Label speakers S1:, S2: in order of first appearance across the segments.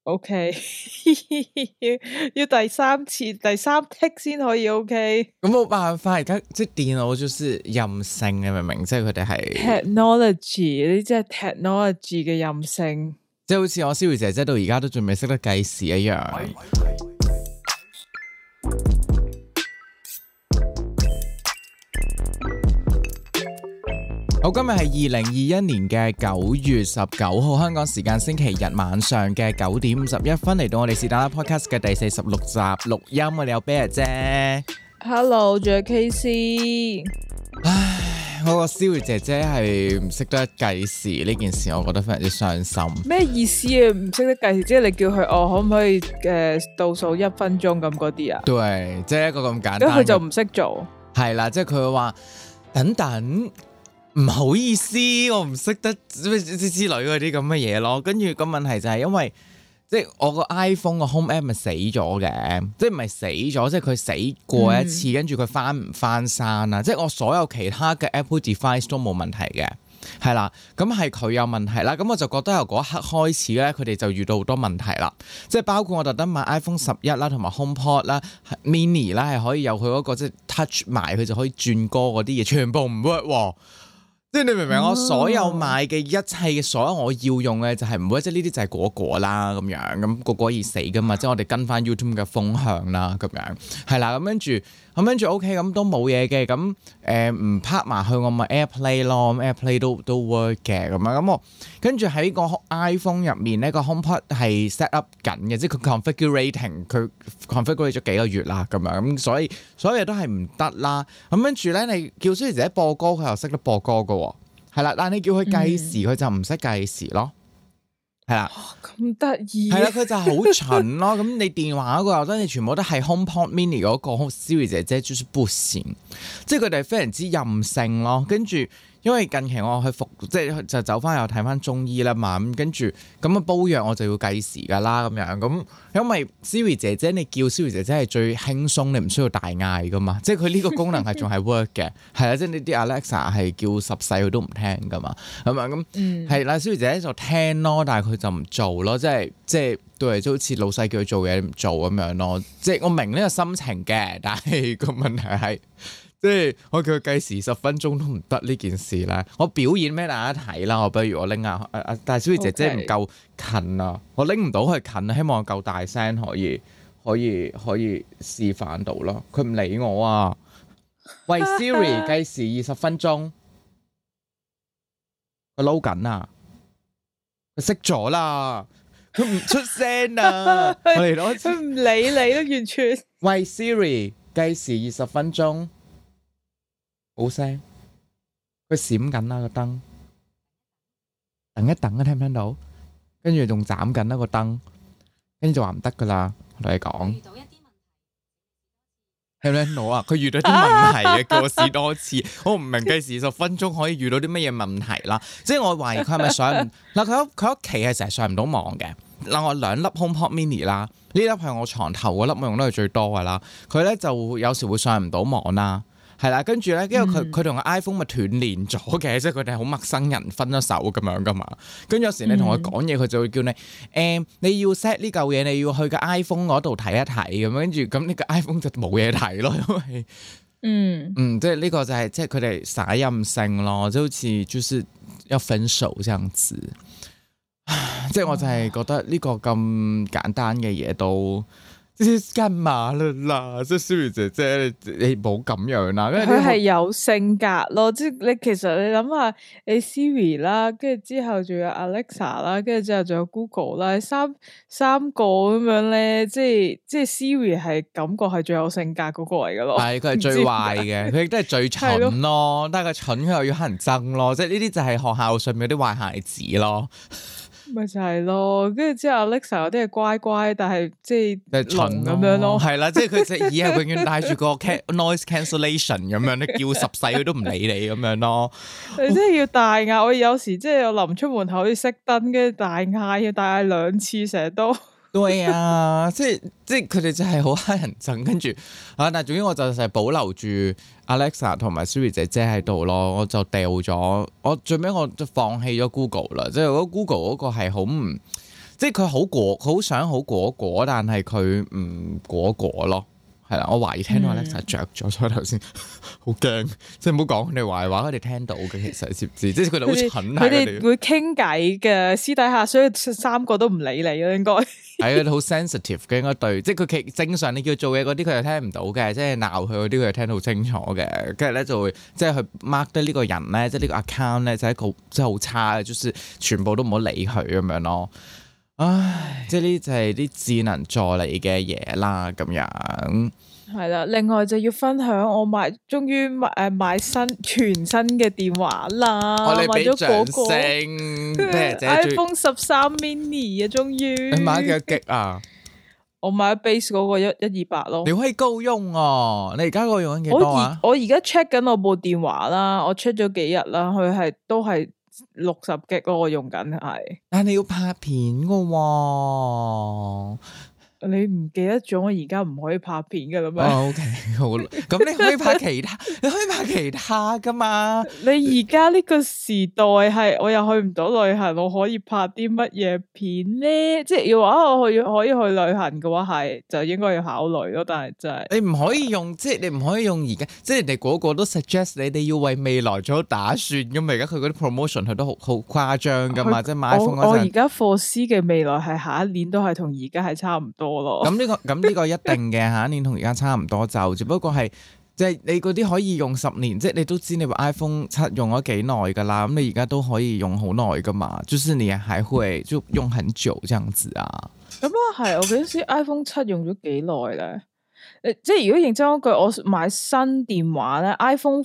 S1: OK， 要第三次、第三 take 先可以 OK。
S2: 咁冇辦法，而家即係電腦就是任性嘅，明唔明？即係佢哋係
S1: technology，呢啲即係 technology 嘅任性。
S2: 即係好似我 Siri 姐姐到而家都仲未識得計時一樣。好，今日係2021年嘅9月19號，香港時間星期日晚上嘅9點51分，嚟到我哋是但啦 Podcast 嘅第46集錄音，我哋有 Bear 姐
S1: ，Hello， 仲有 KC。
S2: 唉，我個 Siri 姐姐係唔識得計時呢件事，我覺得非常之傷心。
S1: 咩意思啊？唔識得計時，即係你叫佢可唔可以倒數1分鐘咁嗰啲啊？
S2: 對，即係一個咁簡單。
S1: 咁佢就唔識做。係
S2: 啦，即係佢會話等等。唔好意思，我唔識得之類嗰啲咁嘅嘢咯。跟住個問題就係因為即係我個 iPhone 個 Home App 咪死咗嘅，即係唔係死咗，即係佢死過一次，跟住佢翻唔翻山啊？即係我所有其他嘅 Apple device 都冇問題嘅，係啦。咁係佢有問題啦。咁我就覺得由嗰一刻開始咧，佢哋就遇到好多問題啦。即係包括我特登買 iPhone 11啦，同埋 HomePod 啦、Mini 啦，係可以有佢嗰個即係 touch 埋，佢就可以轉歌嗰啲嘢，全部唔 work 喎。即係你明唔明？我所有買嘅一切嘅所有我要用嘅就係唔會，即係呢啲就係果啦咁樣，咁果而死噶嘛，即係我哋跟翻 YouTube 嘅風向啦咁樣，係啦，咁跟住 OK 咁都冇嘢嘅，咁唔拍埋去我咪 AirPlay 咯，咁 AirPlay 都 work 嘅咁樣，咁我跟住喺個 iPhone 入面咧個 HomePod 係 set up 緊嘅，即係佢 configurating 佢 configurate 咗幾個月啦咁樣，咁所以所有嘢都係唔得啦，咁跟住咧你叫Siri姐播歌佢又識得播歌噶。係啦，但係你叫佢計時，佢就唔識計時咯。係啦，
S1: 咁得意。
S2: 係啦，佢就好蠢咯。咁你電話嗰個又得，你全部都係 HomePod Mini 嗰個 Siri 姐姐就是不行，即係佢哋非常之任性咯。跟住，因為近期我去即係就走翻又睇翻中醫啦嘛。咁跟住咁煲藥我就要計時噶啦咁樣。咁因為 Siri 姐姐你叫 Siri 姐姐係最輕鬆，你唔需要大嗌噶嘛。即係佢呢個功能係仲係 work 嘅。係啦，即係呢啲 Alexa 係叫10世佢都唔聽噶嘛。咁啊咁係啦，Siri 姐姐就聽咯，但係佢就唔做咯。即係對，就好似老細叫佢做嘢唔做咁樣咯。即係我明呢個心情嘅，但係個問題係。即係我叫佢計時10分鐘都唔得呢件事咧，我表演俾大家睇啦。我不如我拎下但係小姐姐唔夠近啊，我拎唔到佢近啊，希望我夠大聲可以示範到咯。佢唔理我啊！喂 Siri 計時20分鐘，佢撈緊啊！佢熄咗啦，佢唔出聲啊！我嚟攞，
S1: 佢唔理你都完全。
S2: 喂 Siri 計時20分鐘。好聲，佢閃緊啦個燈，等一等啊，聽唔聽到？跟住仲斬緊啦個燈，跟住就話唔得噶啦，我同你講。遇到一啲問題，聽唔聽到啊？佢遇到啲問題啊，叫我試多次。我唔明計時10分鐘可以遇到啲乜嘢問題啦。即係我懷疑佢係咪上唔嗱？佢屋企係成日上唔到網嘅。嗱，我2粒 HomePod Mini 啦，呢粒係我床頭嗰粒，我用得係最多噶啦。佢咧就有時會上唔到網啦。係啦，跟住咧，因為佢同個 iPhone 咪斷連咗嘅，即係佢哋係好陌生人分咗手咁樣噶嘛。跟住有時你同佢講嘢，佢就會叫你你要 set 呢嚿嘢，你要去個 iPhone 嗰度睇一睇咁樣。跟住咁呢個 iPhone 就冇嘢睇咯，因為即係呢個就係即係佢哋耍任性咯，即係好似就是要分手這樣子。即係我就係覺得呢個咁簡單嘅嘢都。幹嘛啦？即係 Siri 姐姐，你冇咁樣啦。
S1: 佢係有性格咯，即係你其實你諗下，你 Siri 啦，跟住之後仲有 Alexa 啦，跟住之後仲有 Google 啦，三個咁樣咧，即係 Siri 係感覺係最有性格嗰個嚟噶咯。係
S2: 佢係最壞嘅，佢亦都係最蠢咯。但係佢蠢，佢又要乞人憎咯。即係呢啲就係學校上面嗰啲壞孩子咯。
S1: 咪就係咯，跟住之後 Alexa 有啲係乖乖，但係即係蠢咁樣咯，
S2: 係啦，即係佢隻耳係永遠帶住個 noise cancellation 咁樣，你叫10世佢都唔理你咁樣咯。
S1: 你真係要大嗌，我有時即係我臨出門口要熄燈，跟住大嗌，要大嗌2次，成日都。
S2: 對啊，即係佢哋就係好乞人憎，跟住但係總之我就係保留住 Alexa 同埋 Siri 姐姐喺度咯，我就掉咗，我最尾我就放棄咗 Google 啦，即係如果 Google 嗰個係好唔， 即係佢好想好果，但係佢唔果咯。係啦，我懷疑聽到 Alexa 着咗，所以頭先好驚，即係唔好講佢哋壞話，佢哋聽到嘅其實知唔知？即係佢哋好蠢，
S1: 佢哋會傾偈嘅私底下，所以三個都唔理你咯，應該
S2: 係啊，好 sensitive 嘅應該對，即係佢正常你叫做嘢嗰啲佢又聽唔到嘅，即係鬧佢嗰啲佢又聽到好清楚嘅，跟住咧就會即係佢 mark 得呢個人咧，即係呢個 account 咧就係一個即係好差嘅，就是全部都唔好理佢咁樣咯。唉，即係呢就係啲智能助理嘅嘢啦，咁樣
S1: 係啦。另外就要分享我終於買全新嘅電話啦，
S2: 我哋俾掌聲
S1: ，iPhone 13 mini 啊，終於。
S2: 你買幾多 G 啊？
S1: 我買 base 嗰個128咯。
S2: 你可以夠用哦！你而家嗰個用緊幾多啊？
S1: 我而家 check 緊我部電話啦，我 check 咗幾日啦，佢都係60 G 咯，我用緊係。但係
S2: 你要拍片噶喎。
S1: 你唔記得咗我而家唔可以拍片噶啦咩
S2: ？OK， 好，咁你可以拍其他，你可以拍其他噶嘛？
S1: 你而家呢個時代係我又去唔到旅行，我可以拍啲乜嘢片咧？即係要話我可以去旅行嘅話，係就應該要考慮咯。但係真係
S2: 你唔可以用，即係你唔可以用而家，即係人哋個個都 suggest 你哋要為未來做打算咁嘛。而家佢嗰啲 promotion 佢都好誇張噶嘛，即係買 iPhone 嗰陣。我
S1: 而家 foresee 嘅未來係下一年都係同而家係差唔多。
S2: 咁呢個一定嘅，下一年同而家差唔多，就只不過係即係你嗰啲可以用10年，即係你都知你部 iPhone 7用咗幾耐噶啦，咁你而家都可以用好耐噶嘛，就是你還會就用很久這樣子啊。
S1: 咁啊係，我嗰陣時 iPhone 7用咗幾耐咧？即係如果認真嗰句，我買新電話咧 ，iPhone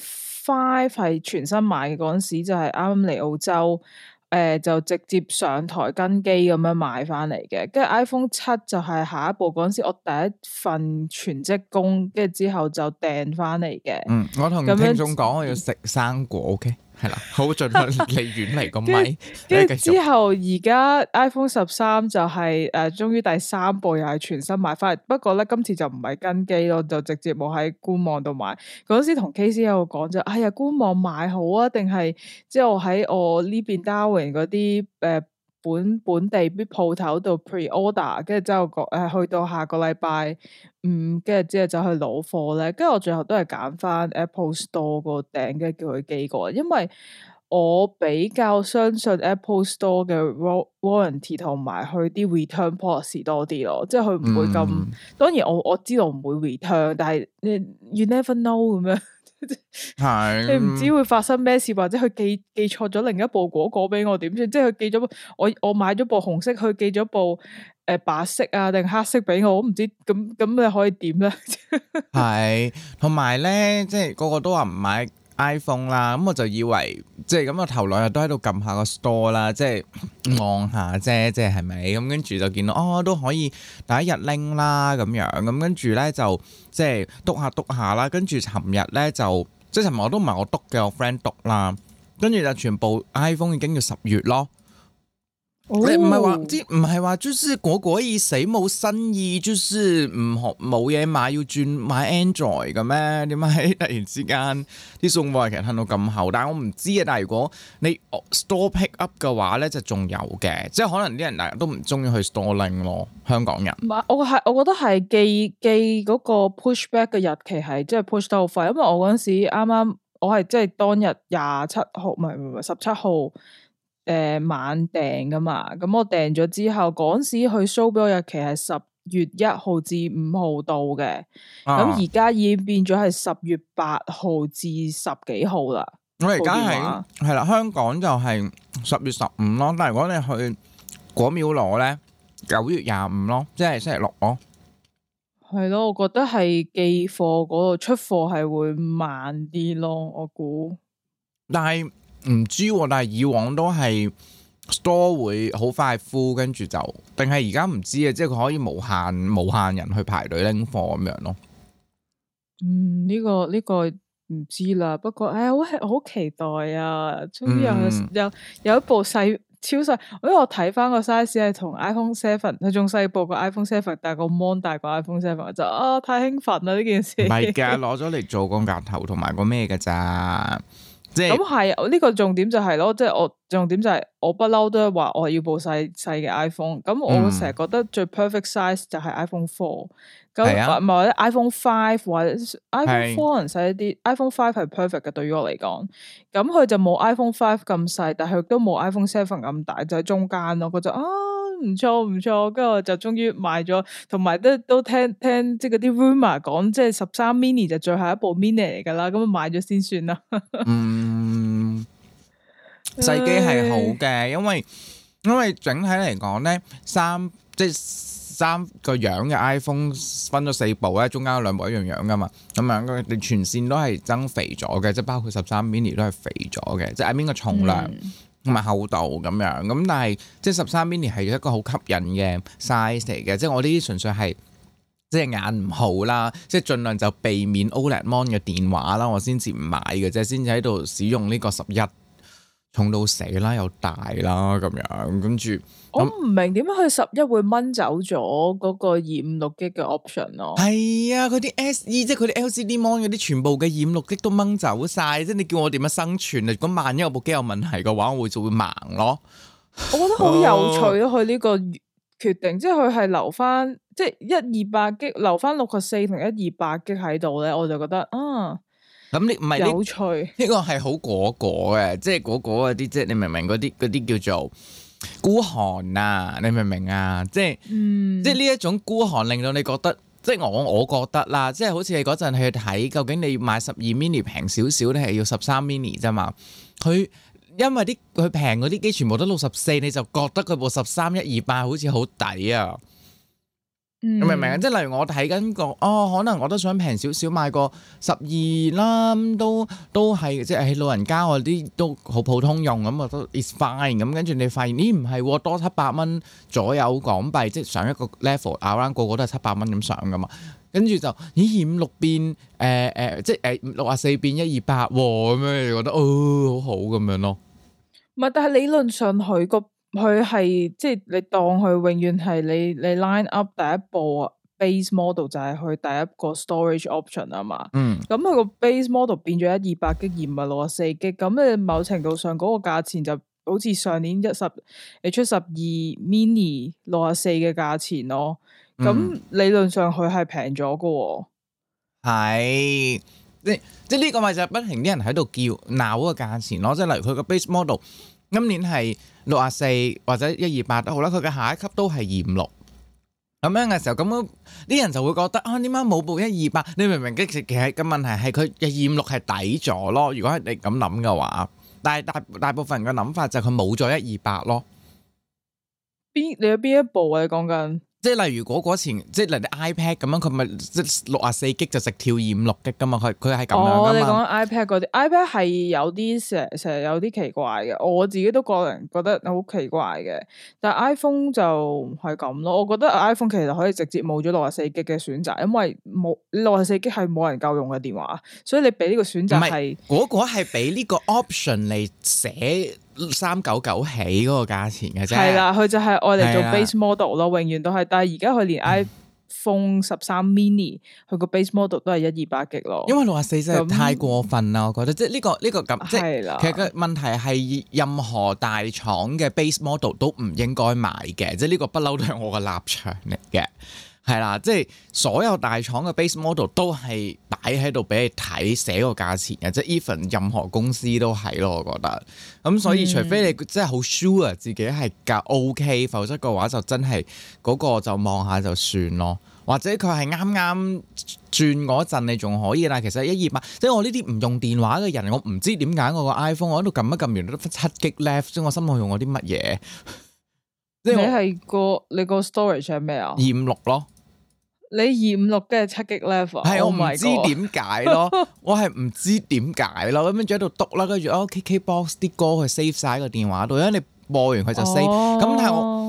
S1: 5係全新買嘅嗰陣時，就係啱啱嚟澳洲。就直接上台跟機咁樣買翻嚟嘅，跟住 iPhone 7就係下一步嗰陣時，我第一份全職工，跟住之後就訂翻嚟嘅。
S2: 我同聽眾講，我要食生果，OK，係啦，好盡量離遠離個咪。跟住
S1: 之後而家 iPhone 13就係終於第3部又係全新買翻嚟，不過咧今次就唔係跟機咯，就直接冇喺官網度買。嗰陣時同 KC 有講就，哎呀官網買好啊，定係即係我喺我呢邊 Darwin 嗰啲本地啲鋪頭度 pre-order， 跟住之後去到下個禮拜5，跟住之後就去攞貨咧。跟住我最後都係揀翻 Apple Store 個訂，跟住叫佢寄過嚟，因為我比較相信 Apple Store 嘅 warranty 同埋佢啲 return policy 多啲咯，即係佢唔會咁。當然我知道唔會 return，但係you never know 咁樣。係你唔知會發生咩事，或者佢寄錯咗另一部果俾我點算？即係佢寄咗我買咗部紅色，佢寄咗部白色啊定黑色俾我，我唔知咁你可以點咧？
S2: 係同埋咧，即係個個都話唔買 iPhone 啦，咁我就以為即係咁我頭兩日都喺度撳下個 store 啦，即係望下啫，即係係咪？咁跟住就見到都可以第一日拎啦咁樣，咁跟住咧就即係篤下啦，跟住尋日咧就即係尋日我都唔係我篤嘅，我 friend 篤啦，跟住就全部 iPhone 已經要10月咯。你唔係話就是果意死冇新意，就是唔學冇嘢買要轉買 Android 嘅咩？點解突然之間啲送貨日期褪到咁後？但係我唔知啊。但係如果你 store pick up 嘅話咧，就仲有嘅，即係可能啲人大家都唔中意去 store 拎咯。香港人，
S1: 我覺得係寄嗰個 pushback 嘅日期係即係 push 得好快，因為我嗰陣時啱啱我係即係當日27號唔係17號。晚訂噶嘛，咁我訂咗之後，嗰陣時佢 show 俾我日期係10月1號至5號到嘅，咁而家已經變咗係10月8號至10幾號啦。
S2: 我而家係啦，香港就係10月15咯，但係如果你去果廟攞咧，9月25咯，即係星期6咯。
S1: 係咯，我覺得係寄貨嗰度出貨係會慢啲咯，我估。
S2: 但係唔知，但係以往都係 store 會好快 full，跟住就定係而家唔知啊，即係佢可以無限人去排隊拎貨咁樣咯。
S1: 呢個唔知啦，不過我好期待啊！終於有一部細超細，因為我睇翻個 size 係同 iPhone 7，佢仲細部過 iPhone 7，但係個 mon 大過 iPhone 7，就太興奮啦呢件事。唔係㗎，
S2: 攞咗嚟做個額頭同埋個咩㗎咋？
S1: 咁係呢個重點就係咯，即係我重點就係我不嬲都係話我要部細嘅 iPhone，咁我成日覺得最 perfect size 就係 iPhone 4，咁唔係或者 iPhone 5或者 iPhone 4可能細一啲，iPhone 5係 perfect 嘅對於我嚟講，咁佢就冇 iPhone 5咁細，但係亦都冇 iPhone 7咁大，就喺中間咯，我就唔錯，跟住我就終於買咗，同埋都聽即係嗰啲 rumor 講，即係13 mini 就最後一部 mini 嚟噶啦，咁買咗先算啦。
S2: 細機係好嘅，因為整體嚟講咧，三個樣嘅 iPhone 分咗4部咧，中間有2部一樣樣噶嘛，咁樣你全線都係增肥咗嘅，即係包括13 mini 都係肥咗嘅，即係邊個重量。同埋厚度咁樣，咁但係即係13 mini 係一個好吸引嘅 size 嚟嘅，即係我呢啲純粹係即係眼唔好啦，即係盡量就避免 OLED mon 嘅電話啦，我先至唔買嘅啫，先至喺度使用呢個11重到死啦，又大啦咁樣，跟住
S1: 我唔明點解佢11會掹走咗嗰個256G嘅 option 咯。
S2: 係啊，佢啲 SE 即係佢啲 LCD mon 嗰啲全部嘅256G都掹走晒，即係你叫我點樣生存啊？如果萬一我部機有問題嘅話，我就會盲咯。
S1: 我覺得好有趣咯，佢呢個決定，即係佢係留翻即係128G留翻64同128G喺度咧，我就覺得
S2: 咁你唔係
S1: 有趣，
S2: 呢個係好果嘅，即係果嗰啲，即係你明唔明嗰啲叫做孤寒啊？你明唔明啊？即係即係呢一種孤寒令到你覺得，即係我覺得啦，即係好似你嗰陣去睇，究竟你買12 mini 平少少咧，係要13 mini 啫嘛？佢因為佢平嗰啲機全部都64，你就覺得佢部13 128好似好抵啊！明唔明啊？即係例如我睇緊個可能我都想平少少買個12啦，都係即係喺老人家嗰啲都好普通用咁啊，都 is fine 咁。跟住你發現咦唔係多700蚊左右港幣，即係上一個 level around 個個都係700蚊咁上噶嘛。跟住就256變即係64變128咁樣，你覺得好好咁樣咯。
S1: 唔係，但係理論上佢係即係你當佢永遠係你 line up 第一部 base model 就係佢第一個 storage option 啊嘛。咁佢個 base model 變咗128G 而唔係64G，咁你某程度上嗰個價錢就好似上年你出12 mini 64嘅價錢咯。咁理論上佢係平咗噶。
S2: 係即係呢個咪就係不停啲人喺度叫鬧嗰個價錢咯。即係例如佢個 base model。今年係64或者128都好啦，佢嘅下一級都係256咁樣嘅時候，咁啲人就會覺得點解冇部128？你明唔明？其實個問題係佢嘅256係抵咗咯。如果係你咁諗嘅話，但係大部分人嘅諗法就係佢冇咗128咯。
S1: 你有邊一部啊？你講緊？即
S2: 係例如嗰前，即係例如 iPad 咁樣，佢咪即係64G就直跳256G噶嘛？佢係咁樣噶嘛？
S1: 你講 iPad 嗰啲 iPad 係有啲成日有啲奇怪嘅，我自己都個人覺得好奇怪嘅。但係 iPhone 就係咁咯。我覺得 iPhone 其實可以直接冇咗64G嘅選擇，因為冇64G係冇人夠用嘅電話，所以你俾呢個選擇係
S2: 嗰個係俾呢個 option 嚟寫399起嗰個價錢嘅啫。係啦，
S1: 佢就係愛嚟做 base model 咯，永遠都係。但係而家佢連 iPhone 13 mini 佢個 base model 都係128G咯。因為
S2: 64真係太過分啦，我覺得即係呢個咁，即係其實個問題係任何大廠嘅 base model 都唔應該買嘅，即係呢個不嬲都係我嘅立場嚟嘅。係啦，即係所有大廠嘅 base model 都係擺喺度俾你睇，寫個價錢嘅，即係 even 任何公司都係咯，我覺得。咁所以除非你真係好 sure 自己係夠 OK，否則嘅話就真係嗰個就望下就算咯。或者佢係啱啱轉嗰陣你仲可以，但係其實128，即係我呢啲唔用電話嘅人，我唔知點解我個 iPhone 我喺度撳一撳完都得7G left，即係我心諗用我啲乜嘢？
S1: 你係你個 storage 係咩啊
S2: ？256咯。
S1: 你256嘅7G level
S2: 係我唔知點解咯，我係唔知點解咯，咁樣就喺度篤啦，跟住KKBox 啲歌佢 save 晒喺個電話度，因為你播完佢就 save，咁但係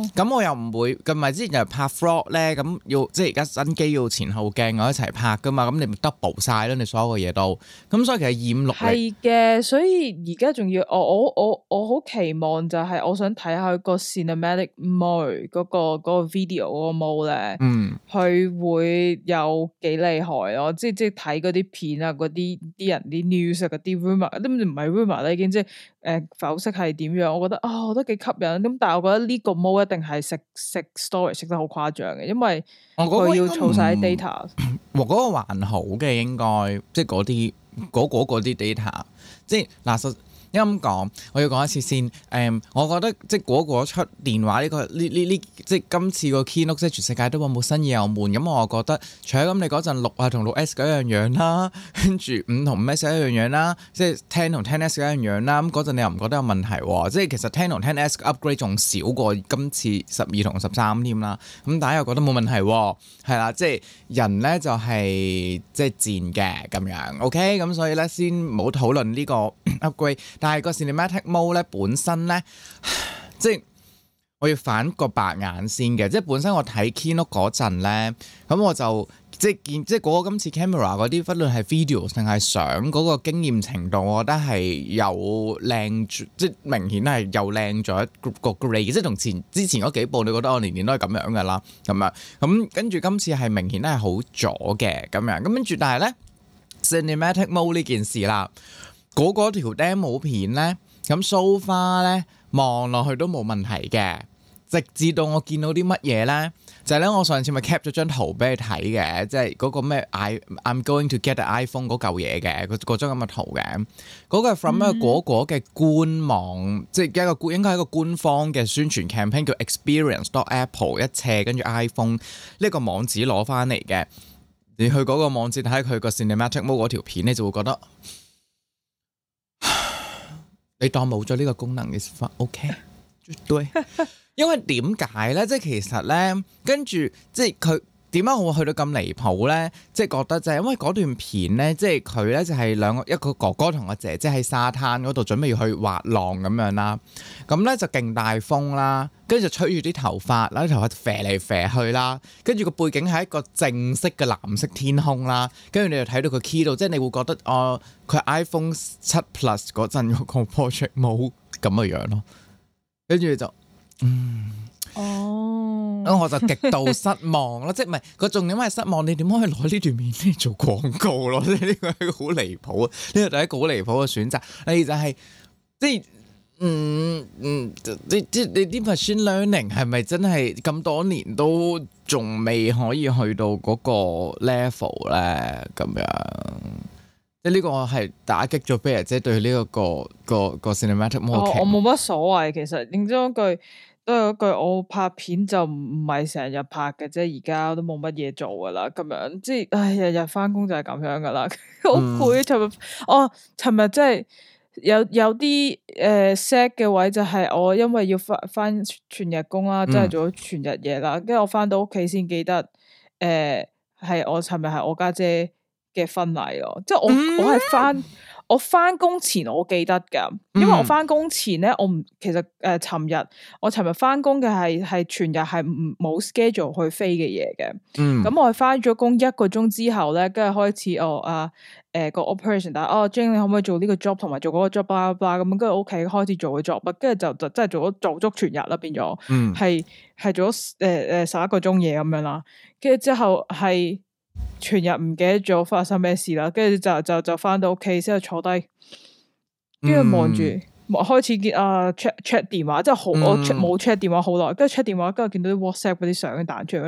S2: 咁我又唔會，咁咪之前又拍 vlog 咧，咁要即係而家新機要前後鏡我一齊拍噶嘛，咁你咪 double 晒咯，你所有嘅嘢都，咁所以其實染綠
S1: 係嘅，所以而家仲要我好期望就係我想睇下個 cinematic mode 嗰個 video 嗰個 mode 咧，佢會有幾厲害咯，即係睇嗰啲片啊，嗰啲人啲 news 啊，嗰啲 rumor 都唔係 rumor 啦，已經即係剖析係點樣，我覺得我覺得幾吸引，咁但係我覺得呢個 mode 一定係食 storage 食得好誇張嘅，因為佢要儲晒 data。
S2: 嗰個還好嘅應該，即係嗰啲 data， 即係嗱，因為咁講，我要講一次先。我覺得即係嗰個出電話呢即係今次個 keynote 即係全世界都話冇新意又悶。咁我覺得，除咗咁你嗰陣6啊同6S 嗰一樣啦，跟住5同 5S 一樣啦，即係10同 10S 一樣啦。咁嗰陣你又唔覺得有問題喎？即係其實10同 10S upgrade 仲少過今次12同13添啦。咁大家又覺得冇問題喎？係啦，即係人咧就係即係賤嘅咁樣。OK，咁所以咧先冇討論呢個 upgrade。但係個 cinematic mode 咧本身咧，即係我要反個白眼先嘅，即係本身我睇 keynote 嗰陣咧，咁我就即係見即係嗰個今次 camera 嗰啲，不論係 video 定係相嗰個經驗程度，我覺得係有靚，即係明顯係又靚咗一個 grade，即係同之前嗰幾部，你覺得我年年都係咁樣噶啦，咁跟住今次係明顯係好咗嘅咁樣，咁跟住但係咧 cinematic mode 呢件事啦。嗰條 demo 片咧，咁 so far 咧望落去都冇問題嘅，直至到我見到啲乜嘢咧，就係咧我上次咪 cap 咗張圖俾你睇嘅，即係嗰個咩 I'm going to get the iPhone 嗰嚿嘢嘅，嗰張咁嘅圖嘅，嗰個係 from 一個果果嘅官網，即係應該係一個官方嘅宣傳 campaign 叫 experience.apple 一斜跟住 iPhone 呢個網址攞翻嚟嘅，你去嗰個網址睇佢個 cinematic mode 嗰條片，你就會覺得。你當冇咗呢個功能嘅話 OK， 對，因為點解咧？即係其實咧，跟住即係佢點解我會去到咁離譜咧？即係覺得就係因為嗰段片咧，即係佢咧就係一個哥哥同個姐姐喺沙灘嗰度準備去滑浪咁樣啦。咁咧就勁大風啦，跟住就吹住啲頭髮啦，啲頭髮飛嚟飛去啦。跟住個背景係一個正式嘅藍色天空啦。跟住你就睇到個 key 度，即係你會覺得佢 iPhone 7 Plus 嗰陣嗰個 project 冇咁嘅樣咯。跟住就咁我就極度失望咯，即係唔係個重點係失望？你點可以攞呢段片嚟做廣告咯？即係呢個係一個好離譜啊！呢個就係一個好離譜嘅選擇。你就係即係你啲 machine learning 係咪真係咁多年都仲未可以去到嗰個 level 咧？咁樣即係呢個係打擊咗 Bear 姐對呢個 cinematic mode。
S1: 我冇乜所謂，其實認真句。都係嗰句，我拍片就唔係成日拍嘅啫，而家都冇乜嘢做噶啦，咁樣即係，日日翻工就係咁樣噶啦，好攰。尋日即係有啲sad 嘅位就係我因為要翻全日工啦，即係做咗全日嘢啦，跟住我翻到屋企先記得，係我尋日係我家姐嘅婚禮咯，即係我係我翻工前我記得噶，因為我翻工前咧，其實尋日翻工嘅係全日係冇 schedule 去飛嘅嘢嘅，咁我係翻咗工1個鐘之後咧，跟住開始個 operation， 但係Jane 你可唔可以做呢個 job 同埋做嗰個 job blah blah 咁，跟住屋企開始做個 job，跟住就真係做足全日啦，變咗係做咗11個鐘嘢咁樣啦，跟住之後係。全日唔記得咗發生咩事啦，跟住就翻到屋企之後坐低，跟住望住開始見check 電話，即係我冇 check 電話好耐，跟住 check 電話，跟住見到啲 WhatsApp 嗰啲相彈出嚟，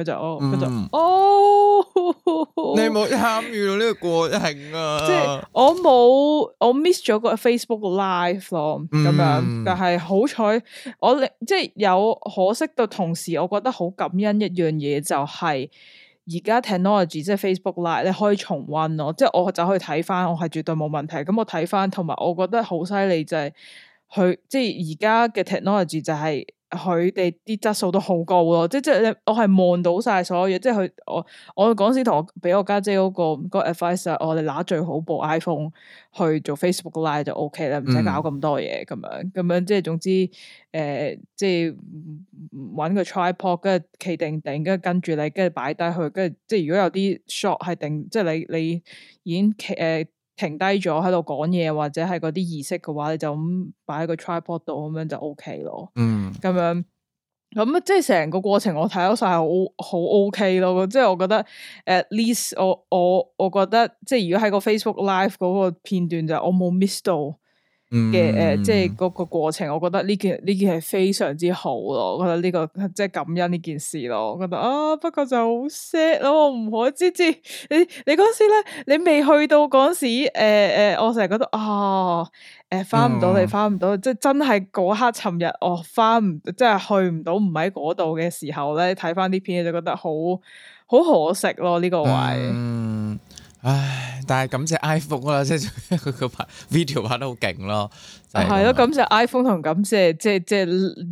S1: 你
S2: 冇參與到呢個過程啊？
S1: 即係我 miss 咗個 Facebook Live 咯，咁樣，但係好彩即係有可惜到同時，我覺得好感恩一樣嘢就係。而家 technology 即係 Facebook Live 你可以重溫咯，即係我就可以睇翻，我係絕對冇問題。咁我睇翻，同埋我覺得好犀利就係佢即係而家嘅 technology 就係佢哋啲質素都好高咯，即係我係望到晒所有嘢，即係我嗰時同我俾我家姐嗰個 advice，我哋拿最好部 iPhone 去做 Facebook Live 就 OK 啦，唔使搞咁多嘢咁樣，即係總之即係搵個 tripod 跟住企定，跟住你跟住擺低佢，跟住即係如果有啲 shot 係定，即係你已經停低咗喺度講嘢或者係嗰啲儀式嘅話，你就咁擺喺個 tripod 度咁樣就 OK 咯。咁樣咁即係成個過程我睇到晒好 OK 咯。即係我覺得 at least 我覺得即係如果喺個 Facebook Live 嗰個片段就我冇 miss 到嘅即係嗰個過程，我覺得呢件係非常之好咯。我覺得呢個即係感恩呢件事咯。我覺得不過就好 sad 咯，我唔可知你嗰時咧，你未去到嗰時我成日覺得翻唔到你翻唔到，即係真係嗰刻尋日我翻唔即係去唔到，唔喺嗰度嘅時候咧，睇翻啲片就覺得好可惜咯呢個位。
S2: 唉，但係感謝 iPhone 啦，即係佢個拍 video 拍得好勁咯，
S1: 係咯，感謝 iPhone 同感謝即係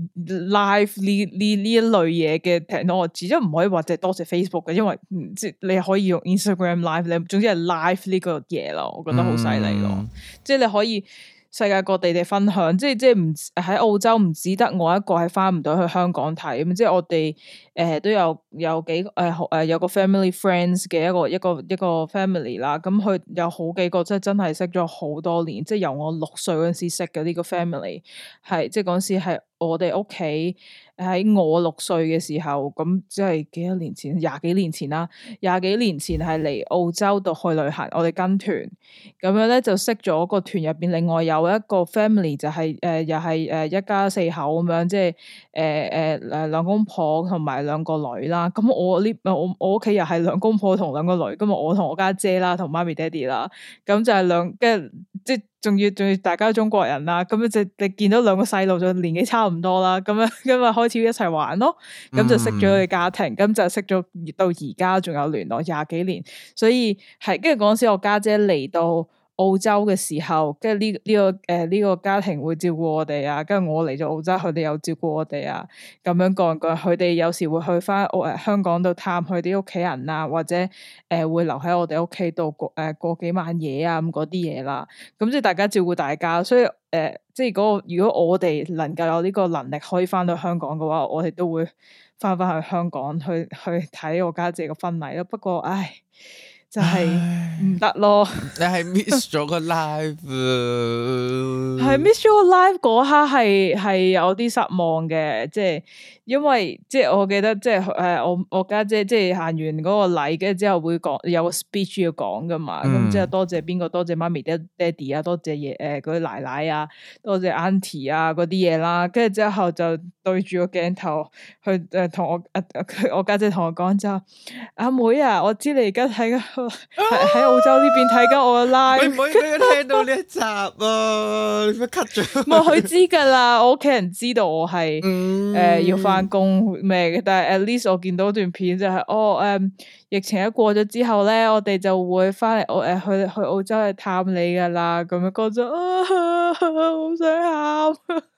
S1: live 呢一類嘢嘅 technology，即係唔可以話淨係多謝 Facebook 嘅，因為即係你可以用 Instagram live，你總之係 live 呢個嘢咯，我覺得好犀利咯，即係你可以世界各地嘅分享，即係唔喺澳洲唔只得我一個係翻唔到去香港睇，咁即係我哋都有幾有個 family friends 嘅一個 family 啦，咁佢有好幾個即係真係識咗好多年，即係由我6歲嗰陣時識嘅呢個 family， 係即係嗰陣時係我哋屋企喺我6歲嘅時候，咁即係幾多年前，20幾年前啦，20幾年前係嚟澳洲度去旅行，我哋跟團咁樣咧就識咗個團入邊，另外有一個 family 就係又係一家4口咁樣，即係兩公婆同埋2個女啦。咁我屋企又係2公婆同2個女，咁我同我家姐啦，同媽咪爹哋啦，咁就係跟住即係仲要大家中國人啦，咁就你見到2個細路就年紀差唔多啦，咁啊開始一齊玩咯，咁就識咗佢家庭，咁就識咗到而家仲有聯絡20幾年，所以係跟住嗰陣時我家姐嚟到澳洲嘅時候，跟住呢個家庭會照顧我哋啊，跟住我嚟咗澳洲，佢哋又照顧我哋啊，咁樣講句，佢哋有時會去翻香港度探佢啲屋企人啊，或者會留喺我哋屋企度過幾晚夜啊咁嗰啲嘢啦，咁即係大家照顧大家，所以即係如果我哋能夠有呢個能力可以翻到香港嘅話，我哋都會翻去香港去睇我家姐個婚禮咯。不過唉。就係唔得咯，
S2: 你係 miss 咗個 live，
S1: 係 miss 咗個 live 嗰刻係有啲失望嘅，即係因為即係我記得即係我家姐即係行完嗰個禮，跟住之後會講有個 speech 要講噶嘛，咁即係多謝邊個，多謝媽咪爹哋啊，多謝嗰啲奶奶啊，多謝 auntie 啊嗰啲嘢啦，跟住之後就對住個鏡頭去同我家姐同我講就阿妹啊，我知你而家睇緊。喺澳洲呢邊睇緊我嘅 live，
S2: 你唔可以俾佢聽到呢一集啊！你咪 cut 咗。冇，
S1: 佢知噶啦，我屋企人知道我係要翻工咩嘅，但係 at least 我見到段片就係疫情一過咗之後咧，我哋就會翻嚟去澳洲去探你噶啦，咁樣講咗好想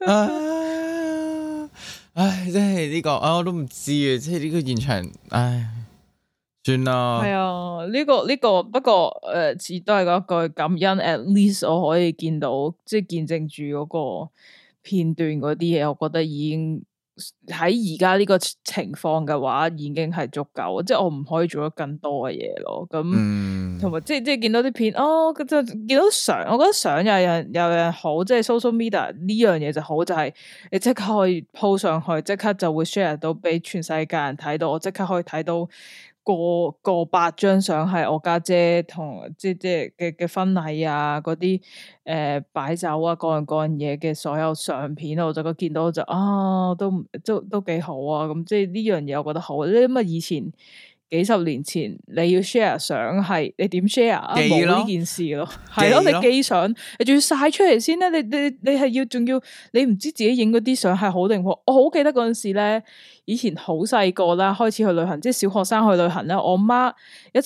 S1: 喊。
S2: 唉，真係呢個我都唔知啊，即係呢個現場，唉。算啦，
S1: 係啊，呢個不過似都係嗰句感恩 ，at least 我可以見到，即係見證住嗰個片段嗰啲嘢，我覺得已經喺而家呢個情況嘅話，已經係足夠，即係我唔可以做得更多嘅嘢咯。咁同埋即係見到啲片，就見到相，我覺得相有人好，即係 social media 呢樣嘢就好，就係你即刻可以 po 上去，即刻就會 share 到俾全世界人睇到，我即刻可以睇到。過百張相係我家姐同即係嘅婚禮啊，嗰啲擺酒啊，各樣嘢嘅所有相片，我就見到就都幾好啊！咁即係呢樣嘢我覺得好，因為以前幾十年前你要 share 相係你點 share 啊？冇呢件事咯，係咯，你寄相你仲要晒出嚟先咧，你係仲要你唔知自己影嗰啲相係好定唔好？我好記得嗰陣時咧。以前好細個啦，開始去旅行，即係小學生去旅行咧。我媽一直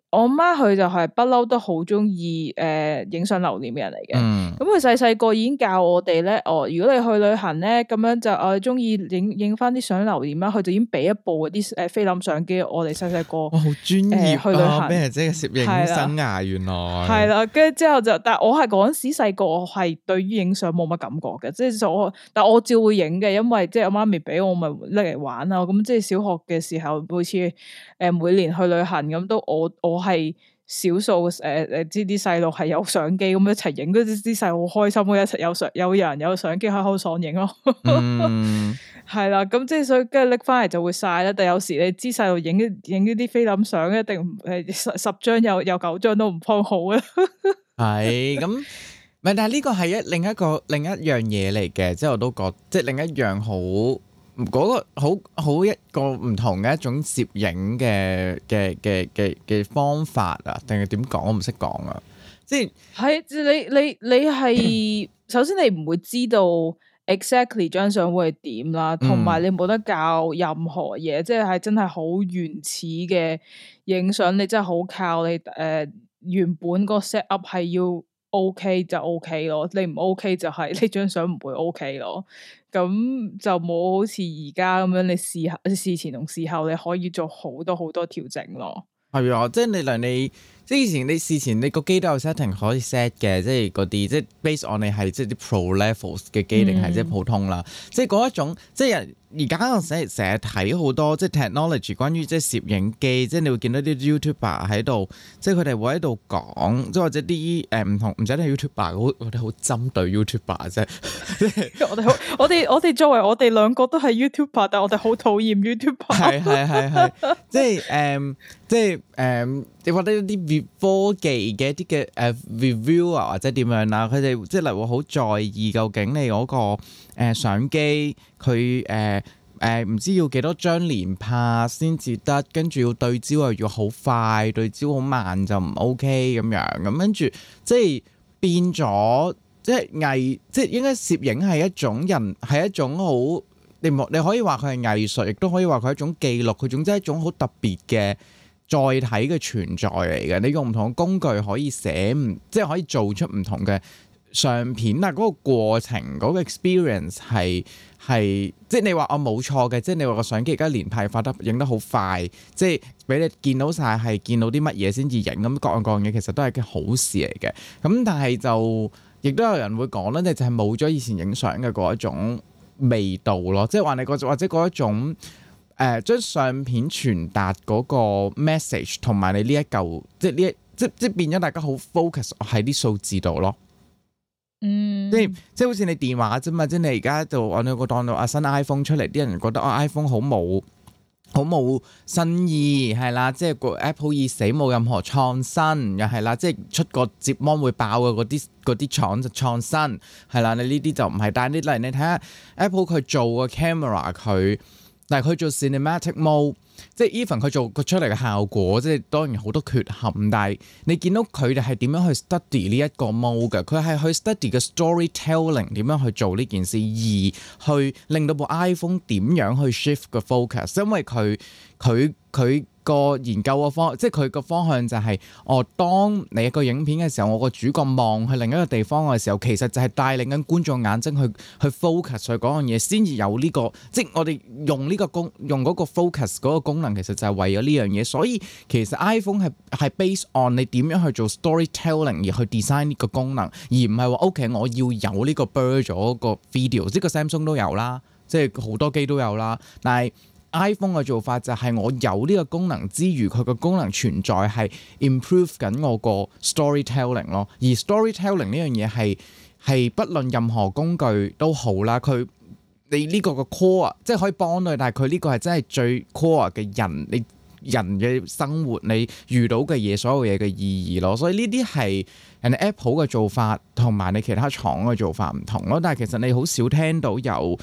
S1: 我媽佢就係不嬲都好中意影相留念嘅人嚟嘅。咁佢細細個已經教我哋咧，如果你去旅行咧，咁樣就我中意影翻啲相留念啦。佢就已經俾一部嗰啲菲林相機我哋細細個。
S2: 哇，好專業
S1: 去旅行
S2: 咩即係攝影生涯原來
S1: 係啦，跟住之後就，但係我係嗰陣時細個，我係對於影相冇乜感覺嘅，即係但我照會影嘅，因為即係我媽咪俾我咪拎嚟玩啊。咁即係小學嘅時候，每次每年去旅行咁都我係少數知啲細路係有相機咁一齊影，嗰啲細路好開心，一齊有人有相機喺度爽影咯。係啦，咁即係所以跟住拎翻嚟就會晒啦。但有時你知細路影呢啲菲林相一定十張有9張都唔方好啊。係
S2: 咁，但係呢個係另一樣嘢嚟嘅，即係我都覺即係另一樣好。嗰個好一個唔同嘅一種攝影嘅方法啊，定係點講？我唔識講啊！即係
S1: 你係首先你唔會知道 exactly 張相會係點啦，同埋你冇得教任何嘢，即係真係好原始嘅影相，你真係好靠你原本個 set up 係要 OK 就 OK 咯，你唔 OK 就係呢張相唔會 OK 咯。咁就冇好似而家咁樣，你事前同事後你可以做好多好多調整咯。係
S2: 啊，即係你即係以前你事前你個機都有 setting 可以 set 嘅，即係嗰啲即係 based on 你係即係啲 pro levels 嘅機定係即係普通啦。即係嗰一種即係而家我成日睇好多即係 technology 關於即係攝影機，即係你會見到啲 YouTuber 喺度，即係佢哋會喺度講，即係或者啲唔同唔使係 YouTuber，我哋好針對 YouTuber 啫。我哋作為我哋兩個都係 YouTuber，但係我哋好討厭 YouTuber。係，即係你覺得一啲科技嘅一啲嘅review 啊，或者點樣啦，佢哋即係例如好在意究竟你嗰個相機佢唔知要幾多張連拍先至得，跟住要對焦又要好快，對焦好慢就唔 OK 咁樣，咁跟住即係變咗即係即係應該攝影係一種人係一種好你可以話佢係藝術，亦都可以話佢係一種記錄，佢總之係一種好特別嘅載體嘅存在嚟嘅。你用唔同嘅工具可以即係可以做出唔同嘅相片，但係嗰個過程嗰個 experience 係即係你話我冇錯嘅，即係你話個相機而家連拍發得影得好快，即係俾你見到晒係見到啲乜嘢先至影，咁各樣嘢其實都係件好事嚟嘅。咁但係就亦都有人會講咧，就係冇咗以前影相嘅嗰一種味道咯，即係話你或者嗰一種將相片傳達嗰個 message 同埋你呢一嚿即係呢即變咗大家好 focus 喺啲數字度咯。即係好似你電話啫嘛，即係你而家就我哋個當到新 iPhone 出嚟，啲人覺得iPhone 好冇新意係啦，即係個 Apple 已死冇任何創新，又係啦，即係出個摺芒會爆嘅嗰啲廠就創新係啦，你呢啲就唔係，但係你例如你睇下 Apple 佢做個 camera 但係佢做 cinematic mode， 即係 even 佢做佢出嚟嘅效果，即係當然好多缺陷，但係你見到佢哋係點樣去 study 呢一個 mode 嘅，佢係去 study 嘅 storytelling 點樣去做呢件事，而去令到部 iPhone 點樣去 shift 個 focus， 因為佢個研究個方，即係佢個方向就係，當你一個影片嘅時候，我個主角望去另一個地方嘅時候，其實就係帶領緊觀眾眼睛去 focus 去嗰樣嘢，先至有呢個，即係我哋用嗰個 focus 嗰個功能，其實就係為咗呢樣嘢。所以其實 iPhone 係 based on 你點樣去做 storytelling 而去 design 呢個功能，而唔係話 OK 我要有呢個 blur 咗個 video， 即係個 Samsung 都有啦，即係好多機都有啦，但係iPhone 嘅做法就係我有呢個功能之餘，佢個功能存在係 improve 緊我個 storytelling 咯。而 storytelling 呢樣嘢係不論任何工具都好啦，你呢個 core 即係可以幫到你，但係佢呢個係真係最 core 嘅你人嘅生活，你遇到嘅嘢，所有嘢嘅意義咯。所以呢啲係人哋 Apple 嘅做法同埋你其他廠嘅做法唔同咯。但係其實你好少聽到有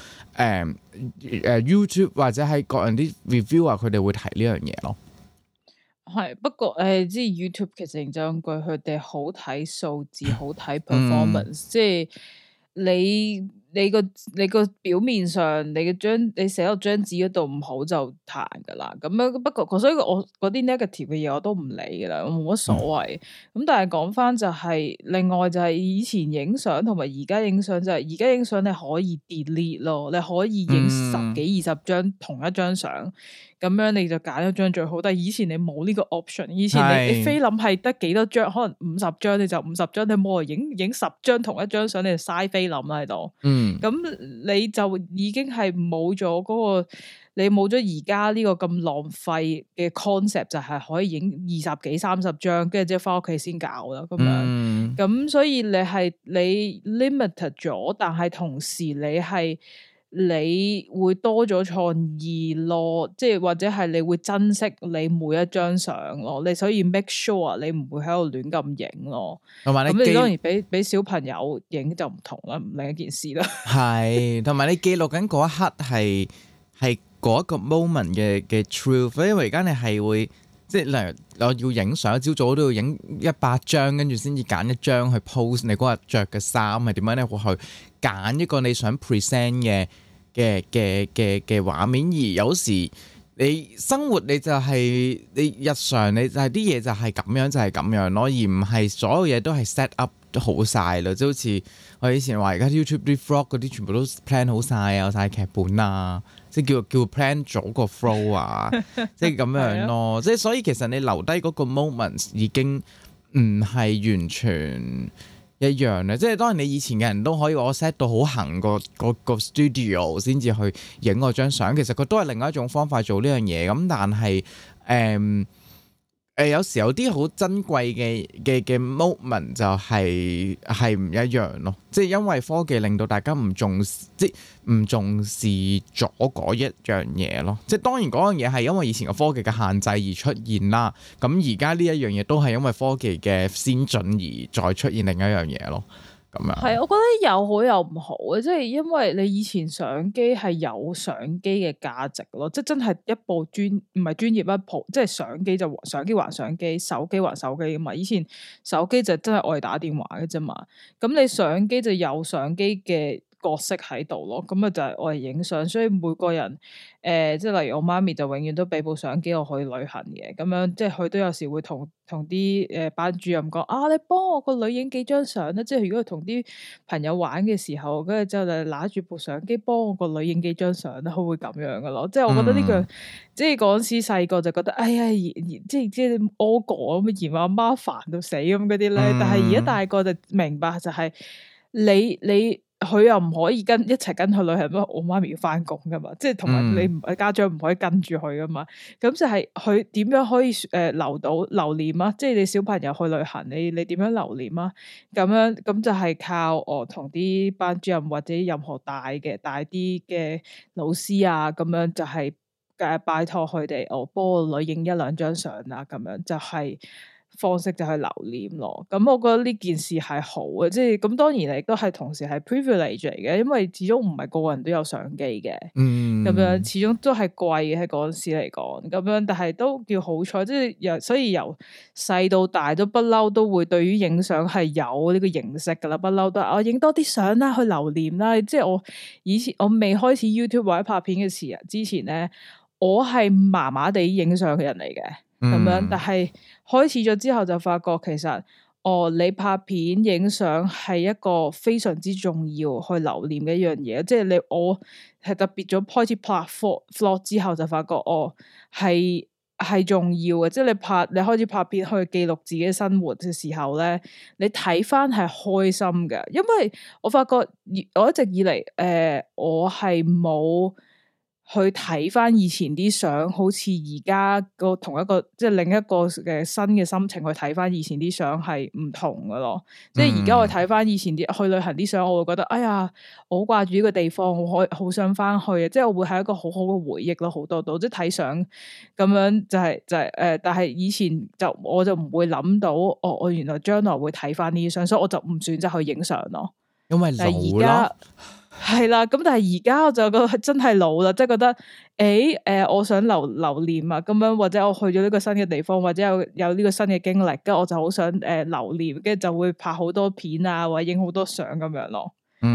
S2: YouTube 或者係各人啲 reviewer 佢哋會提呢樣嘢咯。係不過即係 YouTube 其實認真句，佢哋好睇數字，好睇 performance，即係你
S1: 你個表面上你寫落張紙嗰度唔好就彈噶啦，咁樣不過所以我嗰啲 negative 嘅嘢我都唔理噶啦，我冇乜所謂。咁但係講翻就係另外就係以前影相同埋而家影相就係而家影相你可以 delete 咯，你可以影10幾20張同一張相。咁樣你就揀一張最好，但係以前你冇呢個 option， 以前你菲林係得幾多張，可能50張你就50張，你冇人影10張同一張相，你就嘥菲林啦喺度。咁你就已經係冇咗嗰個，你冇咗而家呢個咁浪費嘅 concept， 就係可以影20幾30張，跟住之後翻屋企先搞啦咁樣。咁所以你 limited 咗，但係同時你會多咗創意咯，即係或者係你會珍惜你每一張相咯，你所以 make sure 你唔會喺度亂咁影咯。同埋咁你當然俾小朋友影就唔同啦，唔另一件事啦。係，
S2: 同埋你記錄緊嗰一刻係嗰一個 moment 嘅 truth， 因為而家你係會即係例如我要影相，朝早都要影100張，跟住先至揀一張去 post 你嗰日着嘅衫係點樣咧，會去揀一個你想 present 嘅畫面。而有時你生活你就係你日常你就係啲嘢就係咁樣就係咁樣咯，而唔係所有嘢都係 set up 好晒啦，即係好似我以前話而家 YouTube 啲 vlog 嗰啲全部都 plan 好晒啊，有晒劇本啊，即係叫 plan 咗個 flow 啊，即係咁樣咯。即係所以其實你留低嗰個 moment 已經唔係完全一樣咧。即係當然你以前嘅人都可以我 set 到好行個 studio 先至去影嗰張相，其實佢都係另外一種方法做呢樣嘢。咁但係有時有啲好珍貴嘅 moment 就係唔一樣咯，即係因為科技令到大家唔重視咗嗰一樣嘢咯。即係當然嗰樣嘢係因為以前嘅科技嘅限制而出現啦，咁而家呢一樣嘢都係因為科技嘅先進而再出現另一樣嘢咯。
S1: 係，我覺得有好有唔好嘅，即係因為你以前相機係有相機嘅價值咯，即係真係一部唔係專業一部，即係相機就相機還相機，手機還手機㗎嘛。以前手機就真係愛嚟打電話嘅啫嘛，咁你相機就有相機嘅角色喺度咯，咁啊就係我嚟影相，所以每個人即係例如我媽咪就永遠都俾部相機我去旅行嘅，咁樣即係佢都有時會同啲班主任講啊，你幫我個女影幾張相啦，即係如果佢同啲朋友玩嘅時候，跟住之後就拿住部相機幫我個女影幾張相啦，佢會咁樣噶咯，即係我覺得呢個即係嗰陣時細個就覺得哎呀，即係屙過咁嫌阿媽煩到死咁嗰啲咧，但係而家大個就明白就係你。佢又唔可以一齊跟佢旅行，因為我媽咪要翻工噶嘛，即係同埋你家長唔可以跟住佢噶嘛，咁就係佢點樣可以留念啊？即係你小朋友去旅行，你點樣留念啊？咁就係靠我同啲班主任或者任何大啲嘅老師啊，咁樣就係拜託佢哋，我幫我女影1-2張相啊，咁樣就係。方式就係留念咯，咁我覺得呢件事係好嘅，即係咁當然亦都係同時係 privilege 嚟嘅，因為始終唔係個個人都有相機嘅，咁樣始終都係貴嘅喺嗰陣時嚟講，咁樣但係都叫好彩，即係所以由細到大都不嬲都會對於影相係有呢個認識噶啦，不嬲都我影多啲相啦，去留念啦，即係我以前我未開始 YouTube 或者拍片嘅時之前咧，我係麻麻地影相嘅人嚟嘅。咁樣，但係開始咗之後就發覺其實，你拍片影相係一個非常之重要去留念嘅一樣嘢，即係我係特別咗開始拍 vlog 之後就發覺，係重要嘅，即係你開始拍片去記錄自己生活嘅時候咧，你睇翻係開心嘅，因為我發覺我一直以嚟，我係冇。去睇翻以前啲相，好似而家個同一個即係另一個嘅新嘅心情去睇翻以前啲相係唔同噶咯。即係而家我睇翻以前啲去旅行啲相，我會覺得哎呀，我好掛住呢個地方，我好想翻去啊！即係我會係一個好好嘅回憶咯，好多度即係睇相咁樣就係但係以前我就唔會諗到，我原來將來會睇翻呢啲相，所以我就唔選擇去影相咯。
S2: 因為老咯。
S1: 係啦，咁但係而家我就覺得真係老啦，即係覺得我想留念啊，咁樣或者我去咗呢個新嘅地方，或者有呢個新嘅經歷，跟住我就好想留念，跟住就會拍好多片啊，或者影好多相咁樣咯。咁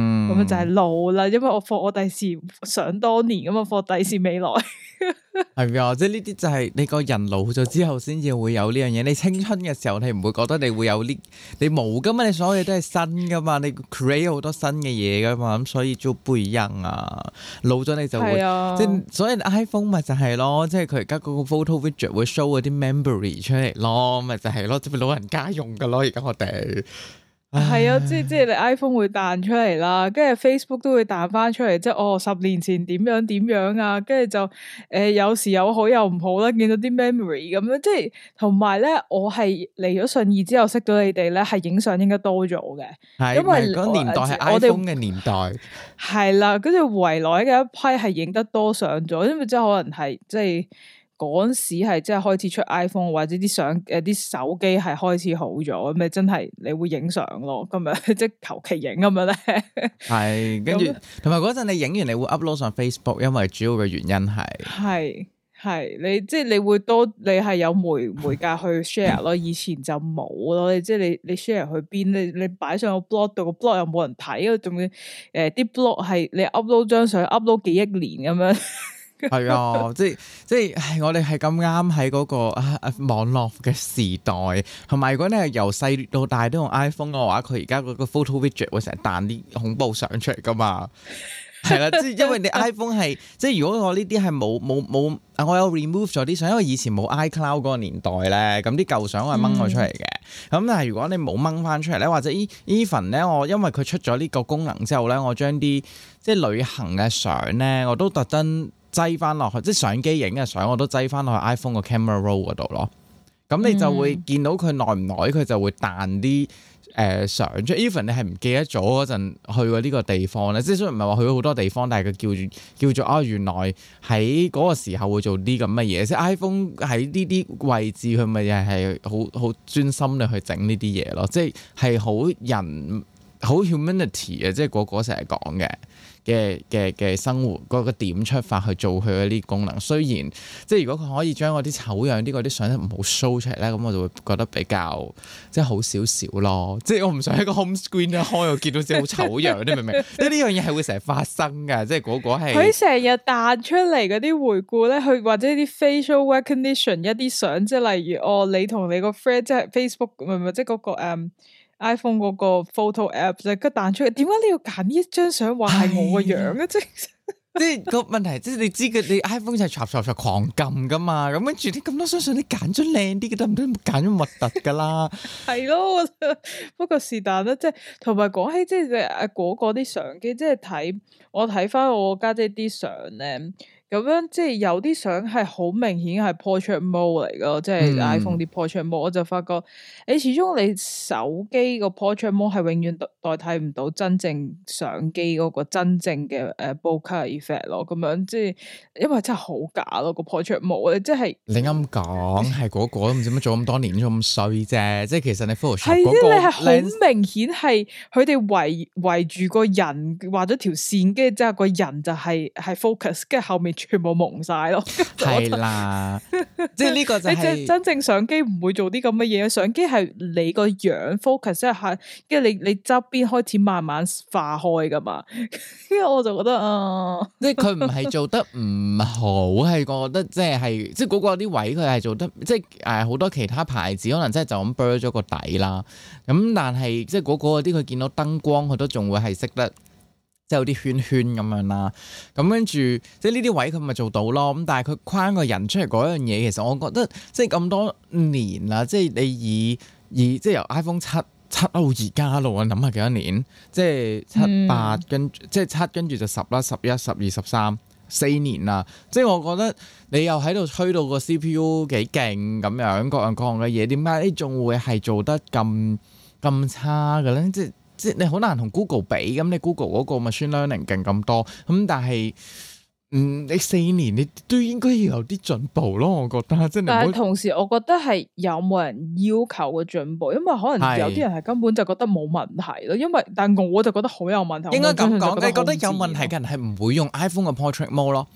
S1: 樣就係老啦，因為我放我第時想當年咁啊，放第時未來。
S2: 係啊，即係呢啲就係你個人老咗之後先至會有呢樣嘢。你青春嘅時候，你唔會覺得你會有呢，你冇噶嘛，你所有嘢都係新噶嘛，你 create 好多新嘅嘢噶嘛，咁所以就不一樣啊。老咗你就會，即係所以 iPhone 咪就係咯，即係佢而家嗰個 photo widget 會 show 嗰啲 memory 出嚟咯，咪就係咯，即係老人家用噶咯，而家我哋。
S1: 係啊，即係你 iPhone 會彈出嚟啦，跟住 Facebook 都會彈翻出嚟，即係10年前點樣啊，跟住就有時有好有唔好啦，見到啲 memory 咁樣，即係同埋咧，我係嚟咗信義之後識到你哋咧，係影相應該多咗嘅，係因為
S2: 嗰年代係 iPhone 嘅年代，
S1: 係啦，跟住圍內嘅一批係影得多相咗，因為即係可能係即係。嗰陣時係即係開始出 iPhone 或者啲相啲手機係開始好咗，咁咪真係你會影相咯，咁樣即係求其影咁樣咧。係，
S2: 跟住同埋嗰陣你影完你會 upload 上 Facebook，因為主要嘅原因
S1: 係你即係你會多你係有媒介去 share 咯，以前就冇咯，即係你 share 去邊，你擺上個 blog 度，個 blog 又冇人睇，仲要啲 blog 係你 upload 張相 upload 幾億年咁樣。
S2: 係啊，即係我哋係咁啱喺嗰個網絡嘅時代，同埋如果你係由細到大都用 iPhone 嘅話，佢而家嗰個 photo widget 會成日彈啲恐怖相出嚟噶嘛，係啦，即係因為你 iPhone 係即係如果我呢啲係冇我有 remove 咗啲相，因為以前冇 iCloud 嗰個年代咧，咁啲舊相我係掹咗出嚟嘅，咁但係如果你冇掹翻出嚟咧，或者 even 咧，我因為佢出咗呢個功能之後咧，我將啲即係旅行嘅相咧，我都特登擠翻落去，即係相機影嘅相，我都擠翻落去 iPhone 個 camera roll 嗰度咯。咁你就會見到佢耐唔耐，佢就會彈啲相出。even 你係唔記得咗嗰陣去過呢個地方咧，即係雖然唔係話去咗好多地方，但係佢叫做原來喺嗰個時候會做啲咁嘅嘢。即係 iPhone 喺呢啲位置，佢咪係好專心地去整呢啲嘢咯。即係好人好 humanity 嘅，即係個成日講嘅生活嗰個點出發去做佢嗰啲功能，雖然即係如果佢可以將嗰啲醜樣啲嗰啲相唔好 show 出嚟咧，咁我就會覺得比較即係好少少咯。即係我唔想喺個 home screen 一開我見到自己好醜樣，你明唔明？即係呢樣嘢係會成日發生㗎，即係嗰個係
S1: 佢成日彈出嚟嗰啲回顧咧，佢或者啲 facial recognition 一啲相，即係例如你同你個 friend 即係 Facebook 唔係即係嗰個iPhone 嗰個 photo app 就佢彈出嚟，點解你要揀呢一張相話係我個樣啊？即
S2: 係個問題，即係你知嘅，你 iPhone 就係唰狂撳噶嘛，咁跟住啲咁多張相，你揀咗靚啲嘅得唔得？揀咗核突噶啦，
S1: 係咯。不過是但啦，即係同埋講起即係嗰個啲相機，即係我睇翻我家姐啲相咧。咁樣即係有啲相係好明顯係 portrait mode 嚟噶，即係 iPhone 啲 portrait mode，我就發覺你始終你手機個 portrait mode 係永遠代替唔到真正相機嗰個真正嘅bokeh effect 咯，咁樣即係因為真係好假咯個 portrait mode，即係
S2: 你啱講係嗰個都唔知乜做咁多年咁衰啫，即係其實你 Photoshop
S1: 係
S2: 嗰個
S1: 你係好明顯係佢哋圍住個人畫咗條線，跟住之後個人就係 focus， 跟住後面全部蒙晒咯，
S2: 係啦，即係呢個就係、
S1: 你真正相機唔會做啲咁嘅嘢，相機係你個樣 focus 即係，跟住你側邊開始慢慢化開噶嘛，跟住我就覺得
S2: 即係佢唔係做得唔好，係覺得即係嗰個啲位佢係做得，即係好多其他牌子可能真係就咁 blur 咗個底啦，咁但係即係嗰啲佢見到燈光佢都仲會係識得。即係有啲圈圈咁樣啦，咁跟住即係呢啲位佢咪做到咯，咁但係佢框個人出嚟嗰樣嘢，其實我覺得即係咁多年啦，即係你以即係由 iPhone 7到而家咯，我諗下幾多年，即係7、8跟即係7跟住就10啦、11、12、13 4年啦，即係我覺得你又喺度吹到個 CPU 幾勁咁樣各樣嘅嘢，點解你仲會係做得咁差嘅咧？即係你好難同 Google 比，咁你 Google 嗰個 machine learning 勁咁多，咁但係你4年你都應該要有啲進步咯，我覺得。
S1: 但係同時我覺得係有冇人要求嘅進步，因為可能有啲人係根本就覺得冇問題咯，因為但係我就覺得好有問題。
S2: 應該咁講，你覺得有問題嘅人係唔會用 iPhone 嘅 portrait mode 咯。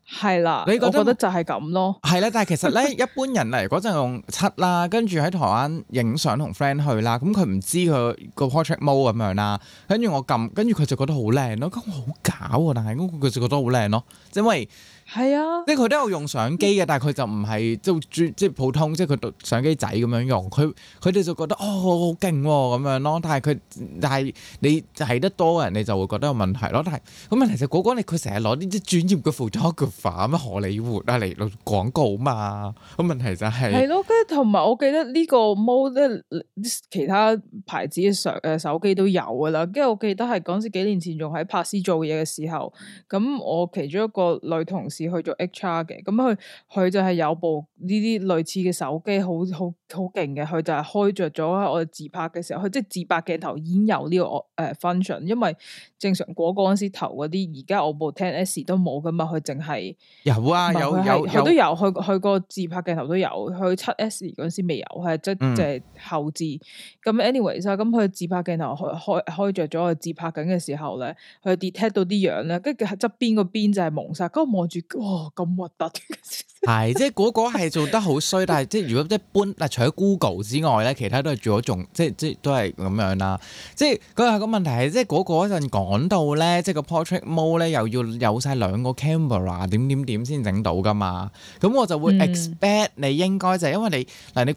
S1: 係啦，
S2: 你
S1: 我覺得就係咁咯。
S2: 係啦，但係其實咧，一般人嚟嗰陣用7啦，跟住喺台灣影相同 friend 去啦，咁佢唔知佢個 portrait mode 咁樣啦，跟住我撳，跟住佢就覺得好靚咯，咁我好假喎，但係佢就覺得好靚咯，因為
S1: 係啊，
S2: 即係佢都有用相機嘅，但係佢就唔係即係普通，即係佢相機仔咁樣用，佢哋就覺得好勁喎咁樣咯，但係你睇得多嘅人，你就會覺得有問題咯。但係咁問題就嗰個佢成日攞啲專業嘅 photographer 咩荷里活啊嚟做廣告嘛，咁問題就係
S1: 咯，跟住同埋我記得呢個 mode 其他牌子嘅手機都有噶啦，跟住我記得係嗰陣時幾年前仲喺柏斯做嘢嘅時候，咁我其中一個女同事去做 HR 嘅，咁佢就係有部呢啲類似嘅手機，好勁嘅，佢就係開着咗我哋自拍嘅時候，佢即係自拍鏡頭已經有呢個function，因為正常嗰陣時投嗰啲，而家我部 10S 都冇噶嘛，佢淨係
S2: 有啊，
S1: 佢都有，佢個自拍鏡頭都有，佢 7S 嗰陣時未有，係即係後置。咁 anyways 咁佢自拍鏡頭開着咗，佢自拍緊嘅時候咧，佢 detect 到啲樣咧，跟住側邊個邊就係蒙晒，咁我望住，哇咁核突！
S2: 係即係嗰個係做得好衰，但係即係如果一般嗱，除咗 Google 之外咧，其他都係做咗仲即都係咁樣啦。即係嗰個問題係即係嗰陣講到咧，即係個 portrait mode 咧又要有晒兩個 camera 點先整到噶嘛。咁我就會 expect 你應該就係因為你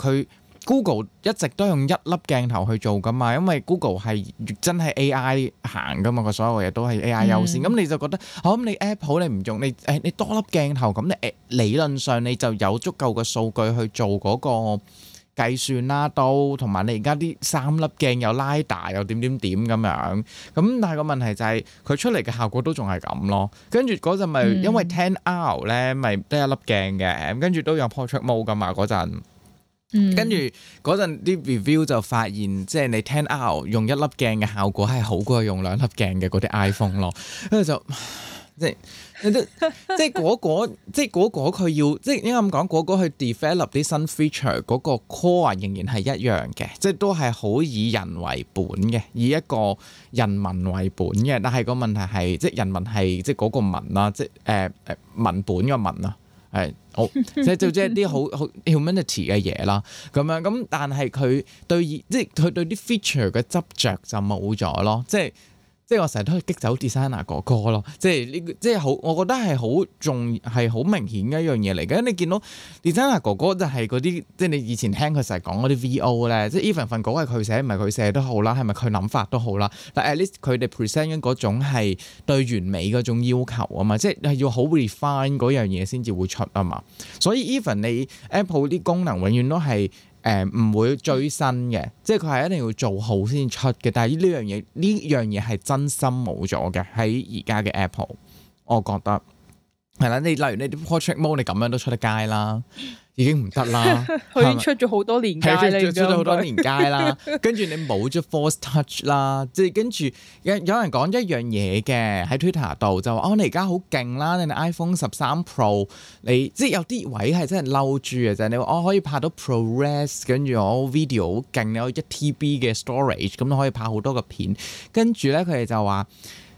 S2: Google 一直都用一粒鏡頭去做噶嘛，因為 Google 係真係 AI 行噶嘛，個所有嘢都係 AI 優先。咁你就覺得咁你 Apple 你唔用你多粒鏡頭，咁你理論上你就有足夠嘅數據去做嗰個計算啦，都同埋你而家啲3粒鏡有 LiDAR 又點咁樣。咁但係個問題就係佢出嚟嘅效果都仲係咁咯。跟住嗰陣咪因為 10R 咧咪得一粒鏡嘅，跟住都有 portrait mode 噶嘛嗰陣。跟住嗰陣啲 review 就發現，即係你 10R 用一粒鏡嘅效果係好過用2粒鏡嘅嗰啲 iPhone 咯。跟住就即係嗰個佢要即係應該咁講，嗰個去 develop 啲新 feature 嗰個 core 仍然係一樣嘅，即係都係好以人為本嘅，以一個人民為本嘅。但係個問題係，即係人民係即係嗰個民啦，即係文本嘅民啊。係好，即係一啲好 humanity 嘅嘢啦，咁樣咁，但係佢對啲 feature 嘅執着就冇咗咯，即係我成日都係激走 designer 哥哥咯，即係呢個即係好，我覺得係好明顯嘅一樣嘢嚟嘅。你見到 designer 哥哥就係嗰啲，即係你以前聽佢成日講嗰啲 VO 咧，即係 even 份稿係佢寫，唔係佢寫都好啦，係咪佢諗法都好啦。但係 at least 佢哋 present 緊嗰種係對完美嗰種要求啊嘛，即係要好 refine 嗰樣嘢先至會出啊嘛。所以 even 你 Apple 啲功能永遠都係唔會追新嘅，即係佢係一定要做好先出嘅。但係呢樣嘢係真心冇咗嘅喺而家嘅 Apple， 我覺得係啦。你例如你啲 portrait mode 你咁樣都出得街啦，已經唔得啦。
S1: 佢已經出咗好多年街，
S2: 出咗好多年街啦。跟住你冇咗 Force Touch 啦，即係跟住有人講一樣嘢嘅喺 Twitter 度就話你而家好勁啦，你 iPhone 13 Pro 你即係有啲位係真係嬲豬嘅就係你話我可以拍到 ProRes， 跟住我 video 好勁，你有1TB 嘅 storage， 咁你可以拍好多個片。跟住咧佢哋就話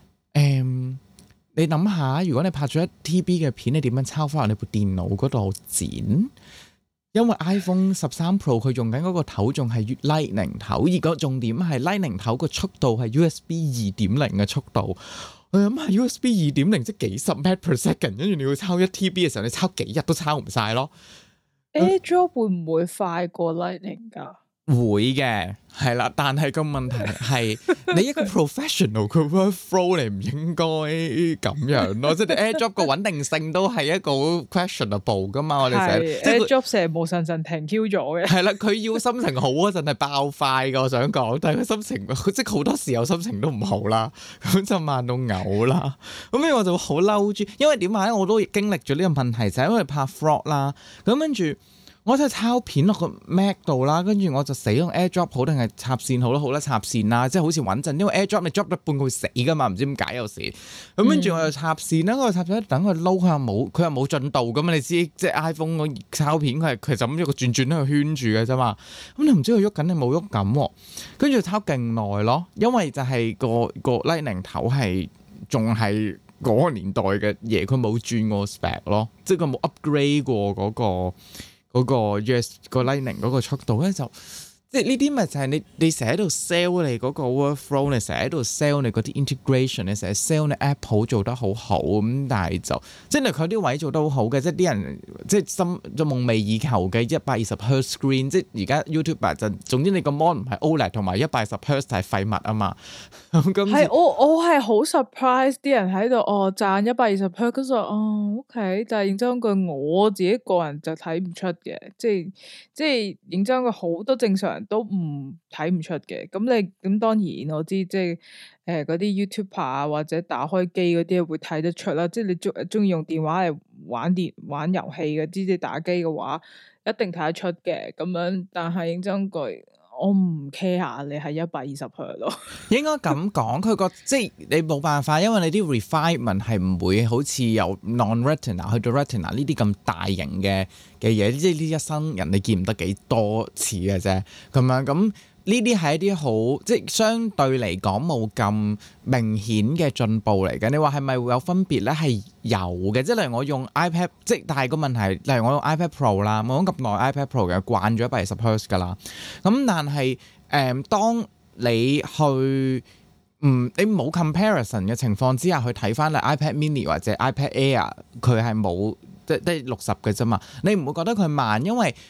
S2: 你諗下，如果你拍咗1TB 嘅片，你點樣抄翻落你部電腦嗰度剪？因為 iPhone 13 Pro 佢用緊嗰個頭仲係 Lightning 頭，而個重點係 Lightning 頭個速度係 USB 2.0嘅速度。我諗下 USB 2.0即係幾十 Mbps， 跟住你要抄1TB 嘅時候，你抄幾日都抄唔晒咯。
S1: AirDrop 會唔會快過 Lightning 㗎？
S2: 會嘅，係啦，但係個問題係你一個 professional 佢 workflow 你唔應該咁樣咯，即係你 AirDrop 個穩定性都係一個 questionable 噶嘛，我哋成日
S1: AirDrop 成日無神停 Q 咗嘅。係
S2: 啦，佢要心情好嗰陣係爆快噶，我想講，但係佢心情即係好多時候心情都唔好啦，咁就慢到嘔啦，咁所以我就好嬲住，因為點解我都經歷咗呢個問題，就係因為拍 vlog 啦，咁跟住。我就抄片落個 Mac 度啦，跟住我就死用 AirDrop 好定係插線好啦，好啦插線啦，即係好似穩陣，因為 AirDrop 你 drop 得半佢會死噶嘛，唔知點解有時。咁跟住我就插線啦，我插咗等佢撈，佢又冇進度咁嘛，你知即係 iPhone 個抄片佢就咁一個轉喺度圈住嘅啫嘛，咁你唔知佢喐緊定冇喐緊，跟住抄勁耐咯，因為就係個 Lightning 頭係仲係嗰個年代嘅嘢，佢冇轉過 spec 咯，即係佢冇 upgrade 過嗰個 US 個 Lightning 嗰個速度咧就。即係呢啲咪就係你成日喺度 sell 你嗰個 workflow， 你成日喺度 sell 你嗰啲 integration， 你成日 sell 你 Apple 做得好好咁，但係就即係佢啲位做得好好嘅，即係啲人即係心就夢寐以求嘅120Hz screen， 即係而家 YouTuber 就總之你個 mon 唔係 OLED 同埋120Hz 係廢物啊嘛。
S1: 係我係好 surprise 啲人喺度讚120Hz，跟住OK，但係認真句我自己個人就睇唔出嘅，即係認真句好多正常人都唔睇唔出嘅。咁當然我知即係嗰啲 YouTuber 啊或者打開機嗰啲會睇得出啦。即係你中意用電話嚟玩遊戲嘅，即係打機嘅話一定睇得出嘅咁樣。但係認真句。我唔 care 你係120Hz咯，應該
S2: 咁講，佢個即係你冇辦法，因為你啲 refinement 係唔會好似由 non-retina 去到 retina 呢啲咁大型嘅嘢，即係呢一生人你見唔得幾多次嘅啫，咁樣咁。呢啲係一啲好即係相對嚟講冇咁明顯嘅進步嚟嘅。你話係咪會有分別咧？係有嘅，即係例如我用 iPad， 即係但係個問題，例如我用 iPad Pro 啦，我用咁耐 iPad Pro 嘅慣咗120Hz噶啦。咁但係當你去你冇 comparison 嘅情況之下去睇翻你 iPad Mini 或者 iPad Air， 佢係冇即係60嘅啫嘛。你唔會覺得佢慢，因為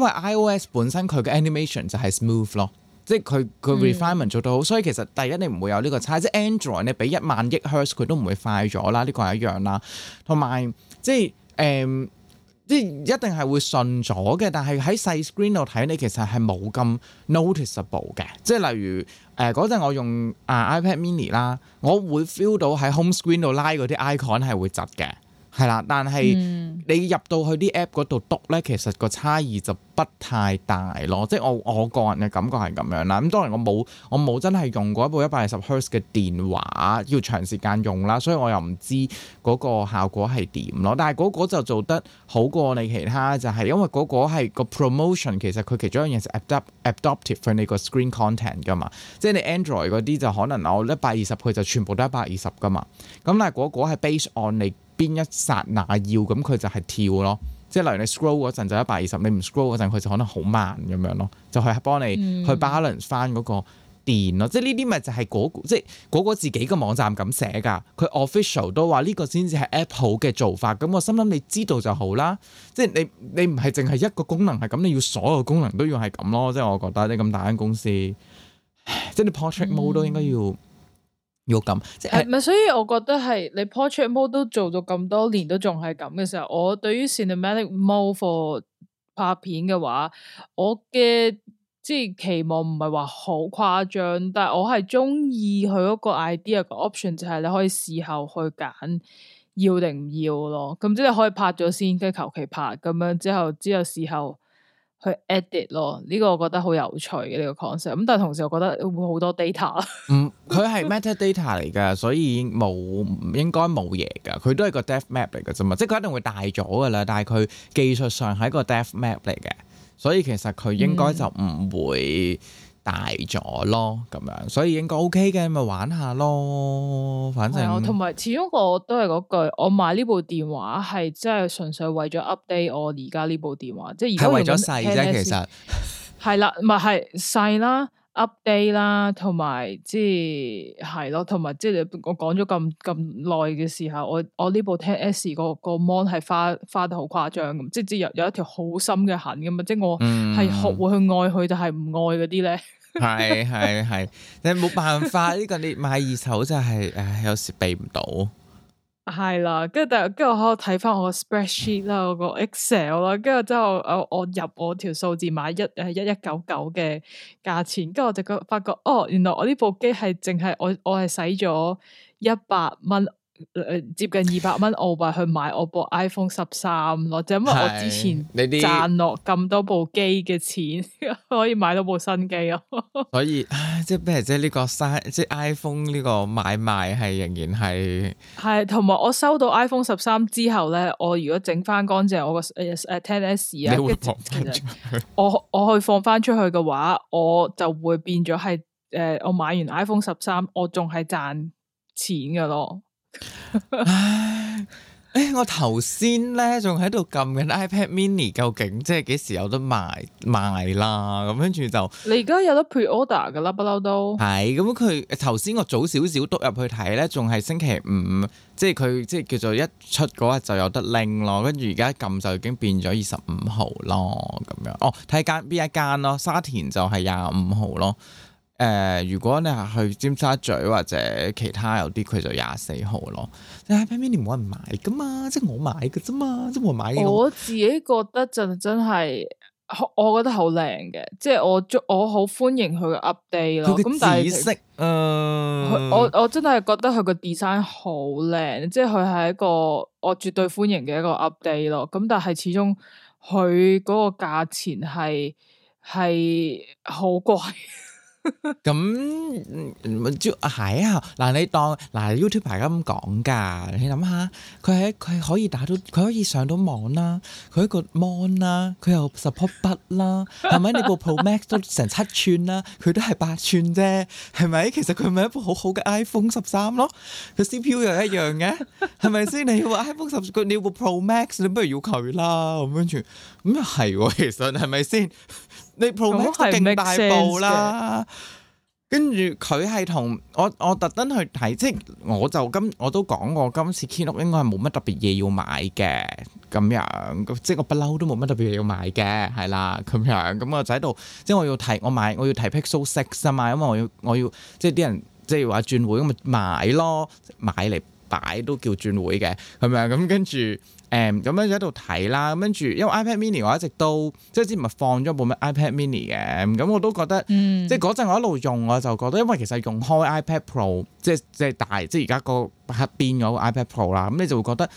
S2: iOS 本身佢嘅 animation 就係 smooth 咯。即係佢 refinement 做到好，所以其實第一你唔會有呢個差，即係 Android 你俾10000億赫茲佢都唔會快咗啦，呢個係一樣啦。同埋即係即係一定係會順咗嘅，但係喺細 screen 度睇你其實係冇咁 noticeable 嘅。即係例如嗰陣我用iPad Mini 啦，我會 feel 到喺 home screen 度拉嗰啲 icon 係會窒嘅。係啦，但係你入到去啲 app 嗰度篤咧，其實個差異就不太大咯。即係我個人嘅感覺係咁樣啦。咁當然我冇真係用過一部120Hz嘅電話，要長時間用啦，所以我又唔知嗰個效果係點咯。但係嗰個就做得好過你其他，就係因為嗰個係個 promotion， 其實佢其中一樣嘢係 adaptive for 你個 screen content 噶嘛。即係你 Android 嗰啲就可能我120佢就全部都120噶嘛。咁但係嗰個係 based on 你邊一剎那要，咁佢就係跳咯，即係例如你 scroll 嗰陣就120，你唔 scroll 嗰陣佢就可能好慢咁樣咯，就係幫你去 balance 翻嗰個電咯。即係呢啲咪就係即係嗰個自己嘅網站咁寫㗎，佢 official 都話呢個先至係 Apple 嘅做法。咁我心諗你知道就好啦，即係你唔係淨係一個功能係咁，你要所有功能都要係咁咯。即係我覺得你咁大間公司，即係你 portrait mode 都應該要咁，即係
S1: 咪？所以我覺得係你 portrait mode 都做咗咁多年都仲係咁嘅時候，我對於 cinematic mode for 拍片嘅話，我嘅即係期望唔係話好誇張，但係我係中意佢嗰個 idea 個 option 就係你可以事後去揀要定唔要咯。咁即係可以拍咗先，跟住求其拍咁樣之後事後去 edit 咯，呢個我覺得好有趣嘅呢個 concept。咁但係同時我覺得會好多 data。
S2: 佢係 metadata 嚟㗎，所以應該冇嘢㗎。佢都係個 depth map 嚟㗎啫嘛，即係佢一定會大咗㗎啦。但係佢技術上係一個 depth map 嚟嘅，所以其實佢應該就唔會大咗咯，咁樣，所以應該 OK 嘅，咪玩下咯。反正
S1: 同埋始終我都係嗰句，我買呢部電話係真係純粹為咗 update 我而家呢部電話，即係而家
S2: 為咗細啫，其實
S1: 係啦，唔係細啦 ，update 啦，同埋即係咯，同埋即係我講咗咁耐嘅時候，我呢部 10S 個 mon 係花得好誇張咁，即係有一條好深嘅痕咁嘛，即係我係學會去愛佢，但係唔愛嗰啲咧。
S2: 係，你冇辦法呢個你買二手就係，有時避唔到。
S1: 係啦，跟住我喺度睇翻我個 spreadsheet 啦，我個 Excel 啦，跟住之後我入我條數字買1199嘅價錢，跟住我就發覺原來我呢部機係淨係我係使咗100蚊。接近200蚊澳幣去買我部 iPhone 13咯，就因為我之前賺落咁多部機嘅錢，可以買到部新機咯。所以
S2: 即係咩？即係呢個即係 iPhone 呢個買賣係仍然
S1: 係同埋我收到 iPhone 13之後咧，我如果整翻乾淨我個10S 啊，
S2: 你會放翻出去？
S1: 我去放翻出去嘅話，我就會變咗係我買完 iPhone 13，我仲係賺錢噶咯。
S2: 唉，我頭先咧仲喺度撳緊 iPad Mini，究竟即係幾時有得賣啦？咁跟住就
S1: 你而家有得 pre-order 噶啦，不嬲都
S2: 係咁。佢頭先我早少少督入去睇咧，仲係星期五，即係佢即係叫做一出嗰日就有得拎咯。跟住而家撳就已經變咗25號咯，咁樣哦。睇間邊一間咯，沙田就係25號咯。如果你係去尖沙咀或者其他有啲，佢就24號咯。但係 iPad Mini 冇人買噶嘛，即係我買嘅啫嘛，即係冇人買嘅。
S1: 我自己覺得真係，我覺得好靚嘅，即係我好歡迎佢嘅 update 咯。咁但係紫色，我真係覺得佢個 design 好靚，即係佢係一個我絕對歡迎嘅一個 update 咯。咁但係始終佢嗰個價錢係好貴。
S2: 咁係啊，嗱你當嗱 YouTube 大家咁講噶，你諗下，佢係可以打到，佢可以上到網啦，佢一個 mon 啦，佢又 support 筆啦，係咪？你部 Pro Max 都成7寸啦，佢都係8寸啫，係咪？其實佢咪一部好好嘅 iPhone 13咯，佢 CPU 又一樣嘅，係咪先？你要部 iPhone 10，你要部 Pro Max，你不如要佢啦，咁跟住咁又係喎，其實係咪先？你 Pro Max 都勁大部啦，跟住佢係同我特登去睇，即係我都講過，今次 Keynote 應該係冇乜特別嘢要買嘅，咁樣即係我不嬲都冇乜特別嘢要買嘅，係啦咁樣，咁我就喺度，即係我要睇 Pixel 6啊嘛，因為我要即係啲人即係話轉會咁咪買咯，買嚟擺都叫轉會嘅，係咪啊？咁跟住。咁樣就喺度睇啦，咁跟住因為 iPad Mini 我一直都即係之前咪放咗部咩 iPad Mini 嘅，咁我都覺得，即係嗰陣我一路用我就覺得，因為其實用開 iPad Pro，即係大，即係而家個黑邊嗰個 iPad Pro 啦，咁你就會覺得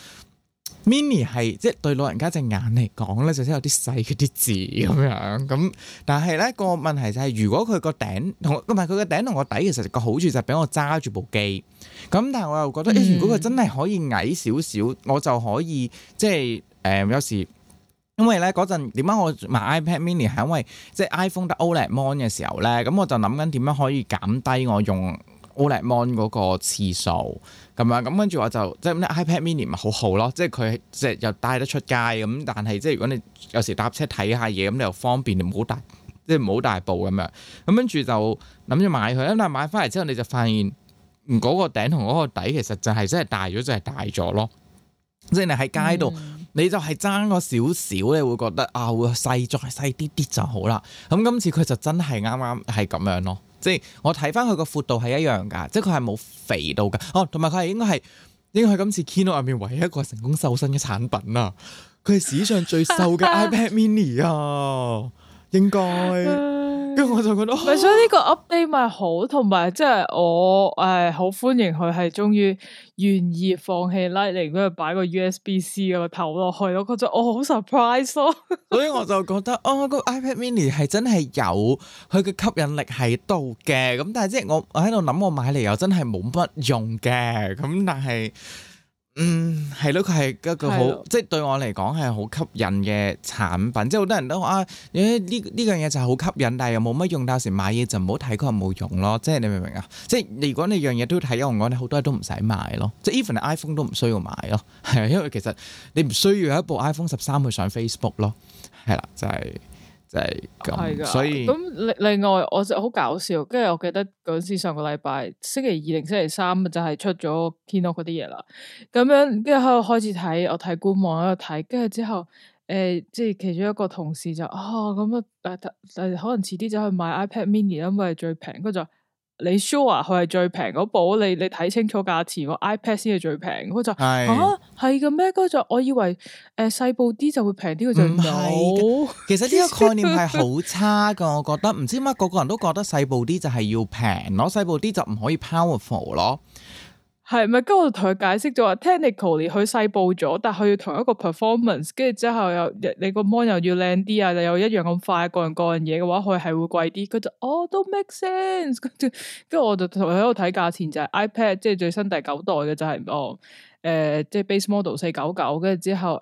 S2: Mini 係即係對老人家隻眼嚟講咧，就真係有啲細嗰啲字咁樣，咁但係咧個問題就係，如果佢個頂同唔係佢個頂同個底，其實個好處就係俾我揸住部機。咁但係我又覺得，如果佢真係可以矮少少，我就可以即係有時，因為咧嗰陣點解我買 iPad Mini 係因為即係 iPhone 得 OLED Mon 嘅時候咧，咁我就諗緊點樣可以減低我用 OLED Mon 嗰個次數咁樣，咁跟住我就即係 iPad Mini 咪好好咯，即係佢即係又帶得出街咁，但係即係如果你有時搭車睇下嘢咁，你又方便，你唔好大即係唔好大部咁樣，咁跟住就諗住買佢，咁但係買翻嚟之後你就發現。嗰個頂同嗰個底其實就係真係大咗，就係大咗咯。即係你喺街度，你就係爭個少少，你會覺得啊，會細再細啲啲就好啦。咁今次佢就真係啱啱係咁樣咯。即係我睇翻佢個闊度係一樣㗎，即係佢係冇肥到㗎。哦，同埋佢係應該係今次 Keynote 入面唯一一個成功瘦身嘅產品啊！佢係史上最瘦嘅 iPad Mini 啊，應該。跟住我就覺得，
S1: 所以呢個 update 咪好，同埋即係我好歡迎佢係終於願意放棄 Lightning 嗰度擺個 USB-C 個頭落去，我覺得我好 surprise 咯。
S2: 所以我就覺得個 iPad Mini 係真係有佢嘅吸引力喺度嘅，咁但係即係我喺度諗，我買嚟又真係冇乜用嘅，咁但係。係咯，佢係一個好，即係對我嚟講係好吸引嘅產品。即係好多人都話呢樣嘢就係好吸引，但係又冇乜用。到時買嘢就唔好睇佢有冇用咯。即係你明唔明啊？即係如果你樣嘢都要睇用嘅話，你好多嘢都唔使買咯。即係 even iPhone 都唔需要買咯。係啊，因為其實你唔需要有一部 iPhone 13去上 Facebook 咯。係啦，就係咁。所以
S1: 咁另外我就好搞笑，跟住我記得嗰陣時上個禮拜星期2定星期3就係出咗 Keynote 嗰啲嘢啦。咁樣跟住喺度開始睇，我睇官網喺度睇，跟住之後即係其中一個同事就咁可能遲啲就去買 iPad Mini 啦，因為係最平。跟住就你 sure 佢係最平嗰部？你睇清楚價錢，個 iPad 先係最平。佢就係嘅咩？跟住我以為細部啲就會平啲，佢就唔係。其實
S2: 呢個概念係好差噶，我覺得唔知點解個個人都覺得細部啲就係要平咯，細部啲就唔可以 powerful 咯。
S1: 係咪？跟住我同佢解釋咗話 technically 佢細部咗，但係佢要同一個 performance， 跟住之後又你個 mon 又要靚啲啊，又一樣咁快，各樣嘢嘅話，佢係會貴啲。佢就都 make sense。跟住我就同佢喺度睇價錢，就係 iPad 即係最新第9代嘅就係即係 base model 499，跟住之後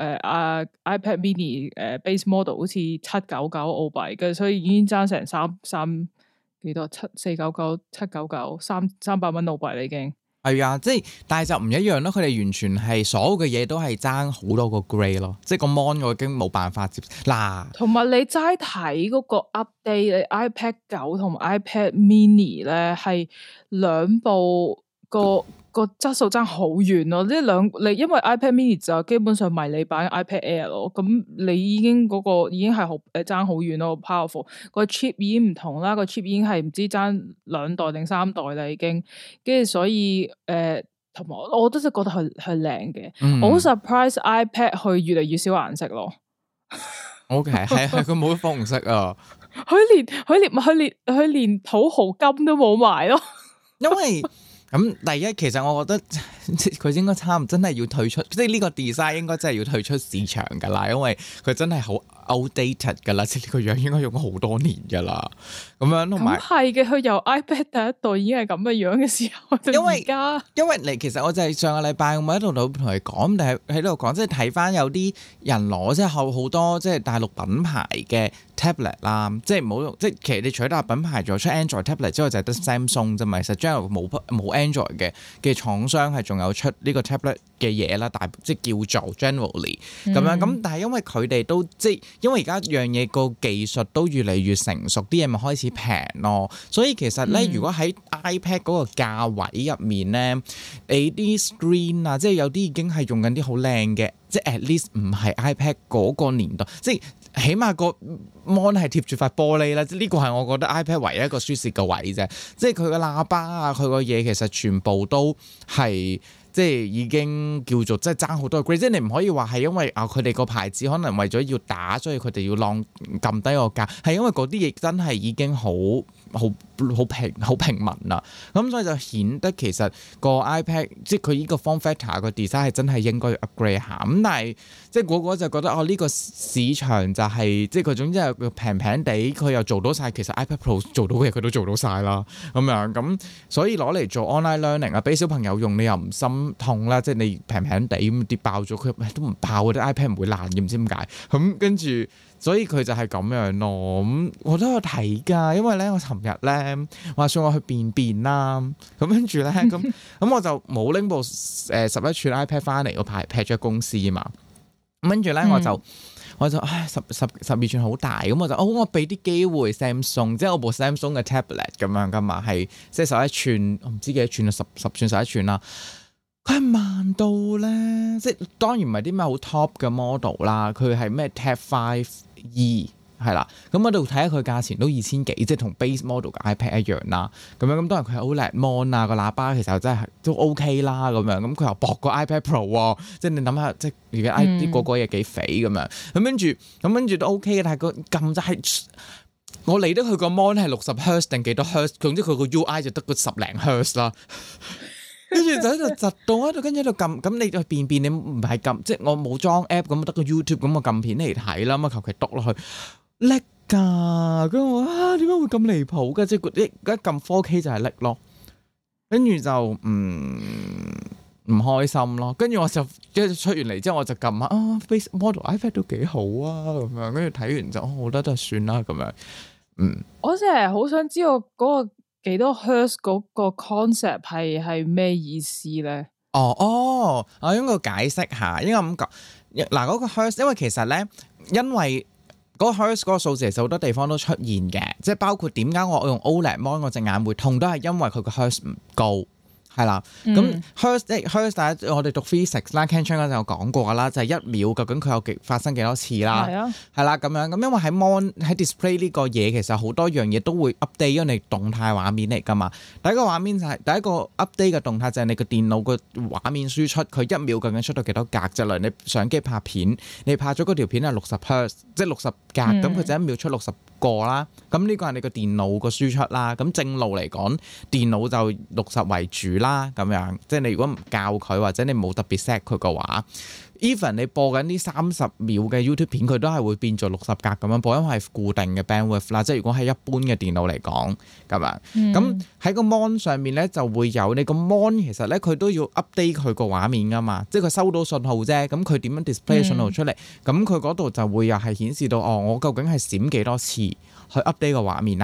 S1: iPad mini base model 好似799澳幣，跟住所以已經爭成3幾多499、799、300蚊澳幣啦已經。
S2: 係啊，即係但係就唔一樣咯。佢哋完全係所有嘅嘢都係爭好多個 grade 咯，即係個 mon 我已經冇辦法接嗱。同
S1: 埋你齋睇嗰個 update，你 iPad 9同埋 iPad Mini 咧係兩部個質素爭好遠咯。呢兩你因為 iPad Mini 就基本上迷你版 iPad Air 咯，咁你已經嗰個已經係好爭好遠咯 ，powerful 個 chip 已經唔同啦，個 chip 已經係唔知爭2代定3代啦已經，跟住所以同埋我都係覺得係靚嘅，我好 surprise iPad 佢越嚟越少顏色咯。
S2: OK， 係佢冇紅色啊，
S1: 佢連土豪金都冇埋咯，
S2: 因為。咁第一，其實我覺得佢應該差唔多真係要退出，即係呢個 design 應該真係要退出市場㗎啦，因為佢真係好 outdated 㗎啦，即係呢個樣應該用咗好多年㗎啦。咁樣同埋係嘅，佢由 iPad 第一代已經係咁嘅樣嘅時候，因為你其實我就係上個禮拜我喺度同佢講，但係喺度講，即係睇翻有啲人攞即係好多即係大陸品牌嘅 tablet 啦，即係冇用，即係其實你除咗大陸品牌仲有出 Android tablet 之外，就係得 Samsung 啫嘛。其實 general 冇 Android 嘅廠商係仲有出呢個 tablet 嘅嘢啦，但即係叫做 generally 咁樣咁，但係因為佢哋都即係因為而家樣嘢個技術都越嚟越成熟，啲嘢咪開始平咯，所以其實咧，如果喺 iPad 嗰個價位入面咧，你啲 screen 啊，即係有啲已經係用緊啲好靚嘅，即係 at least 唔係 iPad 嗰個年代，即係起碼個 mon 係貼住塊玻璃啦，即係呢個係我覺得 iPad 唯一一個舒適嘅位啫，即係佢個喇叭啊，佢個嘢其實全部都係。即係已經叫做即係爭好多個 grade，即係你唔可以話係因為佢哋個牌子可能為咗要打，所以佢哋要撳低個價，係因為嗰啲嘢真係已經好平民啦。咁所以就顯得其實個 iPad 即係佢呢個 form factor 個 design 係真係應該要 upgrade 下。咁但係即係個就覺得呢個市場就係即係佢總之係平平地，佢又做到晒。其實 iPad Pro 做到嘅嘢佢都做到晒啦。咁樣咁所以攞嚟做 online learning 啊，俾小朋友用你又唔心痛啦，即係你平平地咁跌爆咗，佢都唔爆嘅，啲 iPad 唔會爛嘅，唔知點解咁跟住，所以佢就係咁樣咯。咁我都有睇㗎，因為咧我尋日咧話說我去便便啦，咁跟住咧咁我就冇拎部11寸 iPad 翻嚟，個牌劈咗公司啊嘛。咁跟住咧我就唉12寸好大，咁我俾啲機會 Samsung， 即係我部 Samsung 嘅 tablet 咁樣㗎嘛，係即係11寸，我唔知幾多寸啦，10寸11寸啦。佢係慢到咧，即係當然唔係啲咩好 top 嘅 model 啦，佢係咩 Tab 5e 係啦，咁我度睇下佢價錢都2000幾，即係同 base model 嘅 iPad 一樣啦。咁樣咁當然佢係 OLED mon 啊，個喇叭其實真係都 OK 啦咁樣，咁佢又薄過 iPad Pro 喎，即係你諗下，即係而家啲個嘢幾肥咁樣，咁跟住都 OK 嘅，但係個撳就係我理得佢個 mon 係60 Hz 定幾多 Hz， 總之佢個 UI 就得個10零 Hz 啦。跟住就喺度窒到喺度，跟住喺度撳。咁你去便你唔係撳，即係我冇裝 app 咁，得個 YouTube 咁，我撳片嚟睇啦。咁啊求其篤落去，叻㗎！咁我點解會咁離譜嘅？即係一撳 4K 就係叻咯。跟住就唔開心咯。跟住我就即係出完嚟之後，我就撳下Face Model iPad 都幾好啊咁樣。跟住睇完就我覺得都算啦咁樣。
S1: 我真係好想知道嗰個幾多 Hertz 嗰個 concept 係咩意思咧？
S2: 我應該解釋下，應該咁講嗱，嗰個 Hertz， 因為其實咧，因為嗰個 Hertz 嗰個數字其實好多地方都出現嘅，即係包括點解我用 OLED mon 我隻眼會痛，都係因為佢個 Hertz 唔高。係啦，咁 Hertz 大家我哋讀 physics 啦 Ken Chan 嗰陣有講過啦，就係1秒究竟佢有發生幾多次啦，係啦咁樣，咁因為喺 mon 喺 display 呢個嘢其實好多樣嘢都會 update，因為你動態畫面嚟㗎嘛。第一個畫面就係第一個 update 嘅動態就係你個電腦個畫面輸出，佢1秒究竟出到幾多格？就例如你相機拍片，你拍咗嗰條片係60 Hertz，即係60格，咁佢就1秒出60個啦。咁呢個係你個電腦個輸出啦。咁正路嚟講，電腦就60為主啦，咁樣即係你如果唔教佢或者你冇特別 set 佢嘅話 even 你播緊啲30秒嘅 YouTube 片，佢都係會變做60格咁樣播，因為係固定嘅 bandwidth 啦。即係如果係一般嘅電腦嚟講咁樣，咁喺個 mon 上面咧就會有你個 mon 其實咧佢都要 update 佢個畫面噶嘛，即係佢收到信號啫。咁佢點樣 display 信號出嚟？咁佢嗰度就會又係顯示到我究竟係閃幾多次去 update 個畫面啦。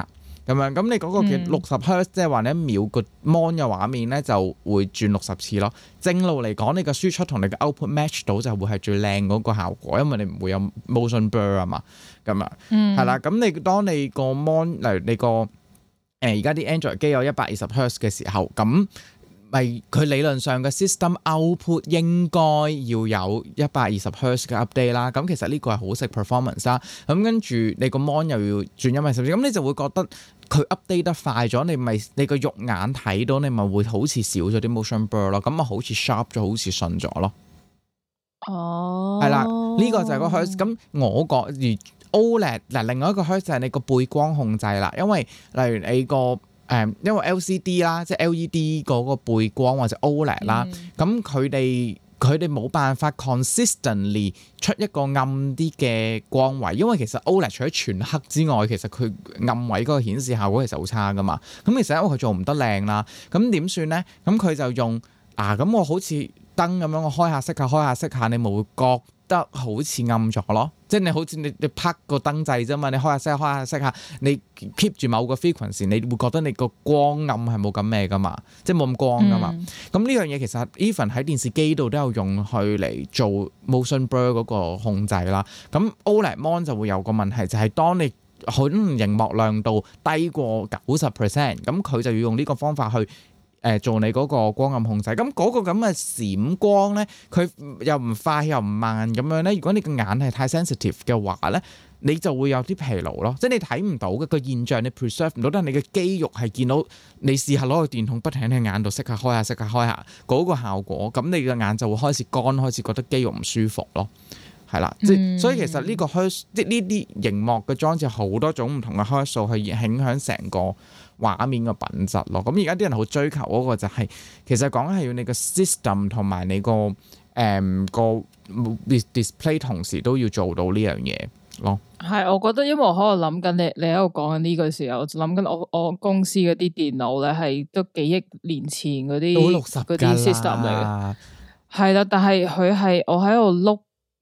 S2: 咁樣，咁你嗰個嘅60 Hz 即係話你一秒個 mon 嘅畫面咧就會轉60次咯。正路嚟講，你個輸出同你嘅 output match 到就會係最靚嗰個效果，因為你唔會有 motion blur 啊嘛。咁啊，係啦。咁你當你個 mon 例如你個而家啲 Android 機有120 Hz 嘅時候，咁咪佢理論上嘅 system output 應該要有120 Hz 嘅 update 啦。咁其實呢個係好食 performance 啦。咁跟住你個 mon 又要轉120 Hz，咁你就會覺得佢 update 得快咗，你個肉眼睇到，你咪會好似少咗啲 motion blur 咯。咁啊好似 sharp 咗，好似順咗咯。
S1: 哦，
S2: 係啦，呢個就係個 Hz。咁我覺而 OLED 嗱，另外一個 Hz 就係你個背光控制啦。因為例如你個因為 LCD 啦，即係 LED 嗰個背光或者 OLED 啦，咁佢哋冇辦法 consistently 出一個暗啲嘅光位，因為其實 OLED 除咗全黑之外，其實佢暗位嗰個顯示效果其實好差噶嘛。咁其實因為佢做唔得靚啦，咁點算咧？咁佢就用咁我好似燈咁樣，我開下熄下，你咪會覺得好似暗咗咯。即係你好似你拍個燈掣啫嘛，你開下熄下，你 keep 住某個 frequency， 你會覺得你個光暗係冇咁咩噶嘛，即係冇咁光噶嘛。咁呢樣嘢其實 even 喺電視機度都有用去嚟做 motion blur 嗰個控制啦。咁 OLED mon 就會有個問題，就係當你可能熒幕亮度低過90%，咁佢就要用呢個方法去做你嗰個光暗控制。咁嗰個咁嘅閃光咧，佢又唔快又唔慢咁樣咧。如果你個眼係太 sensitive 嘅話咧，你就會有啲疲勞咯。即係你睇唔到嘅個現象，你 preserve 唔到，但係你嘅肌肉係見到。你試下攞個電筒不停喺眼度熄下開下嗰個效果，咁你嘅眼就會開始乾，開始覺得肌肉唔舒服咯。係啦，即係所以其實呢個 Hertz 即係呢啲熒幕嘅裝置好多種唔同嘅 Hertz 數去影響成個畫面嘅品質咯。咁而家啲人好追求嗰個就係、其實講係要你個 system 同埋你個個 display 同時都要做到呢樣嘢咯。係，
S1: 我覺得因為我可能諗緊你喺度講緊呢個時候，我就諗緊我公司嗰啲電腦咧係都幾億年前嗰啲system 嚟嘅。係啦，但係佢係我喺度碌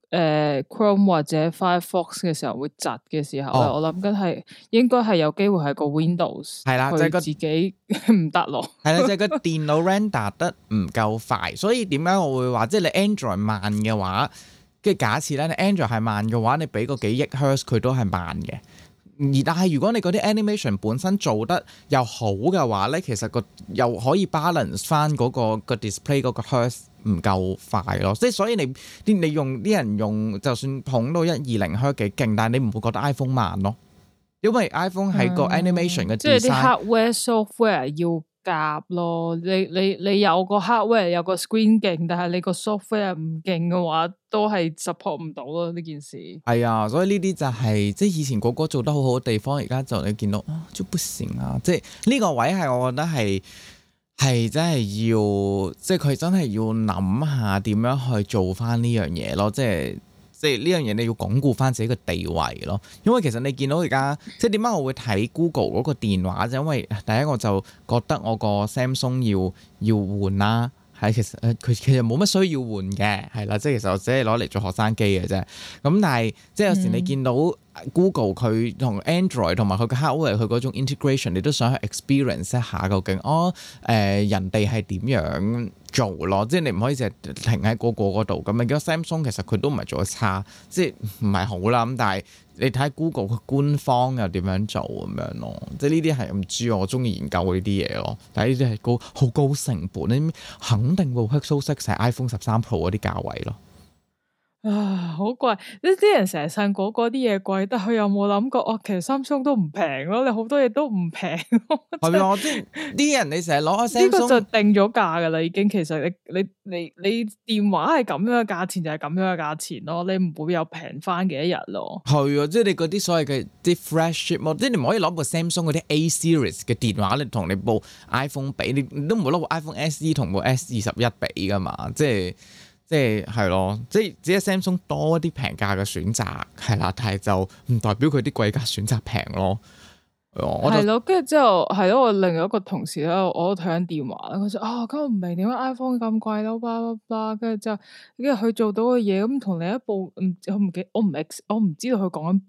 S1: Chrome 或者 Firefox 嘅時候會窒嘅時候咧，我諗緊係應該係有機會係個 Windows 係啦，就係個自己唔得咯。
S2: 係啦，就係個電腦 render 得唔夠快，所以點解我會話即係你 Android 慢嘅話，跟住假設咧你 Android 係慢嘅話，你俾個幾億 Hertz 佢都係慢嘅。但係如果你嗰啲 animation 本身做得又好嘅話咧，其實又可以 balance 翻嗰個 display 嗰個 Hertz 唔夠快咯。即係所以你用啲人用就算捧到120 Hertz 幾勁，但係你唔會覺得 iPhone 慢咯，因為 iPhone 係個 animation 嘅 design，即係啲
S1: hardware software 要夾咯。你有個 hardware 有個 screen 勁，但係你個 software 唔勁嘅話，都係 support 唔到咯呢件事。係啊，所以呢啲就係即係以前個個做得好好嘅地方，而家就你見到就不行啊！即係呢個位係我覺得係真係要，即係佢真係要諗下點樣去做翻呢樣嘢咯，即係呢樣嘢你要鞏固翻自己嘅地位咯。因為其實你見到而家即係點解我會睇 Google 嗰個電話，就因為第一我就覺得我個 Samsung 要換啦。係，其實佢其實冇乜需要換嘅，係啦，即係其實我只係攞嚟做學生機嘅啫。咁但係即係有時你見到 Google 佢同 Android 同埋佢嘅 hardware 佢嗰種 integration，你都想去 experience 一下究竟人哋係點樣做咯？即係你唔可以淨係停喺個嗰度咁。你見到 Samsung 其實佢都唔係做得差，即係唔係好啦。咁但係你睇 Google 佢官方又點樣做咁樣咯？即係呢啲係唔知我中意研究呢啲嘢咯。但係呢啲係好高成本，你肯定會 Pixel 6係 iPhone 13 Pro 嗰啲價位咯。啊，好貴！呢啲人成日信嗰啲嘢貴，但佢有冇諗過？其實Samsung都唔平咯，你好多嘢都唔平。係咪啊？即係啲人你成日攞Samsung，呢個就定咗價噶啦，已經。其實你電話係咁樣嘅價錢就係咁樣嘅價錢咯，你唔會有平翻嘅一日咯。係啊，即係你嗰啲所謂嘅啲 flagship，即係你唔可以攞部 Samsung 嗰啲 A series 嘅電話，你同你部 iPhone 比，你都唔會攞部 iPhone SE 同部 S21比噶嘛，即係咯，即係只係 Samsung 多一啲平價嘅選擇，係啦，但係就唔代表佢啲貴價選擇平咯。係咯，跟住之後係咯，我另外一個同事咧，我都睇緊電話啦，佢就咁我唔明點解 iPhone 咁貴咯，巴拉巴拉，跟住之後，跟住佢做到嘅嘢咁同另一部我唔知道佢講緊邊一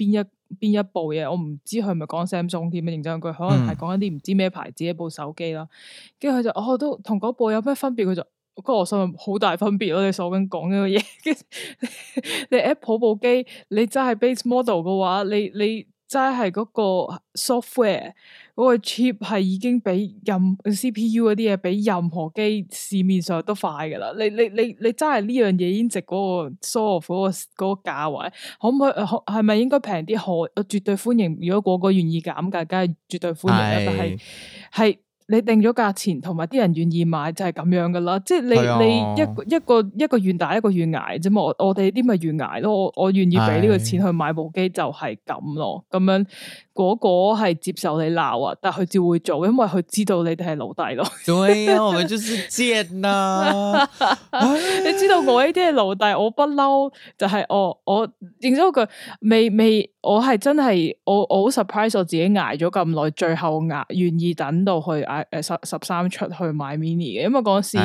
S1: 邊一部嘢，我唔知佢係咪講 Samsung 添，認真句可能係講一啲唔知咩牌子一部手機啦。跟住佢就我都同嗰部有咩分別？佢就我心諗好大分別咯。你所緊講呢個嘢，你 Apple 部機你真係 base model 嘅話，你真係嗰個 software 嗰個 chip 係已經比CPU 嗰啲嘢比任何機市面上都快噶啦。你真係呢樣嘢已經值嗰個 soft 嗰個價位，可唔可以係咪應該平啲？我絕對歡迎。如果個個願意減價，梗係絕對歡迎啦。但係你定咗價錢，同埋啲人願意買就係咁樣噶啦。即係你一個願打一個願挨啫嘛。我哋啲咪願挨咯。我願意俾呢個錢去買部機就係咁咯。咁樣嗰個係接受你鬧啊，但係佢照會做，因為佢知道你哋係奴隸咯。對啊，我們就是賤啊！你知道我呢啲係奴隸，我不嬲就係我認咗句未，我係真係我好 surprise 我自己挨咗咁耐，最後願意等到去13出去買 mini 嘅，因為嗰時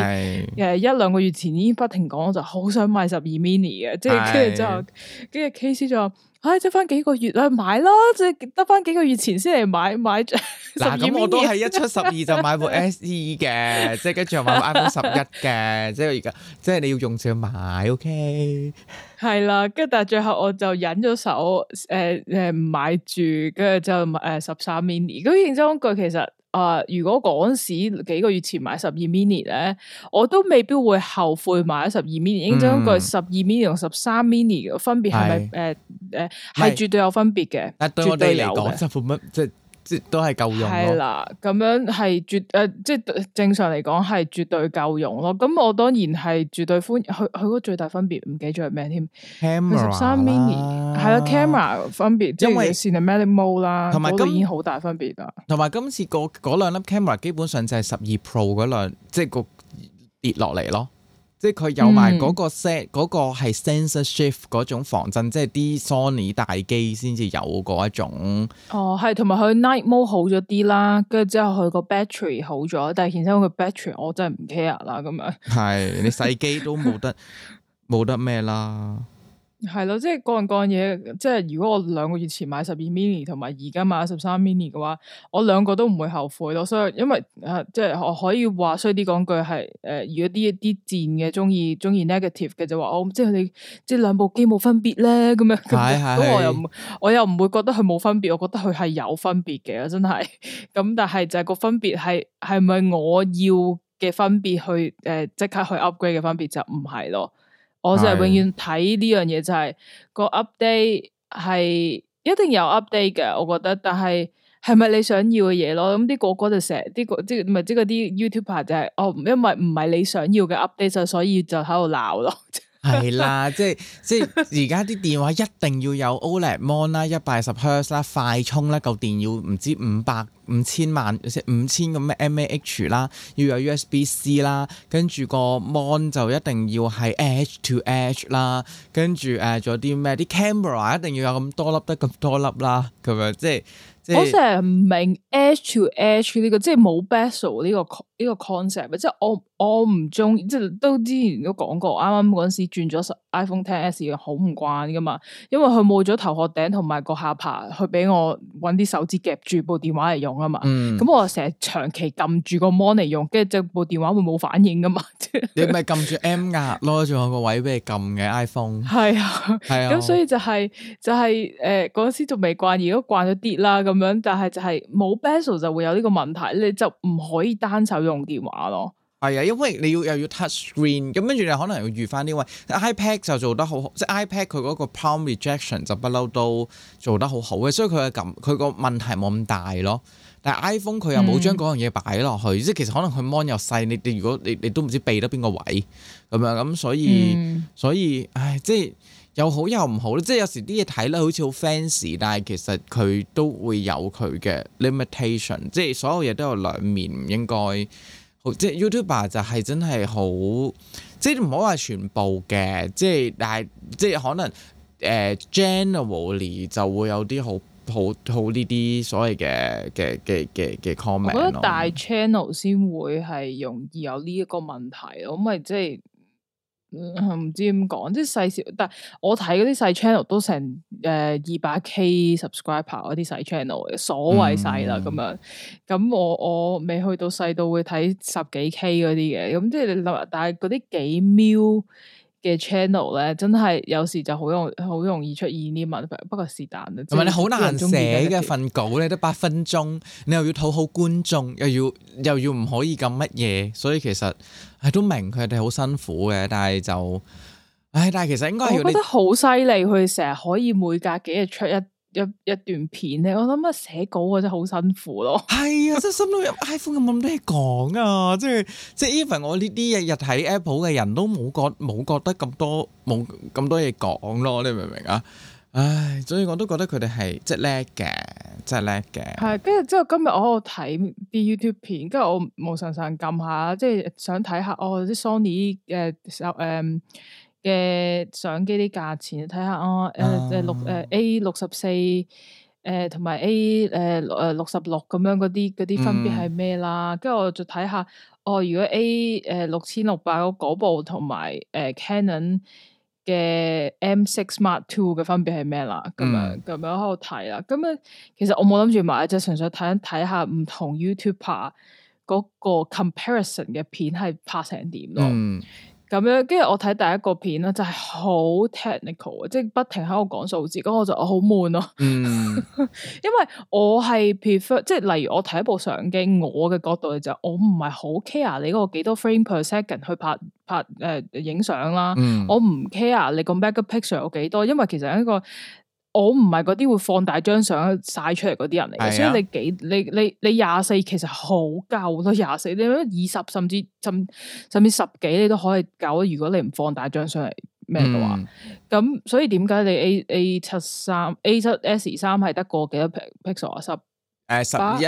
S1: 1-2個月前已經不停講，我就好想買12 mini 嘅，即係跟住之後，跟住 KC 就話。得翻幾個月啦，買啦，即係得翻幾個月前先嚟買12 mini。
S2: 咁我都係一出12就買部 SE 嘅，即係跟住又買部 iPhone 11嘅，即係而家即係你要用就要買 OK。係
S1: 啦，跟住但係最後我就忍咗手，唔買住，跟住就13 mini。咁認真講句，其實。如果嗰時幾個月前買12 mini 咧，我都未必會後悔買咗12 mini。應該講12 mini 同13 mini 嘅分別係咪係絕對有分別嘅？
S2: 但對我哋嚟講，就冇乜即都係夠用咯。係
S1: 啦，咁樣係即係正常嚟講係絕對夠用咯。咁我當然係絕對歡迎。佢嗰個最大分別唔記得咗係咩添？Camera 13 mini 係啦 ，camera 分別，因為 cinematic mode 啦，同埋都已經好大分別啦。
S2: 同埋今次嗰兩粒 camera 基本上就係12 Pro 嗰兩，即係個跌落嚟咯。即係佢有埋嗰個 set，嗰個係 sensor shift 嗰種防震，即係啲 Sony 大機先至有嗰一種。哦，係，同埋佢 night mode 好咗啲啦，跟住之後佢個 battery 好咗，但係顯身佢 battery 我真係唔 care 啦咁樣。係，你細機都冇得咩啦。係咯，即係各樣嘢，即係如果我2個月前買12 mini 同埋而家買13 mini 嘅話，我兩個都唔會後悔咯。所以因為即係我可以話衰啲講句係如果啲賤嘅中意 negative 嘅就話我即係你即係兩部機冇分別咧咁樣，咁我又唔會覺得佢冇分別，我覺得佢係有分別嘅，真係。咁但係就係個分別係咪我要嘅分別去即刻去 upgrade 嘅分別就唔係咯。我就係永遠睇呢樣嘢就係個 update 係一定有 update 嘅，我覺得，但係係咪你想要嘅嘢咯？咁啲個個就成日啲即係唔係即係嗰啲 YouTuber 就係因為唔係你想要嘅 update 就所以就喺度鬧咯。係啦，即係而家啲電話一定要有 OLED mon 啦，120Hz 啦，快充啦，嚿電要唔知5000萬即係5000個咩 mAh 啦，要有 USB-C 啦，跟住個 mon 就一定要係 edge to edge 啦，跟住仲有啲咩啲 camera 一定要有咁多粒得咁多粒啦，咁樣即係。我成日唔明 edge to edge 呢個即係冇 bezel 呢個 concept， 即係我唔中意，即係都之前都講過，啱啱嗰陣時轉咗 iPhone XS 好唔慣噶嘛，因為佢冇咗頭殼頂同埋個下巴，去俾我搵啲手指夾住部電話嚟用啊嘛。咁我成日長期撳住個 mon 嚟用，跟住部電話會冇反應噶嘛。你咪撳住 M 壓咯，仲有個位俾你撳嘅 iPhone。係啊，係啊。咁所以就係嗰陣時仲未慣，而家慣咗啲啦。咁樣，但係就係冇 bezel 就會有呢個問題，你就唔可以單手用電話咯。係啊，因為你又要 touch screen，咁跟住你可能要預翻啲位。iPad 就做得好，即係 iPad 佢嗰個 palm rejection 就不嬲都做得好好嘅，所以佢個問題冇咁大咯。但係 iPhone 佢又冇將嗰樣嘢擺落去，即係其實可能佢 mon 又細，你如果你都唔知避得邊個位咁樣，咁所以唉，即係。又好又唔好，即係有時啲嘢睇咧好似好 fancy，但係其實佢都會有佢嘅 limitation，即係所有嘢都有兩面，唔應該即係 YouTuber 就係真係好，即係唔好話全部嘅，即係但係即係可能generally 就會有啲好呢啲所謂嘅 comment。我覺得大 channel 先會係容易有呢一個問題咯，咁咪即係。
S1: 唔知點講，即係細小，但係我睇嗰啲細 channel 都成200K subscriber 嗰啲細 channel 嘅，所謂細啦咁樣。咁我未去到細到會睇10幾K 嗰啲嘅，咁即係你諗，但係嗰啲幾 mil 嘅 channel 咧，真係有時就好容易出現啲問題。不過是但啦，
S2: 同埋你好難寫嘅份稿咧，得8分鐘，你又要討好觀眾，又要唔可以咁乜嘢，所以其實係都明佢哋好辛苦嘅，但係就，但係其實應該係我
S1: 覺得好犀利，佢成日可以每隔幾日出一段片咧，我諗啊寫稿啊真係好辛苦咯。係
S2: 啊，真係心諗 iPhone 咁多嘢講啊，即係 even 我呢啲日日睇 Apple 嘅人都冇覺得冇咁多嘢講咯，你明唔明啊？唉，所以我都覺得佢哋係即係叻嘅，真係叻嘅。係，
S1: 跟住之後今日我喺度睇啲 YouTube 片，跟住我無神撳下，即係想睇下啲 Sony 嘅相機啲價錢，睇下A64同埋 A66咁樣嗰啲分別係咩啦？跟住我就睇下如果 A6600嗰部同埋Canon 嘅 M6 Mark II 嘅分別係咩啦？咁樣喺度睇啦。咁樣其實我冇諗住買，就純粹睇下唔同 YouTuber 嗰個 comparison 嘅片係拍成點咯。咁樣，跟住我睇第一個片咧，就係好 technical，即係不停喺度講數字，咁我就好悶咯。因為我係 prefer，即係例如我睇一部相機，我嘅角度就我唔係好 care 你嗰個幾多 frame per second 去拍影相啦。我唔 care 你個 megapixel 有幾多，因為其實一個我唔係嗰啲會放大張相晒出嚟嗰啲人嚟嘅，所以你24其實好夠咯，24你20甚至10幾你都可以夠，如果你唔放大張相嚟咩嘅話，咁所以點解你 A7S3 係得個幾多 pixel 啊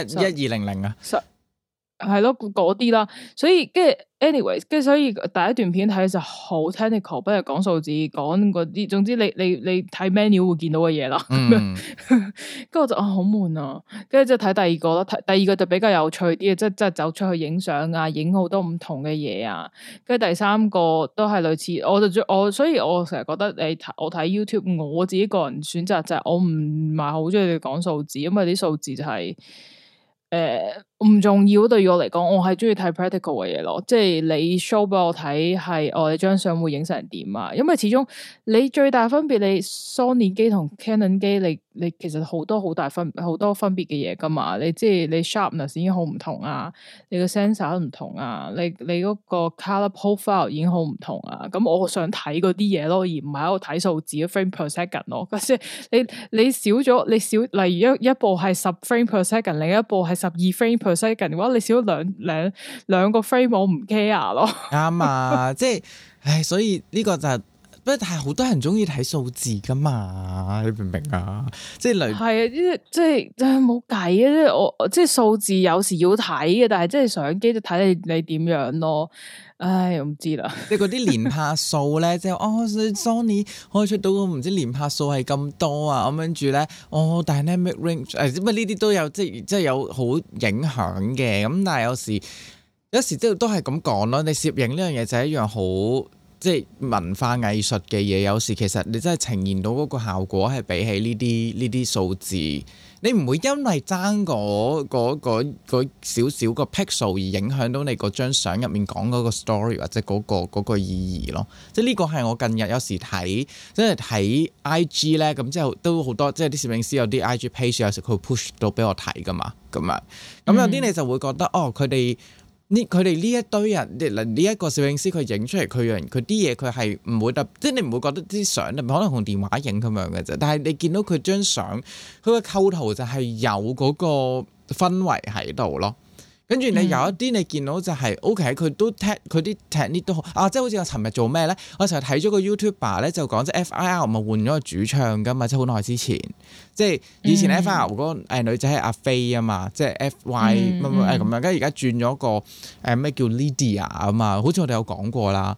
S1: ？1100啊，係咯嗰啲啦，所以跟住 anyways，跟住所以第一段片睇就好 technical，不如講數字，講嗰啲，總之你睇 menu 會見到嘅嘢啦。跟住我就好悶啊，跟住就睇第二個咯，第二個就比較有趣啲嘅，即係走出去影相啊，影好多唔同嘅嘢啊。跟住第三個都係類似，所以我成日覺得我睇 YouTube， 我自己個人選擇就係我唔係好中意你講數字，因為啲數字就係唔重要，對於我嚟講，我係中意睇 practical 嘅嘢咯，即係你 show 俾我睇係你張相會影成點啊？因為始終你最大分別，你 Sony 機同 Canon 機，你其實好多分別嘅嘢噶嘛，你即係你 sharpness 已經好唔同啊，你個 sensor 都唔同啊，你嗰個 color profile 已經好唔同啊，咁我想睇嗰啲嘢咯，而唔係喺度睇數字 frame per second 咯，即係你少咗，例如一部係10 frame per second， 另一部係12 frame per second嘅話，你少咗兩個 frame， 我唔 care 咯。啱
S2: 啊，即係，唉，所以呢個就係，不過但係好多人中意睇數字噶嘛，你明唔明啊？即係係
S1: 啊，即係冇計啊！即係我即係數字有時要睇嘅，但係即係相機就睇你點樣咯。唉，我唔知啦。
S2: 即係嗰啲連拍數咧，即係Sony 可以出到個唔知連拍數係咁多啊，咁跟住咧，Dynamic Range 咁呢啲都有，即係有好影響嘅。咁但係有時即係都係咁講咯。你攝影呢樣嘢就係一樣好即係文化藝術嘅嘢。有時其實你真係呈現到嗰個效果係比起呢啲數字。你唔會因為爭嗰少少個 pixel 而影響到你嗰張相入面講嗰個 story 或者嗰個意義咯。即係呢個係我近日有時睇，即係睇 IG 咧，咁之後都好多，即係啲攝影師有啲 IG page 有時佢會 push 到俾我睇噶嘛，咁啊，咁有啲你就會覺得佢哋呢一堆人，呢一個攝影師佢影出嚟佢啲嘢佢係唔會即係你唔會覺得啲相可能同電話影咁樣嘅啫，但係你見到佢張相，佢個構圖就係有嗰個氛圍喺度咯。跟住你有一啲你見到就係 OK，佢都佢啲 technique 都好啊，即係好似我尋日做咩咧？我成日睇咗個 YouTuber 咧，就講即係 FIR 咪換咗個主唱噶嘛，即係好耐之前，即係以前 FIR 嗰個女仔係阿飛啊嘛，即係 FY 乜乜咁樣，跟住而家轉咗個咩叫 Lydia 啊嘛，好似我哋有講過啦。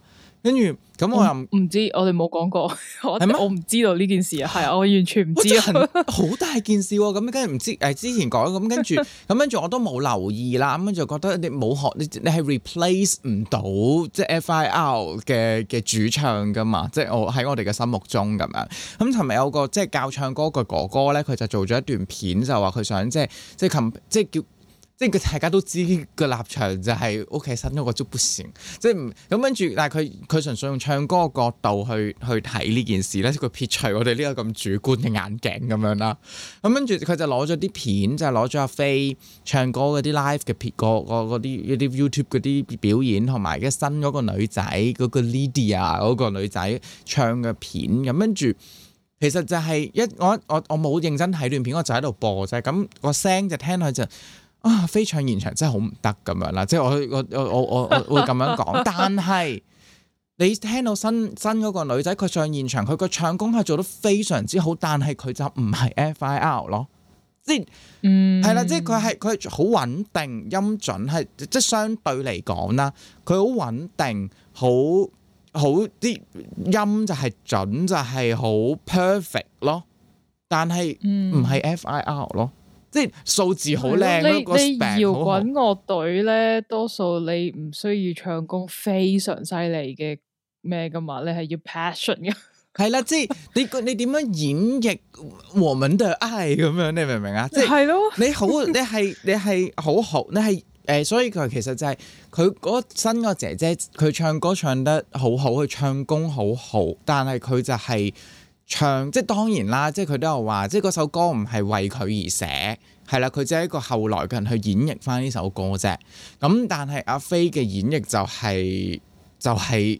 S2: 跟住咁我又
S1: 唔知，我哋冇講過，
S2: 嗎
S1: 我唔知道呢件事啊，係啊，我完全唔知
S2: 好大件事喎。咁跟住唔知之前講咁跟住我都冇留意啦。咁就覺得你冇學你係 replace 唔到即係 FIR 嘅主唱噶嘛，即係我喺我哋嘅心目中咁樣。咁尋日有個即係教唱歌嘅哥哥咧，佢就做咗一段片，就話佢想即係叫。即係佢大家都知個立場就係屋企新嗰個足不成，即係唔咁跟住，但係佢純粹用唱歌嘅角度去睇呢件事咧，佢撇除我哋呢個咁主觀嘅眼鏡咁樣啦。咁跟住佢就攞咗啲片，就係攞咗阿飛唱歌嗰啲 live 嘅片，嗰啲 YouTube 嗰啲表演，同埋嘅新嗰個女仔嗰個 Lydia 嗰個女仔唱嘅片。咁跟住其實就係我冇認真睇段片，我就喺度播啫。咁個聲就聽佢就。飛唱現場真係好唔得咁樣啦，即係我會咁樣講。但係你聽到新嗰個女仔佢唱現場，佢個唱功係做得非常之好，但係佢就唔係 FIR 咯，即係係啦，即係佢好穩定，音準係即係相對嚟講啦，佢好穩定，好啲音就係準，就係好 perfect 咯，但係唔係 FIR 咯。即係數字好靚咯，個 spec
S1: 你搖滾樂隊咧，多數你唔需要唱功非常犀利嘅咩噶嘛，你係要 passion 嘅。係
S2: 啦，即係你點樣演繹我們的愛咁樣，你明唔明啊？即係咯，你係好好，你係所以佢其實就係佢嗰新個姐姐，佢唱歌唱得好好，佢唱功好好，但係佢就係。唱即係當然啦，即係佢都有話，即係嗰首歌唔係為佢而寫，係啦，佢只係一個後來嘅人去演繹翻呢首歌啫。咁但係阿飛嘅演繹就係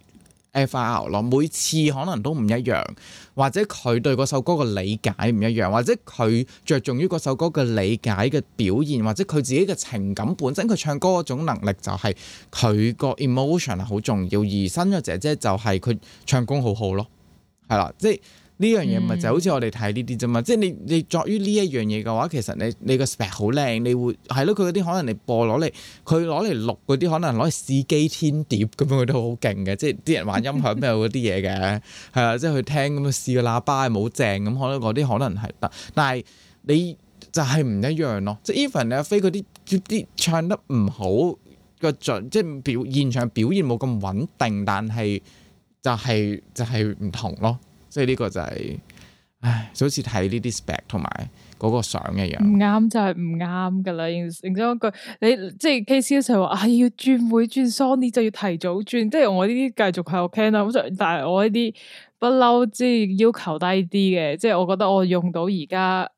S2: FIR 咯，每次可能都唔一樣，或者佢對嗰首歌嘅理解唔一樣，或者佢着重於嗰首歌嘅理解嘅表現，或者佢自己嘅情感本身，佢唱歌嗰種能力就係佢個 emotion 係好重要。而新嘅姐姐就係佢唱功好好咯，係啦，即係。呢樣嘢咪就好似我哋睇呢啲啫嘛，即係你作於呢一樣嘢嘅話，其實你個 spec 好靚，你會係咯，佢嗰啲可能你播佢攞嚟錄嗰啲，可能攞嚟試機天碟咁樣，佢都好勁嘅，即係啲人玩音響咩嗰啲嘢嘅，係啦，即係去聽咁樣試個喇叭係冇正咁，可能嗰啲可能係得，但係你就係唔一樣咯，即係 even 你阿飛嗰啲唱得唔好個準，即係現場表現冇咁穩定，但係就係唔同咯。即係呢個就係，唉，就好似睇呢啲 spec 同埋嗰個相一樣，唔
S1: 啱就係唔啱噶啦。認真一句，你即係 KC 就話啊，要轉會轉 Sony 就要提早轉，即係我呢啲繼續喺度聽啦。但係我呢啲不嬲，即係要求低啲嘅，即係我覺得我用到而家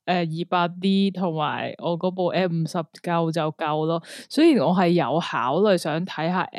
S1: 200D 同埋我嗰部 M50 夠就夠咯。雖然我係有考慮想睇下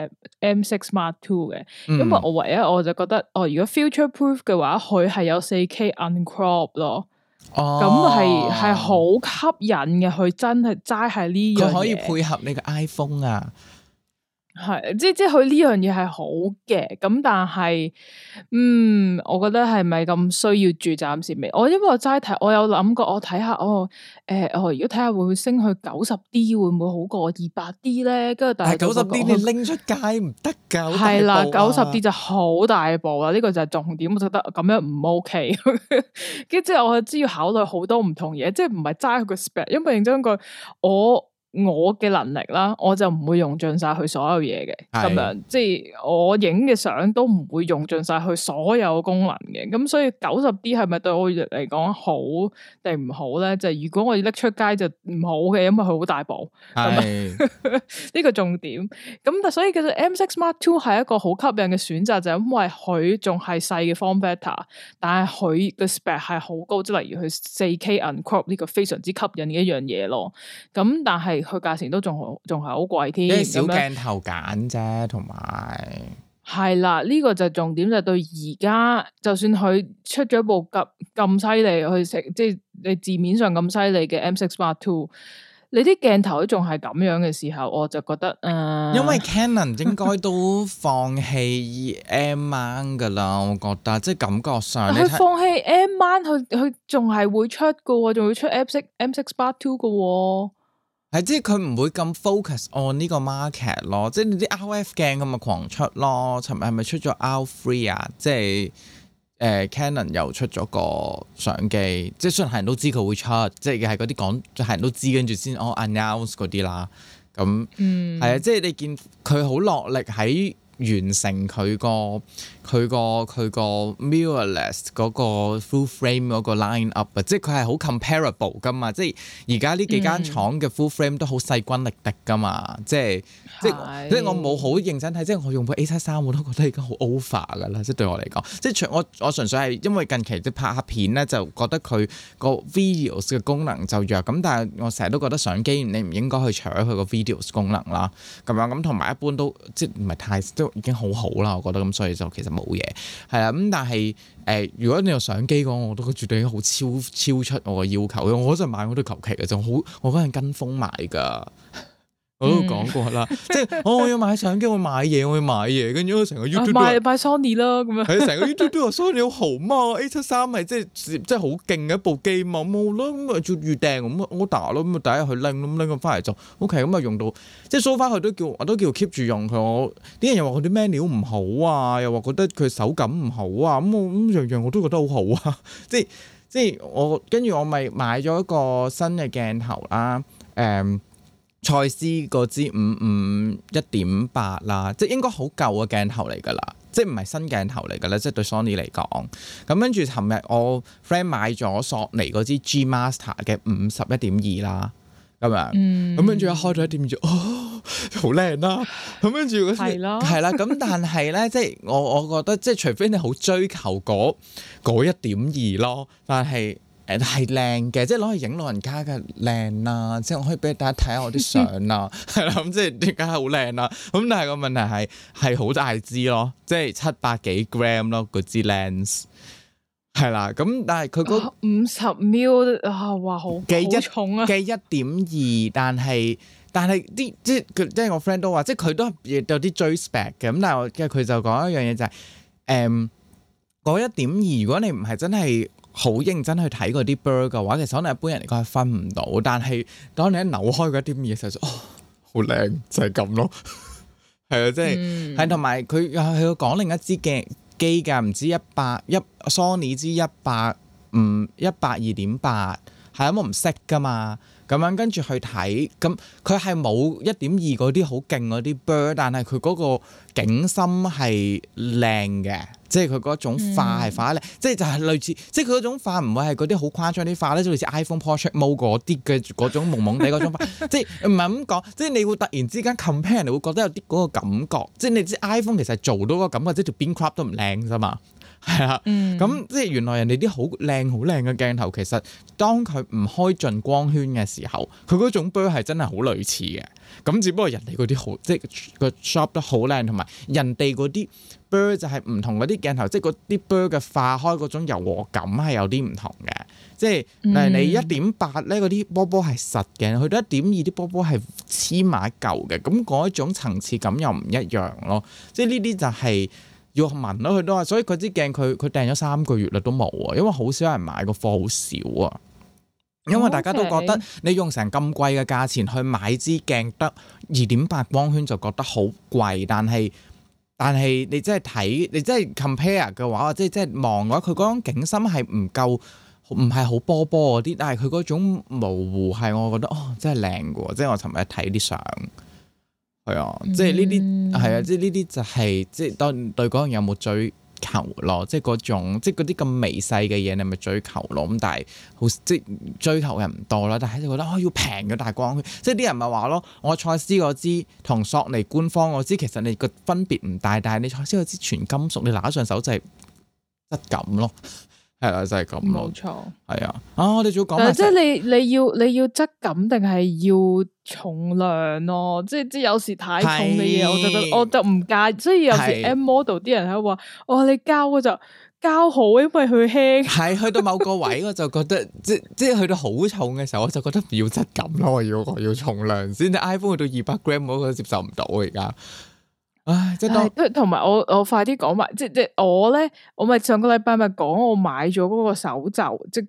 S1: M6 Mark II 嘅，因為我唯一我就覺得如果 future proof 嘅話，佢係有 4K uncrop 咯。咁係好吸引嘅，佢真係齋係呢樣嘢，佢可以
S2: 配合你嘅 iPhone 啊。
S1: 係，即係佢呢樣嘢係好嘅，咁但係，我覺得係咪咁需要住？暫時未。因為我齋睇，我有諗過，我睇下，如果睇下會唔會升去90D，會唔會好過200D 咧？跟住但係
S2: 90D 你拎出街唔得噶，
S1: 係啦，90D 就好大部啦，呢個就係重點。我覺得咁樣唔 OK，跟住之後我知要考慮好多唔同嘢，即係唔係齋佢個 spec，因為認真句我嘅能力啦，我就唔會用盡晒佢所有嘢嘅，咁樣即係我影嘅相都唔會用盡晒佢所有功能嘅，咁所以90D 係咪對我嚟講好定唔好咧？就係如果我要拎出街就唔好嘅，因為佢好大部，呢個重點。咁但所以其實 M6 Mark II 係一個好吸引嘅選擇，就係因為佢仲係細嘅 form factor，但係佢嘅 spec 係好高，即係例如佢 4K uncrop 呢個非常之吸引嘅一樣嘢咯。咁但係佢價錢都仲係好貴添，
S2: 因為小鏡頭揀啫，同埋
S1: 係啦，呢個就重點就對而家，就算佢出咗部咁犀利去食，即係你字面上咁犀利嘅 M6 Mark II，你啲鏡頭都仲係咁樣嘅時候，我就覺得
S2: 因為 Canon 應該都放棄 M mount 噶啦，我覺得即係感覺上
S1: 佢放棄 M mount，佢仲係會出噶，仲會出 M6 Mark II 噶。
S2: 係即係佢唔會咁 focus on 呢個 market 咯，即係你啲 RF 鏡咁咪狂出咯。尋日係咪出咗 R3 啊？即係Canon 又出咗個相機，即係雖然係人都知佢會出，即係嗰啲講係人都知，跟住先announce 嗰啲啦。咁係啊，即係你見佢好落力喺完成佢個 mirrorless 嗰個 full frame 嗰個 line up 啊，即係佢係好 comparable 噶嘛，即係而家呢幾間廠嘅 full frame 都好勢均力敵噶嘛，即係我冇好認真睇，即係我用部 A73 我都覺得已經好 over 噶啦，即係對我嚟講，即係我純粹係因為近期即拍下片咧，就覺得佢個 videos 嘅功能就弱，咁但係我成日都覺得相機你唔應該去搶佢個 videos 功能啦，咁樣咁同埋一般都即係唔係太都已經好好啦，我覺得咁，所以就其實冇嘢係啦。咁但係如果你有相機嘅話，我都絕對已經好超出我嘅要求。我嗰陣買我都求其嘅，就好我嗰陣跟風買㗎。我都講過啦，即係我要買相機，我買嘢，跟住我成個 YouTube
S1: 買 Sony 啦咁樣。
S2: 係成個 YouTube 都話 Sony 好豪嘛，A73係即係好勁嘅一部機嘛，冇啦咁啊做預訂咁 order 咯，咁啊第一日去拎咁翻嚟就 OK， 咁啊用到即係 so far 佢我都叫 keep 住用佢。我啲人又話佢啲 menu 唔好啊，又話覺得佢手感唔好啊，咁樣樣我都覺得好好啊，即係我跟住我咪買咗一個新嘅鏡頭啦，蔡司嗰支55 1.8 啦，即係應該好舊嘅鏡頭嚟㗎啦，即係唔係新鏡頭嚟㗎啦，即係對 Sony 嚟講。咁跟住尋日我 friend 買咗索尼嗰支 G Master 嘅50 1.2啦，咁樣，咁跟住一開咗1.2，好靚啦。咁跟住嗰時係啦，咁但係咧，即係我覺得即係除非你好追求嗰 1.2 咯，但係。係靚嘅，即係攞去影老人家嘅靚啦，即係我可以俾大家睇下我啲相啦，係啦，咁即係點解係好靚啦？咁但係個問題係好大支咯，即係700幾 gram 咯，嗰支 lens 係啦，咁但係佢嗰
S1: 50 ml 啊，哇好重啊，
S2: 嘅1.2，但係啲即係我 friend 都話，即係佢都有啲追 spec 嘅，咁但係佢就講一樣嘢就係嗰 1.2，如果你唔係真係好認真去睇嗰啲 blur 嘅話，其實可能一般人嚟講係分唔到。但係當你一扭開嗰啲嘢嘅時候，好靚就係咁咯。係啊，即係係同埋佢要講另一支機㗎，唔知100 Sony 支100 2.8，係啊，我唔識㗎嘛。咁樣跟住去睇，咁佢係冇 1.2 嗰啲好勁嗰啲 blur， 但係佢嗰個景深係靚嘅，即係佢嗰種化係化得靚，即係就係類似，即係佢嗰種化唔會係嗰啲好誇張啲化咧，就類似 iPhone Portrait Mode 嗰啲嘅嗰種朦朦地嗰種化，即係唔係咁講，即係你會突然之間 compare，你會覺得有啲嗰個感覺，即係你知 iPhone 其實做到個感覺，即係條邊 crop 都唔靚啫嘛。係啊，咁即係原來人哋啲好靚嘅鏡頭，其實當佢唔開盡光圈嘅時候，佢嗰種 blur 係真係好類似嘅。咁只不過人哋嗰啲好，即係個 shot 得好靚，同埋人哋嗰啲 blur 就係唔同嗰啲鏡頭，即係嗰啲 blur 嘅化開嗰種柔和感係有啲唔同嘅。即係例如你 1.8 咧，嗰啲波波係實嘅，去到 1.2 啲波波係黐埋一嚿嘅，咁嗰一種層次感又唔一樣咯。即係呢啲就係要問咯，佢都話，所以佢支鏡佢訂咗3個月啦都冇啊，因為好少人買，個貨好少啊。因為大家都覺得你用成咁貴嘅價錢去買支鏡得 2.8 光圈就覺得好貴，但係你真係睇，你真係 compare 嘅話，即係望嘅話，佢嗰種景深係唔夠，唔係好波波嗰啲，但係佢嗰種模糊係我覺得真係靚嘅喎，即係我尋日睇啲相。係啊，即係呢啲係啊，即係呢啲就係即係當對嗰樣有冇追求咯，即係嗰種即係嗰啲咁微細嘅嘢，你咪追求咯。咁但係好即係追求嘅唔多啦，但係就覺得要平嘅大光圈，即係啲人咪話咯，我蔡司嗰支同索尼官方嗰支其實你個分別唔大，但係你蔡司嗰支全金屬，你拿上手就係質感咯。係啦，就係咁咯。冇錯，係啊。我哋仲要講，即
S1: 係你要質感定係要重量咯？即係有時太重嘅嘢，我就唔介意。所以有時 M model 啲人喺度話，你膠就膠好，因為佢輕。係
S2: 去到某個位，我就覺得即係去到好重嘅時候，我就覺得唔要質感咯，我要重量先。iPhone 去到200 gram 我都接受唔到而家。唉，即係
S1: 同埋我快啲講埋，即係我咧，我咪上個禮拜咪講我買咗嗰個手袖，即係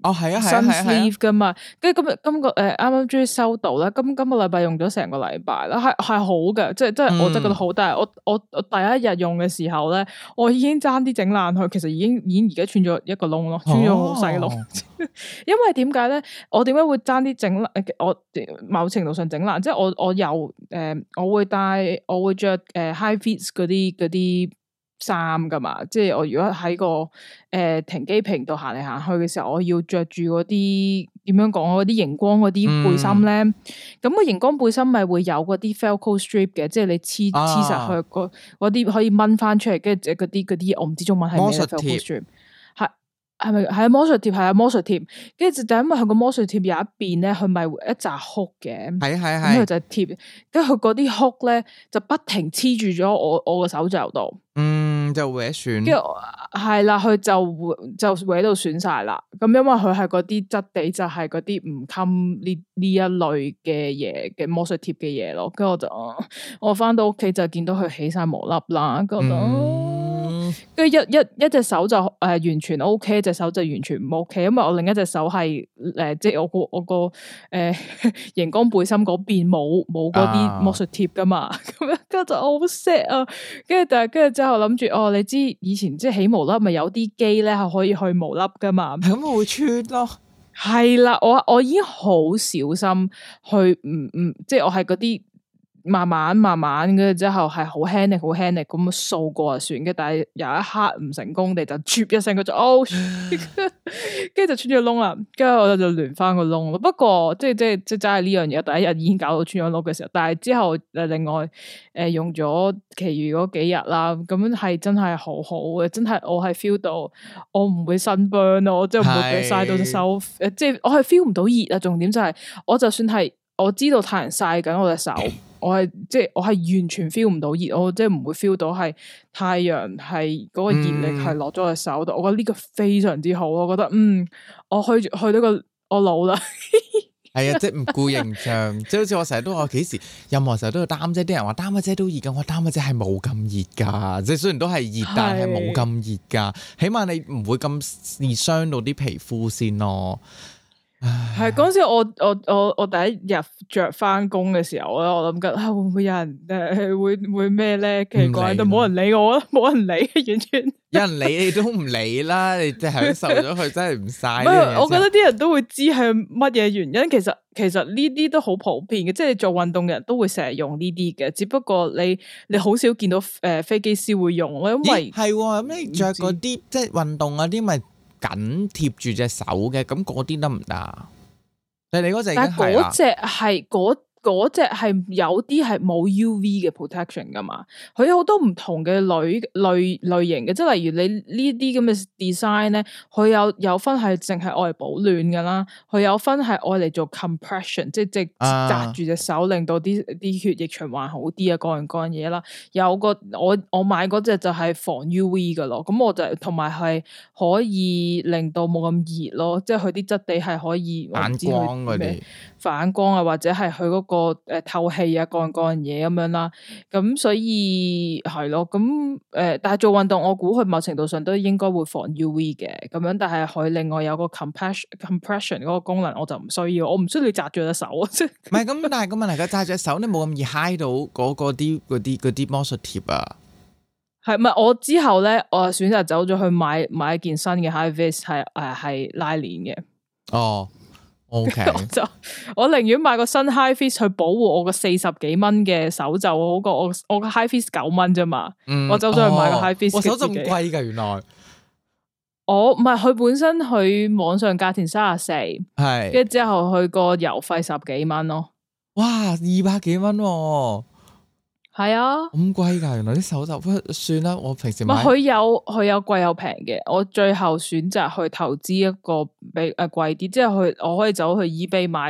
S2: 哦，係啊，
S1: 新 sleeve 噶嘛，跟住今個啱啱終於收到啦，今個禮拜用咗成個禮拜啦，係好嘅，即係我真係覺得好，但係我第一日用嘅時候咧，我已經爭啲整爛佢，其實已經而家穿咗一個窿咯，穿咗好細窿。因為點解咧？我點解會爭啲整爛？我某程度上整爛，即係我有我會着high vis 嗰啲衫噶嘛，即係我如果喺個停機坪度行嚟行去嘅時候，我要着住嗰啲點樣講嗰啲熒光嗰啲背心咧，咁個熒光背心咪會有嗰啲 Velcro strip 嘅，即係你黐實去嗰啲可以掹翻出嚟，跟住嗰啲我唔知中文係咩 Velcro strip。係咪係魔術貼？係啊，魔術貼，跟住就因為佢個魔術貼有一邊咧，佢咪一紮 hook 嘅，咁佢就貼，跟住佢嗰啲 hook咧就不停黐住咗我個手袖度，
S2: 就搲損，跟
S1: 住係啦，佢就搲到損晒啦。咁因為佢係嗰啲質地就係嗰啲唔襟呢一類嘅嘢嘅魔術貼嘅嘢咯。跟住我翻到屋企就見到佢起晒毛粒啦，覺得。跟住一隻手就完全 OK， 一隻手就完全唔 OK，因為我另一隻手係即係我個熒光背心嗰邊冇嗰啲魔術貼噶嘛，咁樣跟住就好 sad 啊！跟住之後諗住你知以前即係起毛粒咪有啲機咧係可以去毛粒噶嘛，
S2: 咁我會穿咯。
S1: 係啦，我已經好小心去即係我係嗰啲。慢慢跟住之後係好輕力咁掃過就算嘅，但係有一刻唔成功地就啜一聲，佢就跟住就穿咗窿啦，跟住我就連翻個窿咯。不過即係真係呢樣嘢，第一日已經搞到穿咗窿嘅時候，但係之後另外用咗其餘嗰幾日啦，咁係真係好好嘅，真係我係 feel 到我唔會 sunburn 咯，我即係唔會曬到隻手，即係我係 feel 唔到熱啊。重點就係我就算係我知道太陽曬緊我隻手。我係完全 feel 唔到熱，我即係唔會 feel 到係太陽係嗰個熱力係落咗喺手度，我覺得呢個非常之好，我覺得我去到我老啦，
S2: 係啊，即係唔顧形象，即係好似我成日都話幾時任何時候都要擔遮，啲人話擔遮都熱噶，我擔遮係冇咁熱噶，即係雖然都係熱，但係冇咁熱噶，起碼你唔會咁易傷到啲皮膚先咯。
S1: 係嗰時我第一日着翻工嘅時候咧，我諗緊會唔會有人會咩咧？奇怪，都冇人理我，冇人理，完全
S2: 有人理你都唔理啦，你即係受咗佢真係唔晒。
S1: 我覺得啲人都會知係乜嘢原因。其實呢啲都好普遍嘅，即係你做運動嘅人都會成日用呢啲嘅，只不過你好少見到飛機師會用咯，因為
S2: 係咁你着嗰啲即係運動嗰啲咪。緊貼住隻手嘅，咁嗰啲得唔得？但係你嗰隻已經係啦。嗰隻係有啲係冇 UV 嘅 protection 噶嘛，佢有好多唔同嘅類型嘅，即係例如你呢啲咁嘅 design 咧，佢有分係淨係愛嚟保暖噶啦，佢有分係愛嚟做 compression，即係紮住隻手，令到啲血液循環好啲啊，各樣嘢啦。有個我買嗰隻就係防 UV 噶咯，咁我就同埋係可以令到冇咁熱咯，即係佢啲質地係可以反光嗰啲。
S1: 反光啊，或者係佢嗰個透氣啊，各樣嘢咁樣啦，咁所以係咯，咁但係做運動，我估佢某程度上都應該會防 UV 嘅，咁樣，但係佢另外有個 compression 嗰個功能，我就唔需要，我唔需要你紮住隻手啊，即係唔係咁，
S2: 但係個問題佢紮住隻手，你冇咁易揩到嗰啲魔術貼啊。
S1: 係咪我之後咧，我選擇走咗去買一件新嘅 high vis 係拉鏈嘅。
S2: 哦。OK，
S1: 我寧願買個新 high vis 去保護我個40幾蚊嘅手袖，好過我個 high vis 9蚊啫嘛。我走咗去買個 high vis，
S2: 我手咁貴噶，原來
S1: 我唔係佢本身佢網上價錢34，係跟住之後佢個郵費10幾蚊咯。
S2: 哇，200幾蚊。
S1: 係啊，
S2: 咁貴噶，原來啲手袖，不過算啦，我平時買
S1: 佢有貴有平嘅，我最後選擇去投資一個比貴啲，即係我可以走去 eBay 買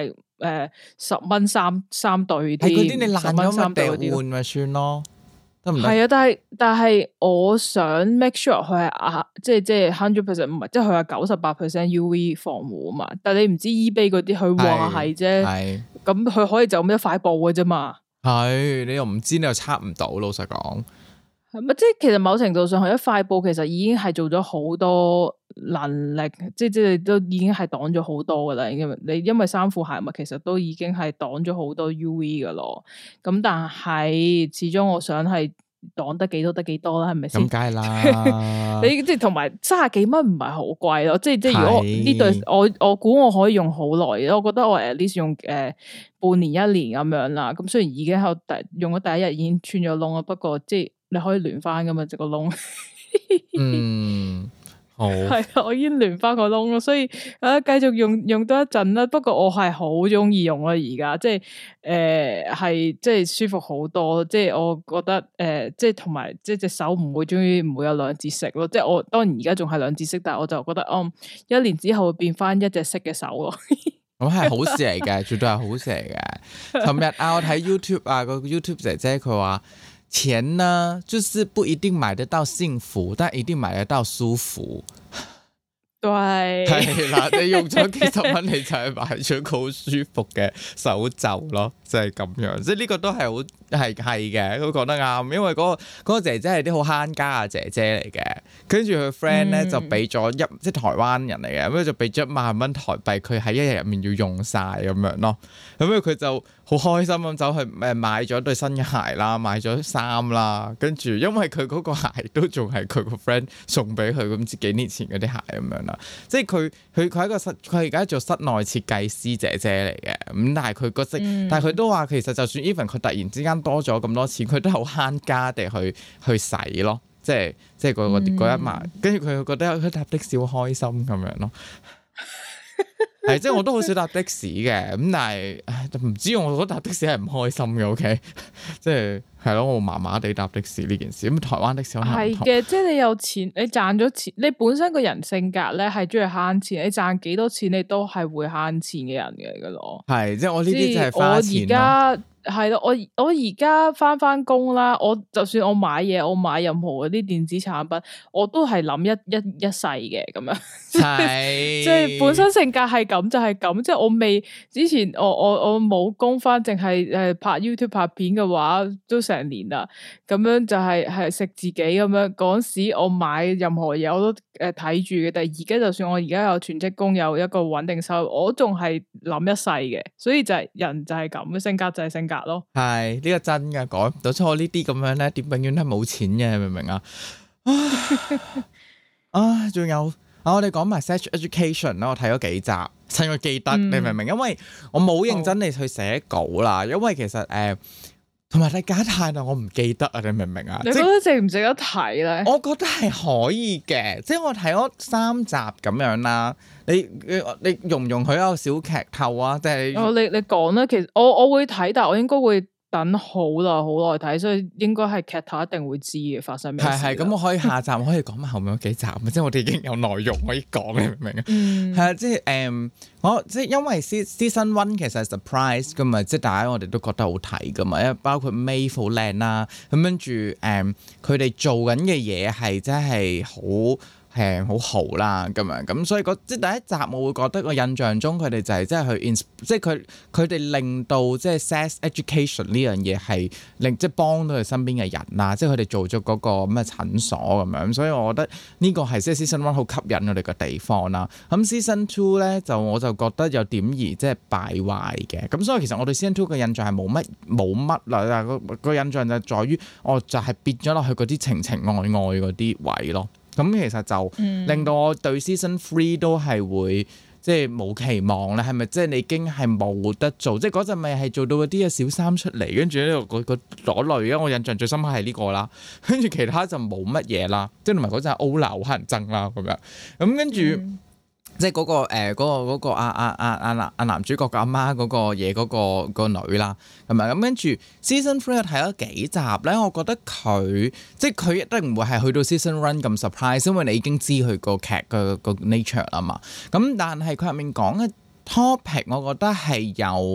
S1: 10蚊三對啲，係嗰啲你爛咗咪掉換咪算咯，得唔得？係啊，但係我想 make sure 佢係即係100%唔係，即係佢係98% UV 防護啊嘛，但係你唔知 eBay 嗰啲佢話係啫，咁佢可以就咁一塊布嘅啫嘛。係，你又唔知，你又測唔到，老實講。 係咪？即係其實某程度上，佢一塊布其實已經係做咗好多能力，即係都已經係擋咗好多噶啦。因為衫褲鞋襪其實都已經係擋咗好多 UV 噶咯。咁但係始終我想係擋得幾多得幾多啦，係咪先？咁
S2: 梗係啦。
S1: 你即係同埋30幾蚊唔係好貴咯。即係如果呢對我估我可以用好耐，我覺得我 at least 用半年1年咁樣啦。咁雖然已經喺用咗第一日已經穿咗窿啦，不過即係你可以聯翻噶嘛，即個窿。好係啊，我已經聯翻個窿咯，所以繼續用多一陣啦。不過我係好中意用啦，而家即係係即係舒服好多。即係我覺得即係同埋即係隻手唔會有兩節色咯。即係我當然而家仲係兩節色，但係我就覺得1年之後會變翻一隻色嘅手咯。
S2: 咁係好事嚟嘅，絕對係好事嚟嘅。尋日我睇 YouTube 啊，個 YouTube 姐姐佢話。錢呢，就是不一定買得到幸福，但一定買得到舒服。對，係啦，你用咗幾十蚊，你就係買咗個好舒服嘅手袖咯，就係咁樣。即係呢個都係好係嘅，佢講得啱。因為嗰個姐姐係啲好慳家嘅姐姐嚟嘅，跟住佢 friend 咧就俾咗即係台灣人嚟嘅，咁就俾咗1萬蚊台幣，佢喺一日入面要用晒咁樣咯。咁佢就好開心咁走去買咗對新嘅鞋啦，買咗衫啦，跟住因為佢嗰個鞋都仲係佢個 friend 送俾佢咁幾年前嗰啲鞋咁樣啦，即係佢佢而家做室內設計師姐姐嚟嘅，咁但係佢但係佢都話其實就算 even 佢突然之間多咗咁多錢，佢都好慳家地去使咯，即係嗰1萬，跟住佢覺得佢搭的士好開心咁樣咯。係，即係我都好少搭的士嘅，咁但係唔知我覺得搭的士係唔開心嘅，OK， 即係咯，我麻麻地搭的士呢件事，咁台灣的士可能係嘅，
S1: 即係你有錢，你賺咗錢，你本身個人性格咧係中意慳錢，你賺幾多錢你都係會慳錢嘅人嘅噶咯，係，即係我呢啲就係花錢咯。係咯，我而家翻工啦，我就算我買嘢，我買任何嗰啲電子產品，我都係諗一世嘅咁樣，即係本身性格係咁就係咁，即係我未之前我冇工翻，淨係拍 YouTube 拍片嘅話，都成年啦，咁樣就係食自己咁樣。嗰時我買任何嘢我都睇住嘅，但係而家就算我而家有全職工，有一個穩定收入，我仲係諗一世嘅，所以就係人就係咁嘅性格就係性格。
S2: 係呢個真嘅，改唔到。出我呢啲咁樣咧，點永遠都係冇錢嘅，明唔明啊？仲有我哋講埋 Sex Education 啦，我睇咗幾集，趁我記得，你明唔明？因為我冇認真地去寫稿啦，因為其實同埋你假太耐，我唔記得啊，你明唔明啊？
S1: 你覺得值唔值得睇咧？
S2: 我覺得係可以嘅，即係我睇咗3集咁樣啦。你容唔容許一個小劇透啊？即係
S1: 你講啦，其實我會睇，但係我應該會等好耐睇，所以應該係劇透一定會知嘅發生咩事。係咁，我可以下集我可以講埋後面嗰幾集，即係我哋已經有內容可以講，你明唔明啊？係啊，即係我即係因為 season 1其實係 surprise 噶嘛，即係大家我哋都覺得好睇噶嘛，因為包括 Maeve 好靚啦，咁跟住佢哋做緊嘅嘢係真係好好啦咁樣，咁所以即係第一集我會覺得個印象中佢哋就係即係去即係佢哋令到即係 sex education 呢樣嘢係令即係幫到佢身邊嘅人啦，即係佢哋做咗嗰個咩診所咁樣，所以我覺得呢個係即係 season 1好吸引我哋嘅地方啦。咁 season 2咧我就覺得有點而即係敗壞嘅，咁所以其實我對 season 2嘅印象係冇乜啦，個印象就在於我就係變咗落去嗰啲情情愛愛嗰啲位咯。咁其實就令到我對 Season 3都係會即係冇期望咧，係咪即係你已經係冇得做？即係嗰陣咪係做到嗰啲嘅小三出嚟，跟住呢個嗰類嘅，我印象最深刻係呢個啦。跟住其他就冇乜嘢啦，即係同埋嗰陣歐娜好乞人憎啦咁樣。咁跟住即係嗰個男主角嘅阿媽嗰個嘢嗰個女啦，係咪咁？跟住 Season 3睇咗幾集咧，我覺得佢即係佢一定唔會係去到 Season 1咁 surprise，因為你已經知佢個劇個 nature 啦嘛。咁但係佢入面講嘅
S2: topic 我覺得係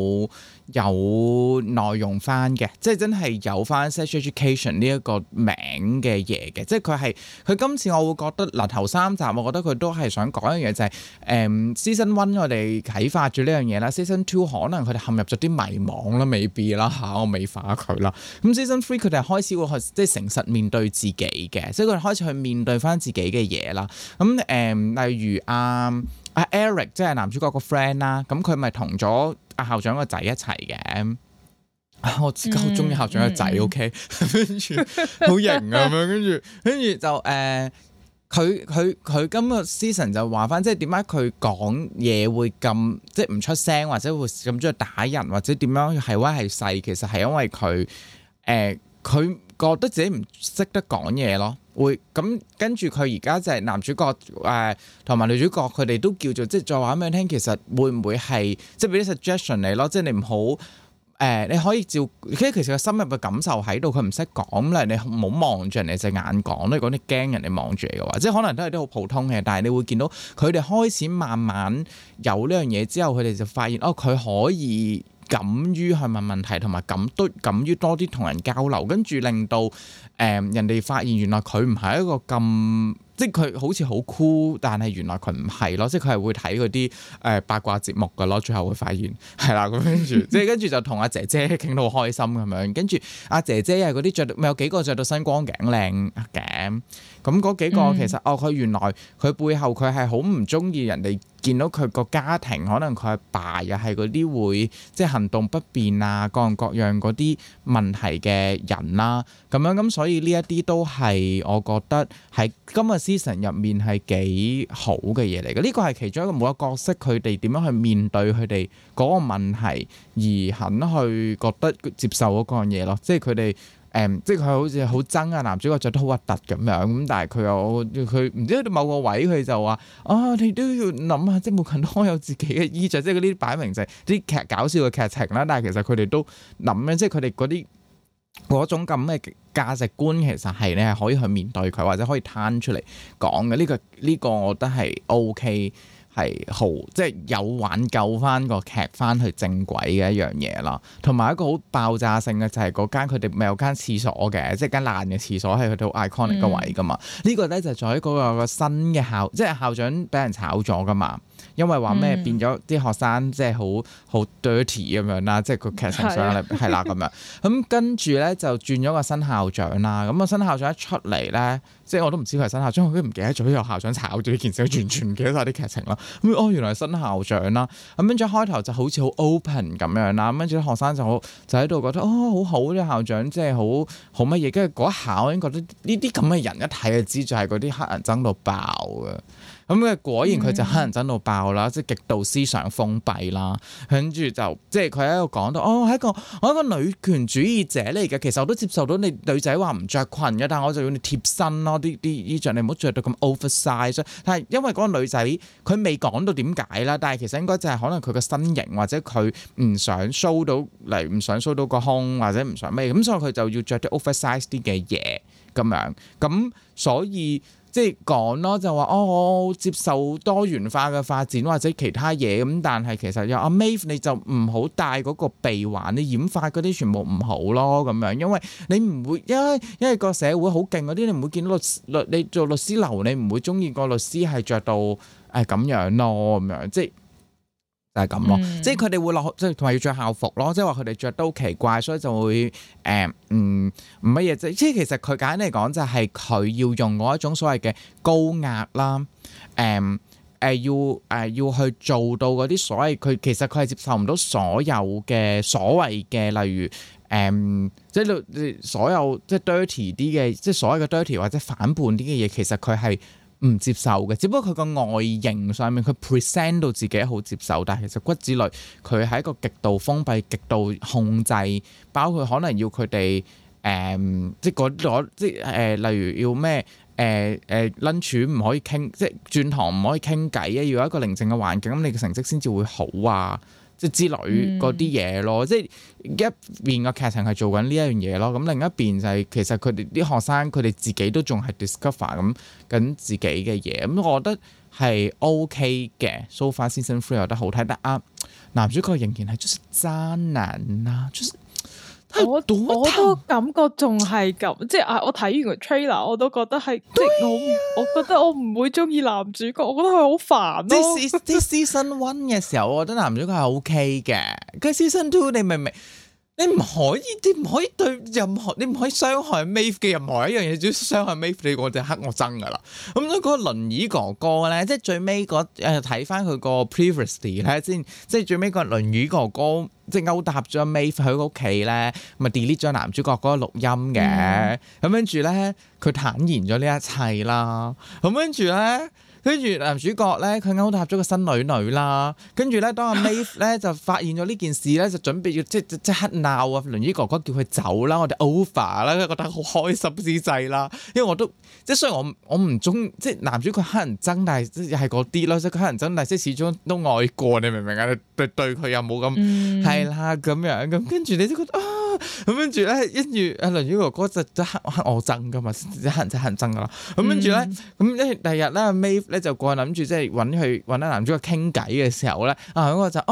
S2: 有內容翻嘅，即係真係有翻 sex education 呢一個名嘅嘢嘅，即係佢今次我會覺得嗱頭3集我覺得佢都係想講一樣嘢就係season 1我哋啟發咗呢樣嘢啦 ，season 2可能佢哋陷入咗啲迷惘啦，未必啦嚇，我未化佢啦。咁 season 3佢哋開始會去即係誠實面對自己嘅，即係佢哋開始去面對翻自己嘅嘢啦。咁例如阿 Eric 即係男主角個 friend 啦，咁佢咪同咗阿校長個仔一齊嘅。我自己好中意校長個仔，OK， 跟住好型啊咁樣，跟住就佢今個 season 就話翻，即係點解佢講嘢會咁即係唔出聲，或者會咁中意打人，或者點樣係威係勢，其實係因為佢覺得自己唔識得講嘢咯。會咁跟住佢而家就係男主角同埋女主角，佢哋都叫做即係再話俾你聽，其實會唔會係即係俾啲 suggestion 你咯，即係你唔好你可以照，其實個深入嘅感受喺度，佢唔識講咧，你唔好望住人哋隻眼講咧，講啲驚人哋望住你嘅話，即係可能都係啲好普通嘅，但係你會見到佢哋開始慢慢有呢樣嘢之後，佢哋就發現佢可以敢於去問問題，同埋敢於多啲同人交流，跟住令到人哋發現原來佢唔係一個咁。即係佢好似好酷，但係原來佢唔係咯，即係佢係會睇嗰啲八卦節目㗎咯，最後會發現係啦，咁跟住就同阿姐姐傾到好開心咁樣，跟住阿姐姐係嗰啲咪有幾個着到身光頸靚嘅，咁嗰幾個其實佢原來佢背後佢係好唔中意人哋見到佢個家庭，可能佢阿爸又係嗰啲會即係行動不便啊，各樣各樣嗰啲問題嘅人啦，咁樣咁所以呢一啲都係我覺得喺今日season入面係幾好嘅嘢嚟嘅，呢個係其中一個每個角色佢哋點樣去面對佢哋嗰個問題，而肯去覺得接受嗰樣嘢咯，即係佢哋即係佢好似好憎啊男主角着得好核突咁樣，咁但係佢唔知去到某個位佢就話你都要諗下，即係每個人都有自己嘅衣着，即係嗰啲擺明就係啲搞笑嘅劇情啦，但係其實佢哋都諗咧，即係佢哋嗰種咁嘅價值觀，其實係你係可以去面對佢，或者可以攤出嚟講嘅。呢個我覺得係 OK， 係好即係有挽救翻個劇翻去正軌嘅一樣嘢啦。同埋一個好爆炸性嘅就係嗰間佢哋咪有間廁所嘅，即係間爛嘅廁所係佢哋好 iconic 嘅位噶嘛。呢個咧就在喺嗰個新嘅即係校長俾人炒咗噶嘛。因為話咩變咗啲學生即係好 dirty 咁樣啦，即係個劇情上嚟係啦咁樣。咁跟住咧就轉咗個新校長啦。咁個新校長一出嚟咧，即係我都唔知佢係新校長，我都唔記得咗有校長炒咗呢件事，完全唔記得晒啲劇情啦。咁原來係新校長啦。咁跟住開頭就好似好 open 咁樣啦。咁跟住啲學生就喺度覺得好好啲校長，即係好乜嘢。跟住嗰一下我已經覺得呢啲咁嘅人一睇就知就係嗰啲黑人憎到爆嘅。咁果然佢就黑人憎到爆啦，即係極度思想封閉啦。跟住就即係佢喺度講到，我係一個女權主義者嚟嘅。其實我都接受到你女仔話唔着裙嘅，但係我就要你貼身咯，啲衣着你唔好着到咁 oversize。但係因為嗰個女仔佢未講到點解啦，但係其實應該就係可能佢個身形或者佢唔想 show 到嚟，唔想 show 到個胸或者唔想咩，咁所以佢就要着啲 oversize 啲嘅嘢咁樣。咁所以即係講咯，就話我接受多元化嘅發展或者其他嘢咁，但係其實有阿 Maeve 你就唔好戴嗰個鼻環，你染髮嗰啲全部唔好咯咁樣，因為你唔會因為個社會好勁嗰啲，你唔會見到你做律師樓，你唔會中意個律師係着到咁樣咯咁樣，即係。就係咁咯，即係佢哋會落，即係同埋要着校服咯，即係話佢哋着得好奇怪，所以就會唔乜嘢即係其實佢簡單嚟講就係佢要用嗰一種所謂嘅高壓啦，要去做到嗰啲所謂佢其實佢係接受唔到所有嘅所謂嘅例如即係所有即係 dirty 啲嘅，即係所謂嘅 dirty 或者反叛啲嘅嘢，其實佢係唔接受嘅，只不過佢個外形上面佢 present 到自己好接受，但係其實骨子裏佢係一個極度封閉、極度控制，包括可能要佢哋即係例如要咩lunch 唔可以傾，即係轉堂唔可以傾偈啊，要有一個寧靜嘅環境，咁你嘅成績先至會好啊。 即係之類嗰啲嘢咯，即係一邊個劇情係做緊呢一樣嘢咯，咁另一邊就係其實佢哋啲學生佢哋自己都仲係 discover 咁緊自己嘅嘢，咁我覺得係 OK 嘅。So far season 3我覺得好睇，但男主角仍然係就是渣男啦，就是
S1: 我都感覺仲係咁，即係我睇完個 trailer 我都覺得係，即係我覺得我唔會中意男主角，我覺得佢好煩咯。
S2: 即係 season 1嘅時候，我覺得男主角係 OK 嘅，跟住 season 2你明唔明？你唔可以對任何，你唔可以傷害 Maeve 嘅任何一樣嘢，只要傷害 Maeve 你我就黑我憎噶啦。咁所以嗰個輪椅哥哥咧，即係最尾睇翻佢個 previously 咧先，即係最尾個輪椅哥哥即係勾搭咗 Maeve 喺屋企咧，咪 delete 咗男主角嗰個錄音嘅。咁跟住咧，佢坦然咗呢一切啦。咁跟住男主角咧，佢勾搭咗個新女啦，跟住咧，當阿 Maeve 咧就發現咗呢件事咧，就準備要即刻鬧啊！輪椅哥哥叫佢走啦，我哋 over 啦，覺得好開心之際啦。因為我都即係雖然我唔中即係男主角黑人憎，但係即係嗰啲咯，即係佢黑人憎，但係即係始終都愛過，你明唔明啊？對佢又冇咁係啦咁樣咁，跟住你都覺得咁跟住咧，跟住阿輪椅哥哥就黑我憎噶嘛，黑人憎噶啦。咁跟住咧，咁第二日咧 Maeve 咧就過去諗住即係揾阿男主角傾偈嘅時候咧，我就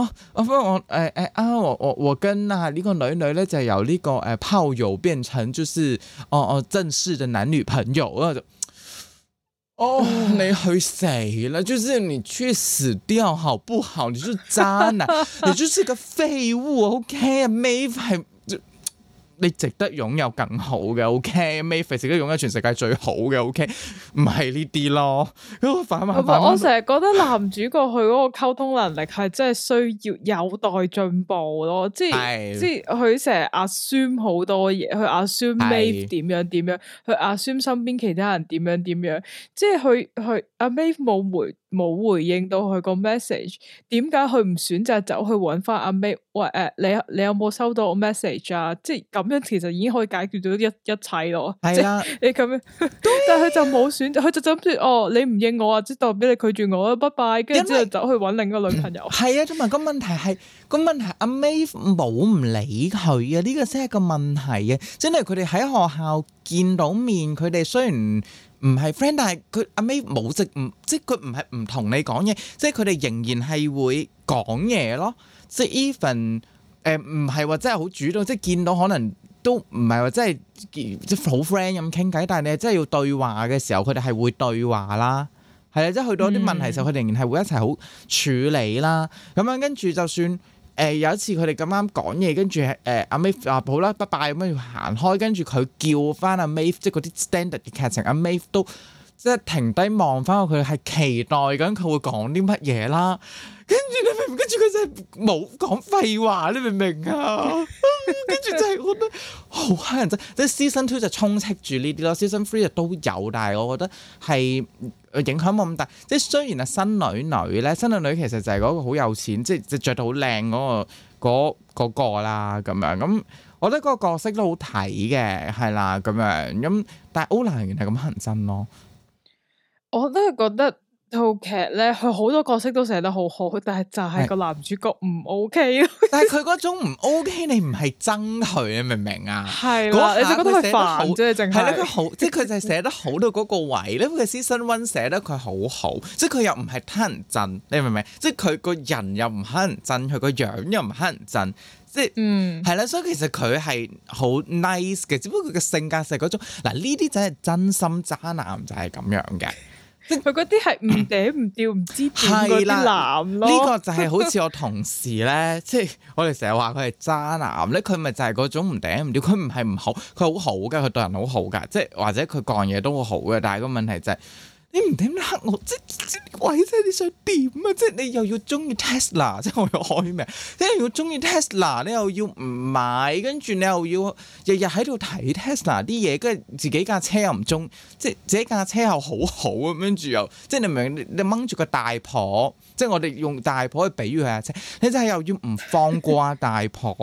S2: 我跟呢個女咧就由呢個炮友變成就是正式的男女朋友，我就你去死啦！就是你去死掉好不好？你就是渣男，你就是個廢物。OK 啊，Maeve 係。你值得擁有更好嘅 OK，Maeve 值得擁有全世界最好嘅 OK，唔係呢啲咯。我
S1: 成日覺得男主角佢嗰個溝通能力係真係需要有待進步咯，即係佢成日 assume 好多嘢，去 assume Maeve 點樣，去 assume 身邊其他人點樣，即係佢阿 Maeve 冇回應到佢個 message， 點解佢唔選擇走去揾翻阿 Maeve？喂你有冇收到我 message 啊？即係咁樣其實已經可以解決到一切咯。係啦，你咁樣，但係佢就冇選擇，佢就諗住你唔應我啊，即係代表你拒絕我啦，拜拜。跟住之後走去揾另一個女朋友。
S2: 係啊，同埋個問題阿 Maeve 冇唔理佢啊，呢個先係個問題啊！真係佢哋喺學校見到面，佢哋雖然唔係 friend， 但係佢阿 Maeve 冇即係佢唔係唔同你講嘢，即係佢哋仍然係會講嘢咯。即係 even 唔係話真係好主動，即係見到可能都唔係話真係即係好 friend 咁傾偈，但係你真係要對話嘅時候，佢哋係會對話啦。係啊，即係去到啲問題嘅時候，佢哋仍然係會一齊好處理啦。咁樣跟住就算有一次佢哋咁啱講嘢，跟住阿 Maeve 話好啦，拜拜咁樣要行開，跟住佢叫翻阿 Maeve，即係嗰啲 standard 嘅劇情，阿 Maeve 都即係停低望翻佢，係期待緊佢會講啲乜嘢啦。跟住你明唔明？跟住佢真係冇講廢話，你明唔明啊？跟住就係我覺得好乞人憎，即係 season 2就充斥住呢啲咯，season 3就都有，但係我覺得係影響冇咁大。即係雖然係新女咧，其實就係嗰個好有錢，即係著到好靚嗰個啦咁樣。咁我覺得嗰個角色都好睇嘅，係啦咁樣。咁但係 Ola 仍然係咁乞人憎咯。
S1: 我都係覺得套劇咧，佢好多角色都寫得好好，但係就係個男主角唔 OK 咯。
S2: 但係佢嗰種唔 OK，你唔係憎佢，你明唔明啊？
S1: 係啦，你就覺得佢煩啫，淨係。係啦，
S2: 佢好，即係佢就係寫得好到嗰個位咧。佢 season 1寫得佢好好，即係佢又唔係乞人憎，你明唔明？即係佢個人又唔乞人憎，佢個樣又唔乞人憎，即係係啦。所以其實佢係好 nice 嘅，只不過佢嘅性格係嗰種嗱，呢啲就係真心渣男，就係咁樣嘅。
S1: 佢嗰啲係唔嗲唔吊唔知點嗰啲男咯，
S2: 呢個就係好似我同事咧，即係我哋成日話佢係渣男咧，佢咪就係嗰種唔嗲唔吊，佢唔係唔好，佢好好㗎，佢對人好好㗎，即係或者佢講嘢都好好嘅，但係個問題就係。你唔點黑我，即係鬼啫！你想點啊？即係你又要中意 Tesla， 即係我要開名，你又要中意 Tesla， 你又要唔買，跟住你又要日日喺度睇 Tesla 啲嘢，跟住自己架車又唔中，即係自己架車又好好咁，跟住又即係你明？你掹住個大婆，即係我哋用大婆去比喻佢架車，你就係又要唔放過大婆。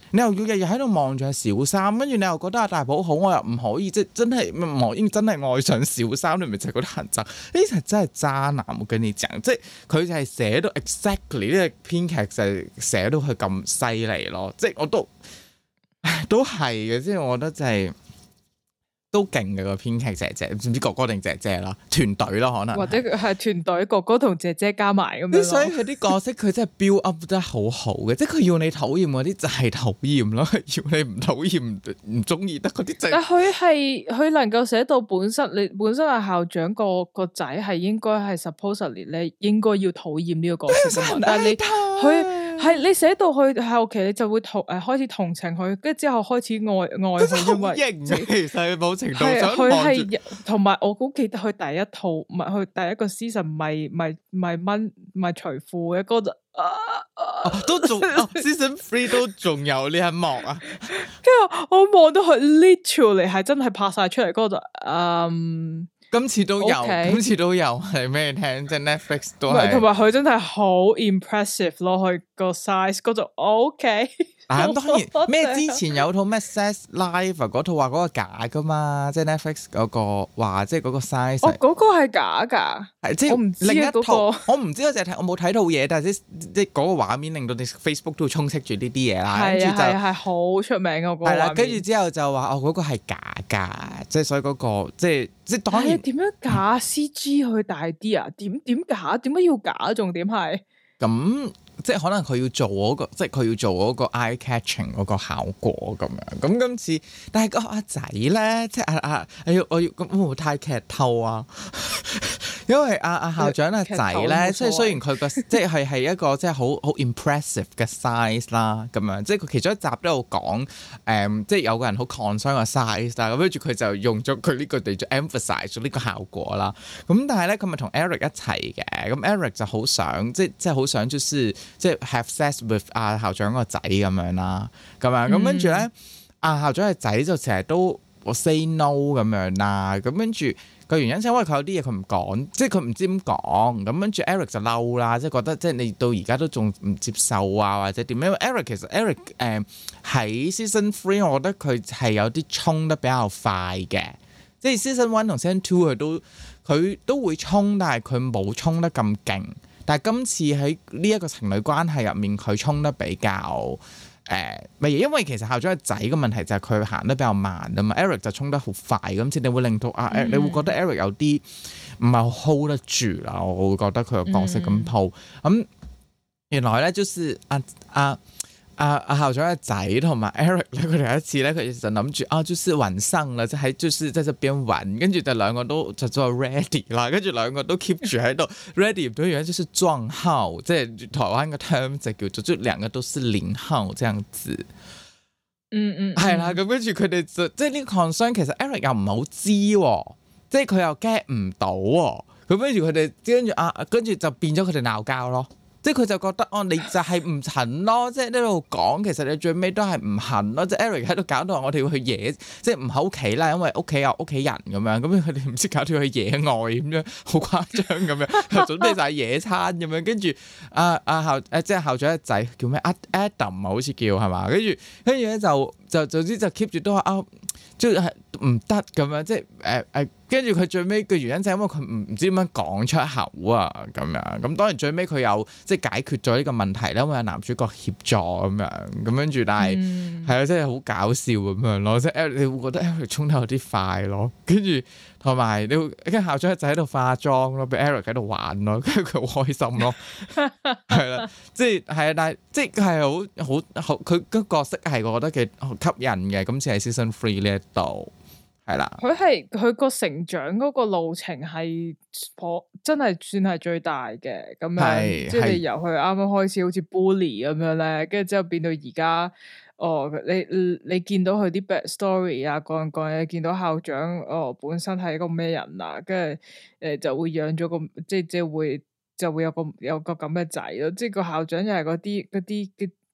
S2: 你又要日日喺度望住阿小三，跟住你又覺得阿大寶好，我又唔可以即係真係唔可以真係愛上小三，你咪就係覺得恨憎。呢啲真係渣男，我跟你講，即係佢就係寫到 exactly 呢個編劇就係寫到佢咁犀利咯，即係我都係嘅，即係我覺得就係。都勁嘅個編劇姐姐，唔知哥哥定姐姐啦，團隊咯可能，
S1: 或者係團隊哥哥同姐姐加埋咁樣。
S2: 所以佢啲角色佢真係 build up 得好好嘅，即係佢要你討厭嗰啲就係討厭咯，要你唔討厭唔中意得嗰啲就。但
S1: 佢能夠寫到本身係校長個仔係應該係 supposedly 咧應該要討厭呢個角色噶嘛，但係你寫到去後期你就會開始同情佢，跟住之後開始愛佢，因為
S2: 其實冇程度
S1: 上佢係同埋我好記得佢第一套唔係佢第一個 season 唔係除褲嘅嗰度
S2: 都仲season 3都仲有呢一幕啊，
S1: 跟住我望到佢 literally 係真係拍晒出嚟嗰度
S2: 今次都有，今次都有係咩聽？即係 Netflix 都係，
S1: 同埋佢真係好 impressive 咯，佢個 size 嗰度 OK。
S2: 咁當然咩之前有套咩 Sex Life 嗰套話嗰個假噶嘛，即係 Netflix 嗰個話即係嗰個 size。
S1: 嗰個係假㗎，
S2: 係即係
S1: 我唔知
S2: 另一套，
S1: 我
S2: 唔知我淨係睇，我冇睇套嘢，但係即係嗰個畫面令到你 Facebook 都充斥住呢啲嘢啦。
S1: 係係好出名嘅嗰個畫面。係啦，
S2: 跟住之後就話嗰個係假㗎，即係所以嗰個即係當然
S1: 點樣假 CG 去大啲啊？點假？點解要假？重點係
S2: 咁。即係可能佢要做嗰個，即係佢要做嗰個 eye catching 嗰個效果咁樣。咁今次，但係個阿仔咧，即係我要咁會唔會太劇透啊？因為阿校長阿仔咧，即係雖然佢個即係一個即係好 impressive 嘅 size 啦，咁樣即係佢其中一集都有講即係有個人好 concern 個 size 啦，咁跟住佢就用咗佢呢個嚟做 emphasize 咗呢個效果啦。咁但係咧，佢咪同 Eric 一齊嘅，咁 Eric 就好想即係好想即係 have sex with 阿校長個仔咁樣啦，咁樣咁跟住咧，阿校長個仔就成日都say no 咁樣啦，咁跟住個原因就因為佢有啲嘢佢唔講，即係佢唔知點講，咁跟住 Eric 就嬲啦，即係覺得即係你到而家都仲唔接受啊，或者點樣？因為 Eric 其實 Eric 喺 season 3，我覺得佢係有啲衝得比較快嘅，即係 season 1同 season 2佢都會衝，但係佢冇衝得咁勁。但係今次喺呢一個情侶關係入面，佢衝得比較乜嘢？因為其實校長個仔嘅問題就係佢行得比較慢啊嘛。Eric 就衝得好快，咁先你會令到你會覺得 Eric 有啲唔係好 hold 得住啦。我會覺得佢個角色咁鋪咁原來咧，就是校長嘅仔同埋 Eric 咧，佢哋有一次咧，佢就諗住就是晚上啦，即係就是在這邊玩，跟住就兩個都就做 ready 啦，跟住兩個都 keep 住喺度 ready，對樣就是撞號，即係台灣嘅 term 就叫做就兩個都是零號，這樣子。係啦，咁跟住佢哋就即係呢個 concern，其實 Eric 又唔係好知，即係佢又 get 唔到，咁跟住佢哋跟住就變咗佢哋鬧交咯。即係佢就覺得你就係唔肯咯，即係呢度講，其實你最尾都係唔肯咯。即係 Eric 喺度搞到我哋要去野，即係唔喺屋企啦，因為屋企有屋企人咁樣，咁佢哋唔知搞到去野外咁樣，好誇張咁樣，又準備晒野餐咁樣，跟住即係校長嘅仔叫咩？Adam 好似叫係嘛？跟住咧就總之就 keep 住都話即係唔得咁樣，即係跟住佢最尾嘅原因就係因為佢唔知點樣講出口啊咁樣，咁當然最尾佢有即係解決咗呢個問題啦，因為有男主角協助咁樣，咁跟住但係係啊，真係好搞笑咁樣咯，即係你會覺得 Eric 衝得有啲快咯，跟住同埋你會跟校長仔喺度化妝咯，俾 Eric 喺度玩咯，跟住佢好開心咯，係啦，即係係啊，但係即係好佢個角色係我覺得幾吸引嘅，今次係 season 3呢一度。係啦，
S1: 佢個成長嗰個路程係真係算係最大嘅咁樣，即係你由佢啱啱開始好似 bully 咁樣咧，跟住之後變到而家，你見到佢啲 backstory 啊，各樣嘢，見到校長本身係一個咩人啊，跟住就會養咗個即係會有個咁嘅仔咯，即係個校長又係嗰啲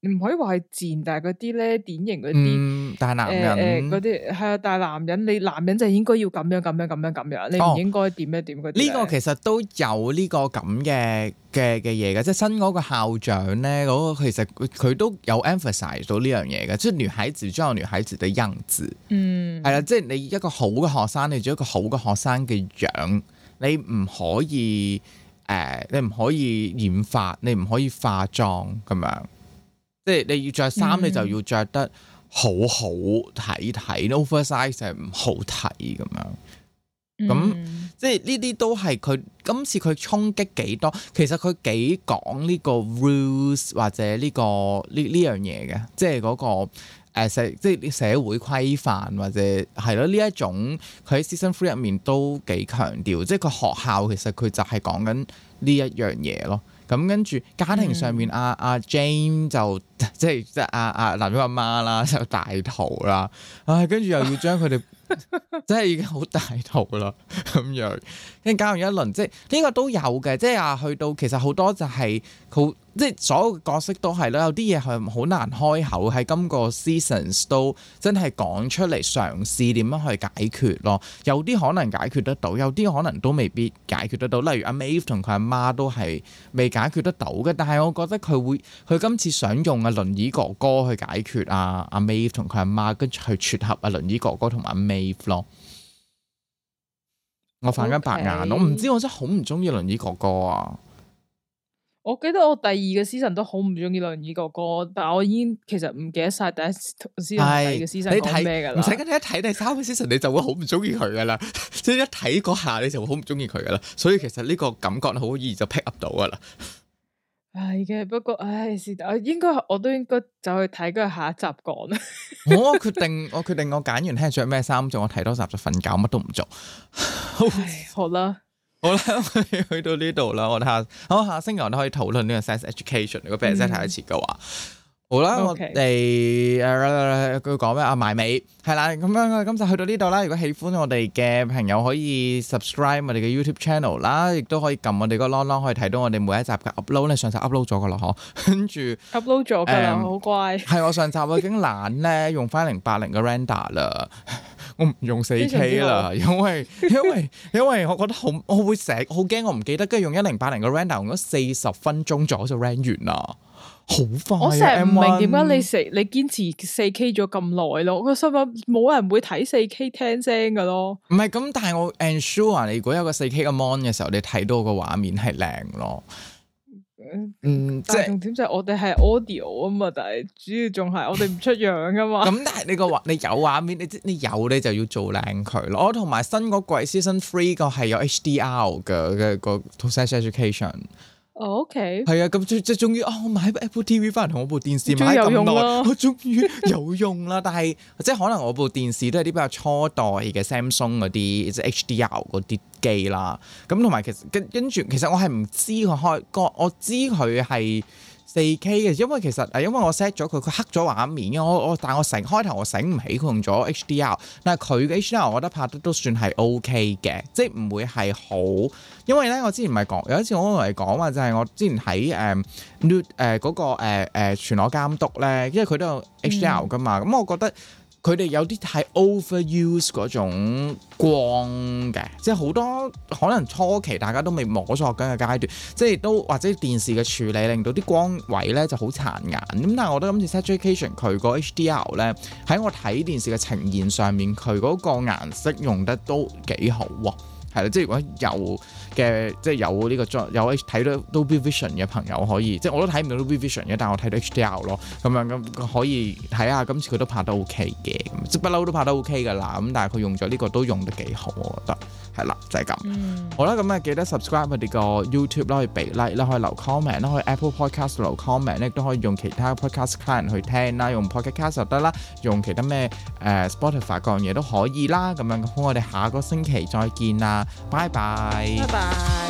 S1: 唔可以話係賤，但係嗰啲咧典型嗰啲
S2: 大男人
S1: 嗰啲係啊，大男人，你男人就應該要咁樣咁樣咁樣咁樣，你唔應該點樣點嗰啲。呢
S2: 個其實都有呢個咁嘅嘢嘅，即係新嗰個校長咧，嗰個其實佢都有 emphasize 到呢樣嘢嘅，即係女孩子就有女孩子嘅樣子，係啦，即係你一個好嘅學生，你做一個好嘅學生嘅樣，你唔可以你唔可以染髮，你唔可以化妝咁樣。即係你要着衫，你就要着得好好睇睇 oversize 係唔好睇咁樣。咁即係呢啲都係佢今次佢衝擊幾多，其實佢幾講呢個 rules 或者呢樣嘢嘅，即係嗰個即係社會規範或者係咯，呢一種佢喺 season 3入面都幾強調，即係個學校其實佢就係講緊呢一樣嘢咯。咁跟住家庭上面阿 Jane 就即係阿男主阿媽啦，就大肚啦，跟住又要將佢哋真係已經好大肚啦咁樣，跟住搞完一輪，即係呢個都有嘅，即係去到其實好多就係好。即係所有角色都係啦，有啲嘢係好難開口，喺今個 seasons 都真係講出嚟嘗試點樣去解決咯。有啲可能解決得到，有啲可能都未必解決得到。例如阿 Maeve 同佢阿媽都係未解決得到嘅，但係我覺得佢今次想用阿輪椅哥哥去解決阿 Maeve 同佢阿媽，跟住去撮合阿輪椅哥哥同埋阿 Maeve 咯。我反緊白眼，我唔知我真係好唔中意輪椅哥哥啊！
S1: 我記得我第二個 season 都好唔中意輪椅哥哥，但係我已經其實唔記得晒第一 season 第二個 season 講咩噶啦。唔使跟你一睇第三個 season 你就會好唔中意佢噶啦，即係一睇嗰下你就會好唔中意佢噶啦。所以其實呢個感覺好易就 pick up 到噶啦。係嘅，不過是但，我都應該走去睇，跟住下一集講啦。我決定我揀完聽日着咩衫做，我睇多集就瞓覺，乜都唔做。好啦。好啦，去到呢度啦，我哋下星期我哋可以討論呢個 sex education。如果俾人真係睇一次嘅話，好啦，我哋佢講咩埋尾係啦，咁樣今集去到呢度啦。如果喜歡我哋嘅朋友，可以 subscribe 我哋嘅 YouTube channel 啦，亦都可以撳我哋個 long 可以睇到我哋每一集嘅 upload 咧。上集 upload 咗噶啦，嗬，跟住 upload 咗噶啦，好乖。係我上集我已經懶咧，用翻080嘅 render 啦。我唔用 4K 啦，因為我覺得我會成日好驚我唔記得，跟住用1080嘅 render 用咗40分鐘左右就 render 完啦，好快啊！我成日唔明點解你堅持 4K 咗咁耐咯？我心諗冇人會睇 4K 聽聲噶咯。唔係咁，但係我 ensure 你如果有個 4K 嘅 mon 嘅時候，你睇到個畫面係靚咯。但係重點就係我哋係 audio 啊嘛，但係主要仲係我哋唔出樣噶嘛。咁但係你有畫面，你就要做靚佢咯。同埋新嗰季 season 3個係有 HDR 嘅個 sex education。OK。係啊，咁即係終於我買部 Apple TV 翻嚟同我部電視買咁耐，我終於有用啦。但係即係可能我部電視都係啲比較初代嘅 Samsung 嗰啲即係 HDR 嗰啲機啦。咁同埋其實跟住其實我係唔知佢我知佢係 4K 嘅，因為其實因為我 set 咗佢黑咗畫面嘅，但係我開頭我醒唔起佢用咗 HDR， 但係佢嘅 HDR 我覺得拍得都算係 OK 嘅，即係唔會係好，因為咧我之前唔係講有一次我同你講話就係我之前喺嗰個全裸監督咧，因為佢都有 HDR 噶嘛，咁我覺得佢哋有啲太 overuse 嗰種光嘅，即係好多可能初期大家都未摸索緊嘅階段，即係都或者電視嘅處理令到啲光位咧就好殘眼。咁但係我覺得今次 sex education 佢個 HDR 咧喺我睇電視嘅呈現上面，佢嗰個顏色用得都幾好喎。係啦，即係如果有嘅，即係有呢個有睇到 Dolby Vision 嘅朋友可以，即係我都睇唔到 Dolby Vision 嘅，但係我睇到 HDR 咯，咁樣咁可以睇下今次佢都拍得 OK 嘅，即係不嬲都拍得 OK 噶啦。咁但係佢用咗呢個都用得幾好，我覺得係啦，就係咁。好啦，咁啊記得 subscribe 我哋個 YouTube 啦，可以俾 like 啦，可以留 comment 啦，可以 Apple Podcast 留 comment 咧，都可以用其他 podcast client 去聽啦，用 Podcast 就得啦，用其他咩Spotify 各樣嘢都可以啦。咁樣咁我哋下個星期再見啦。拜拜。拜拜。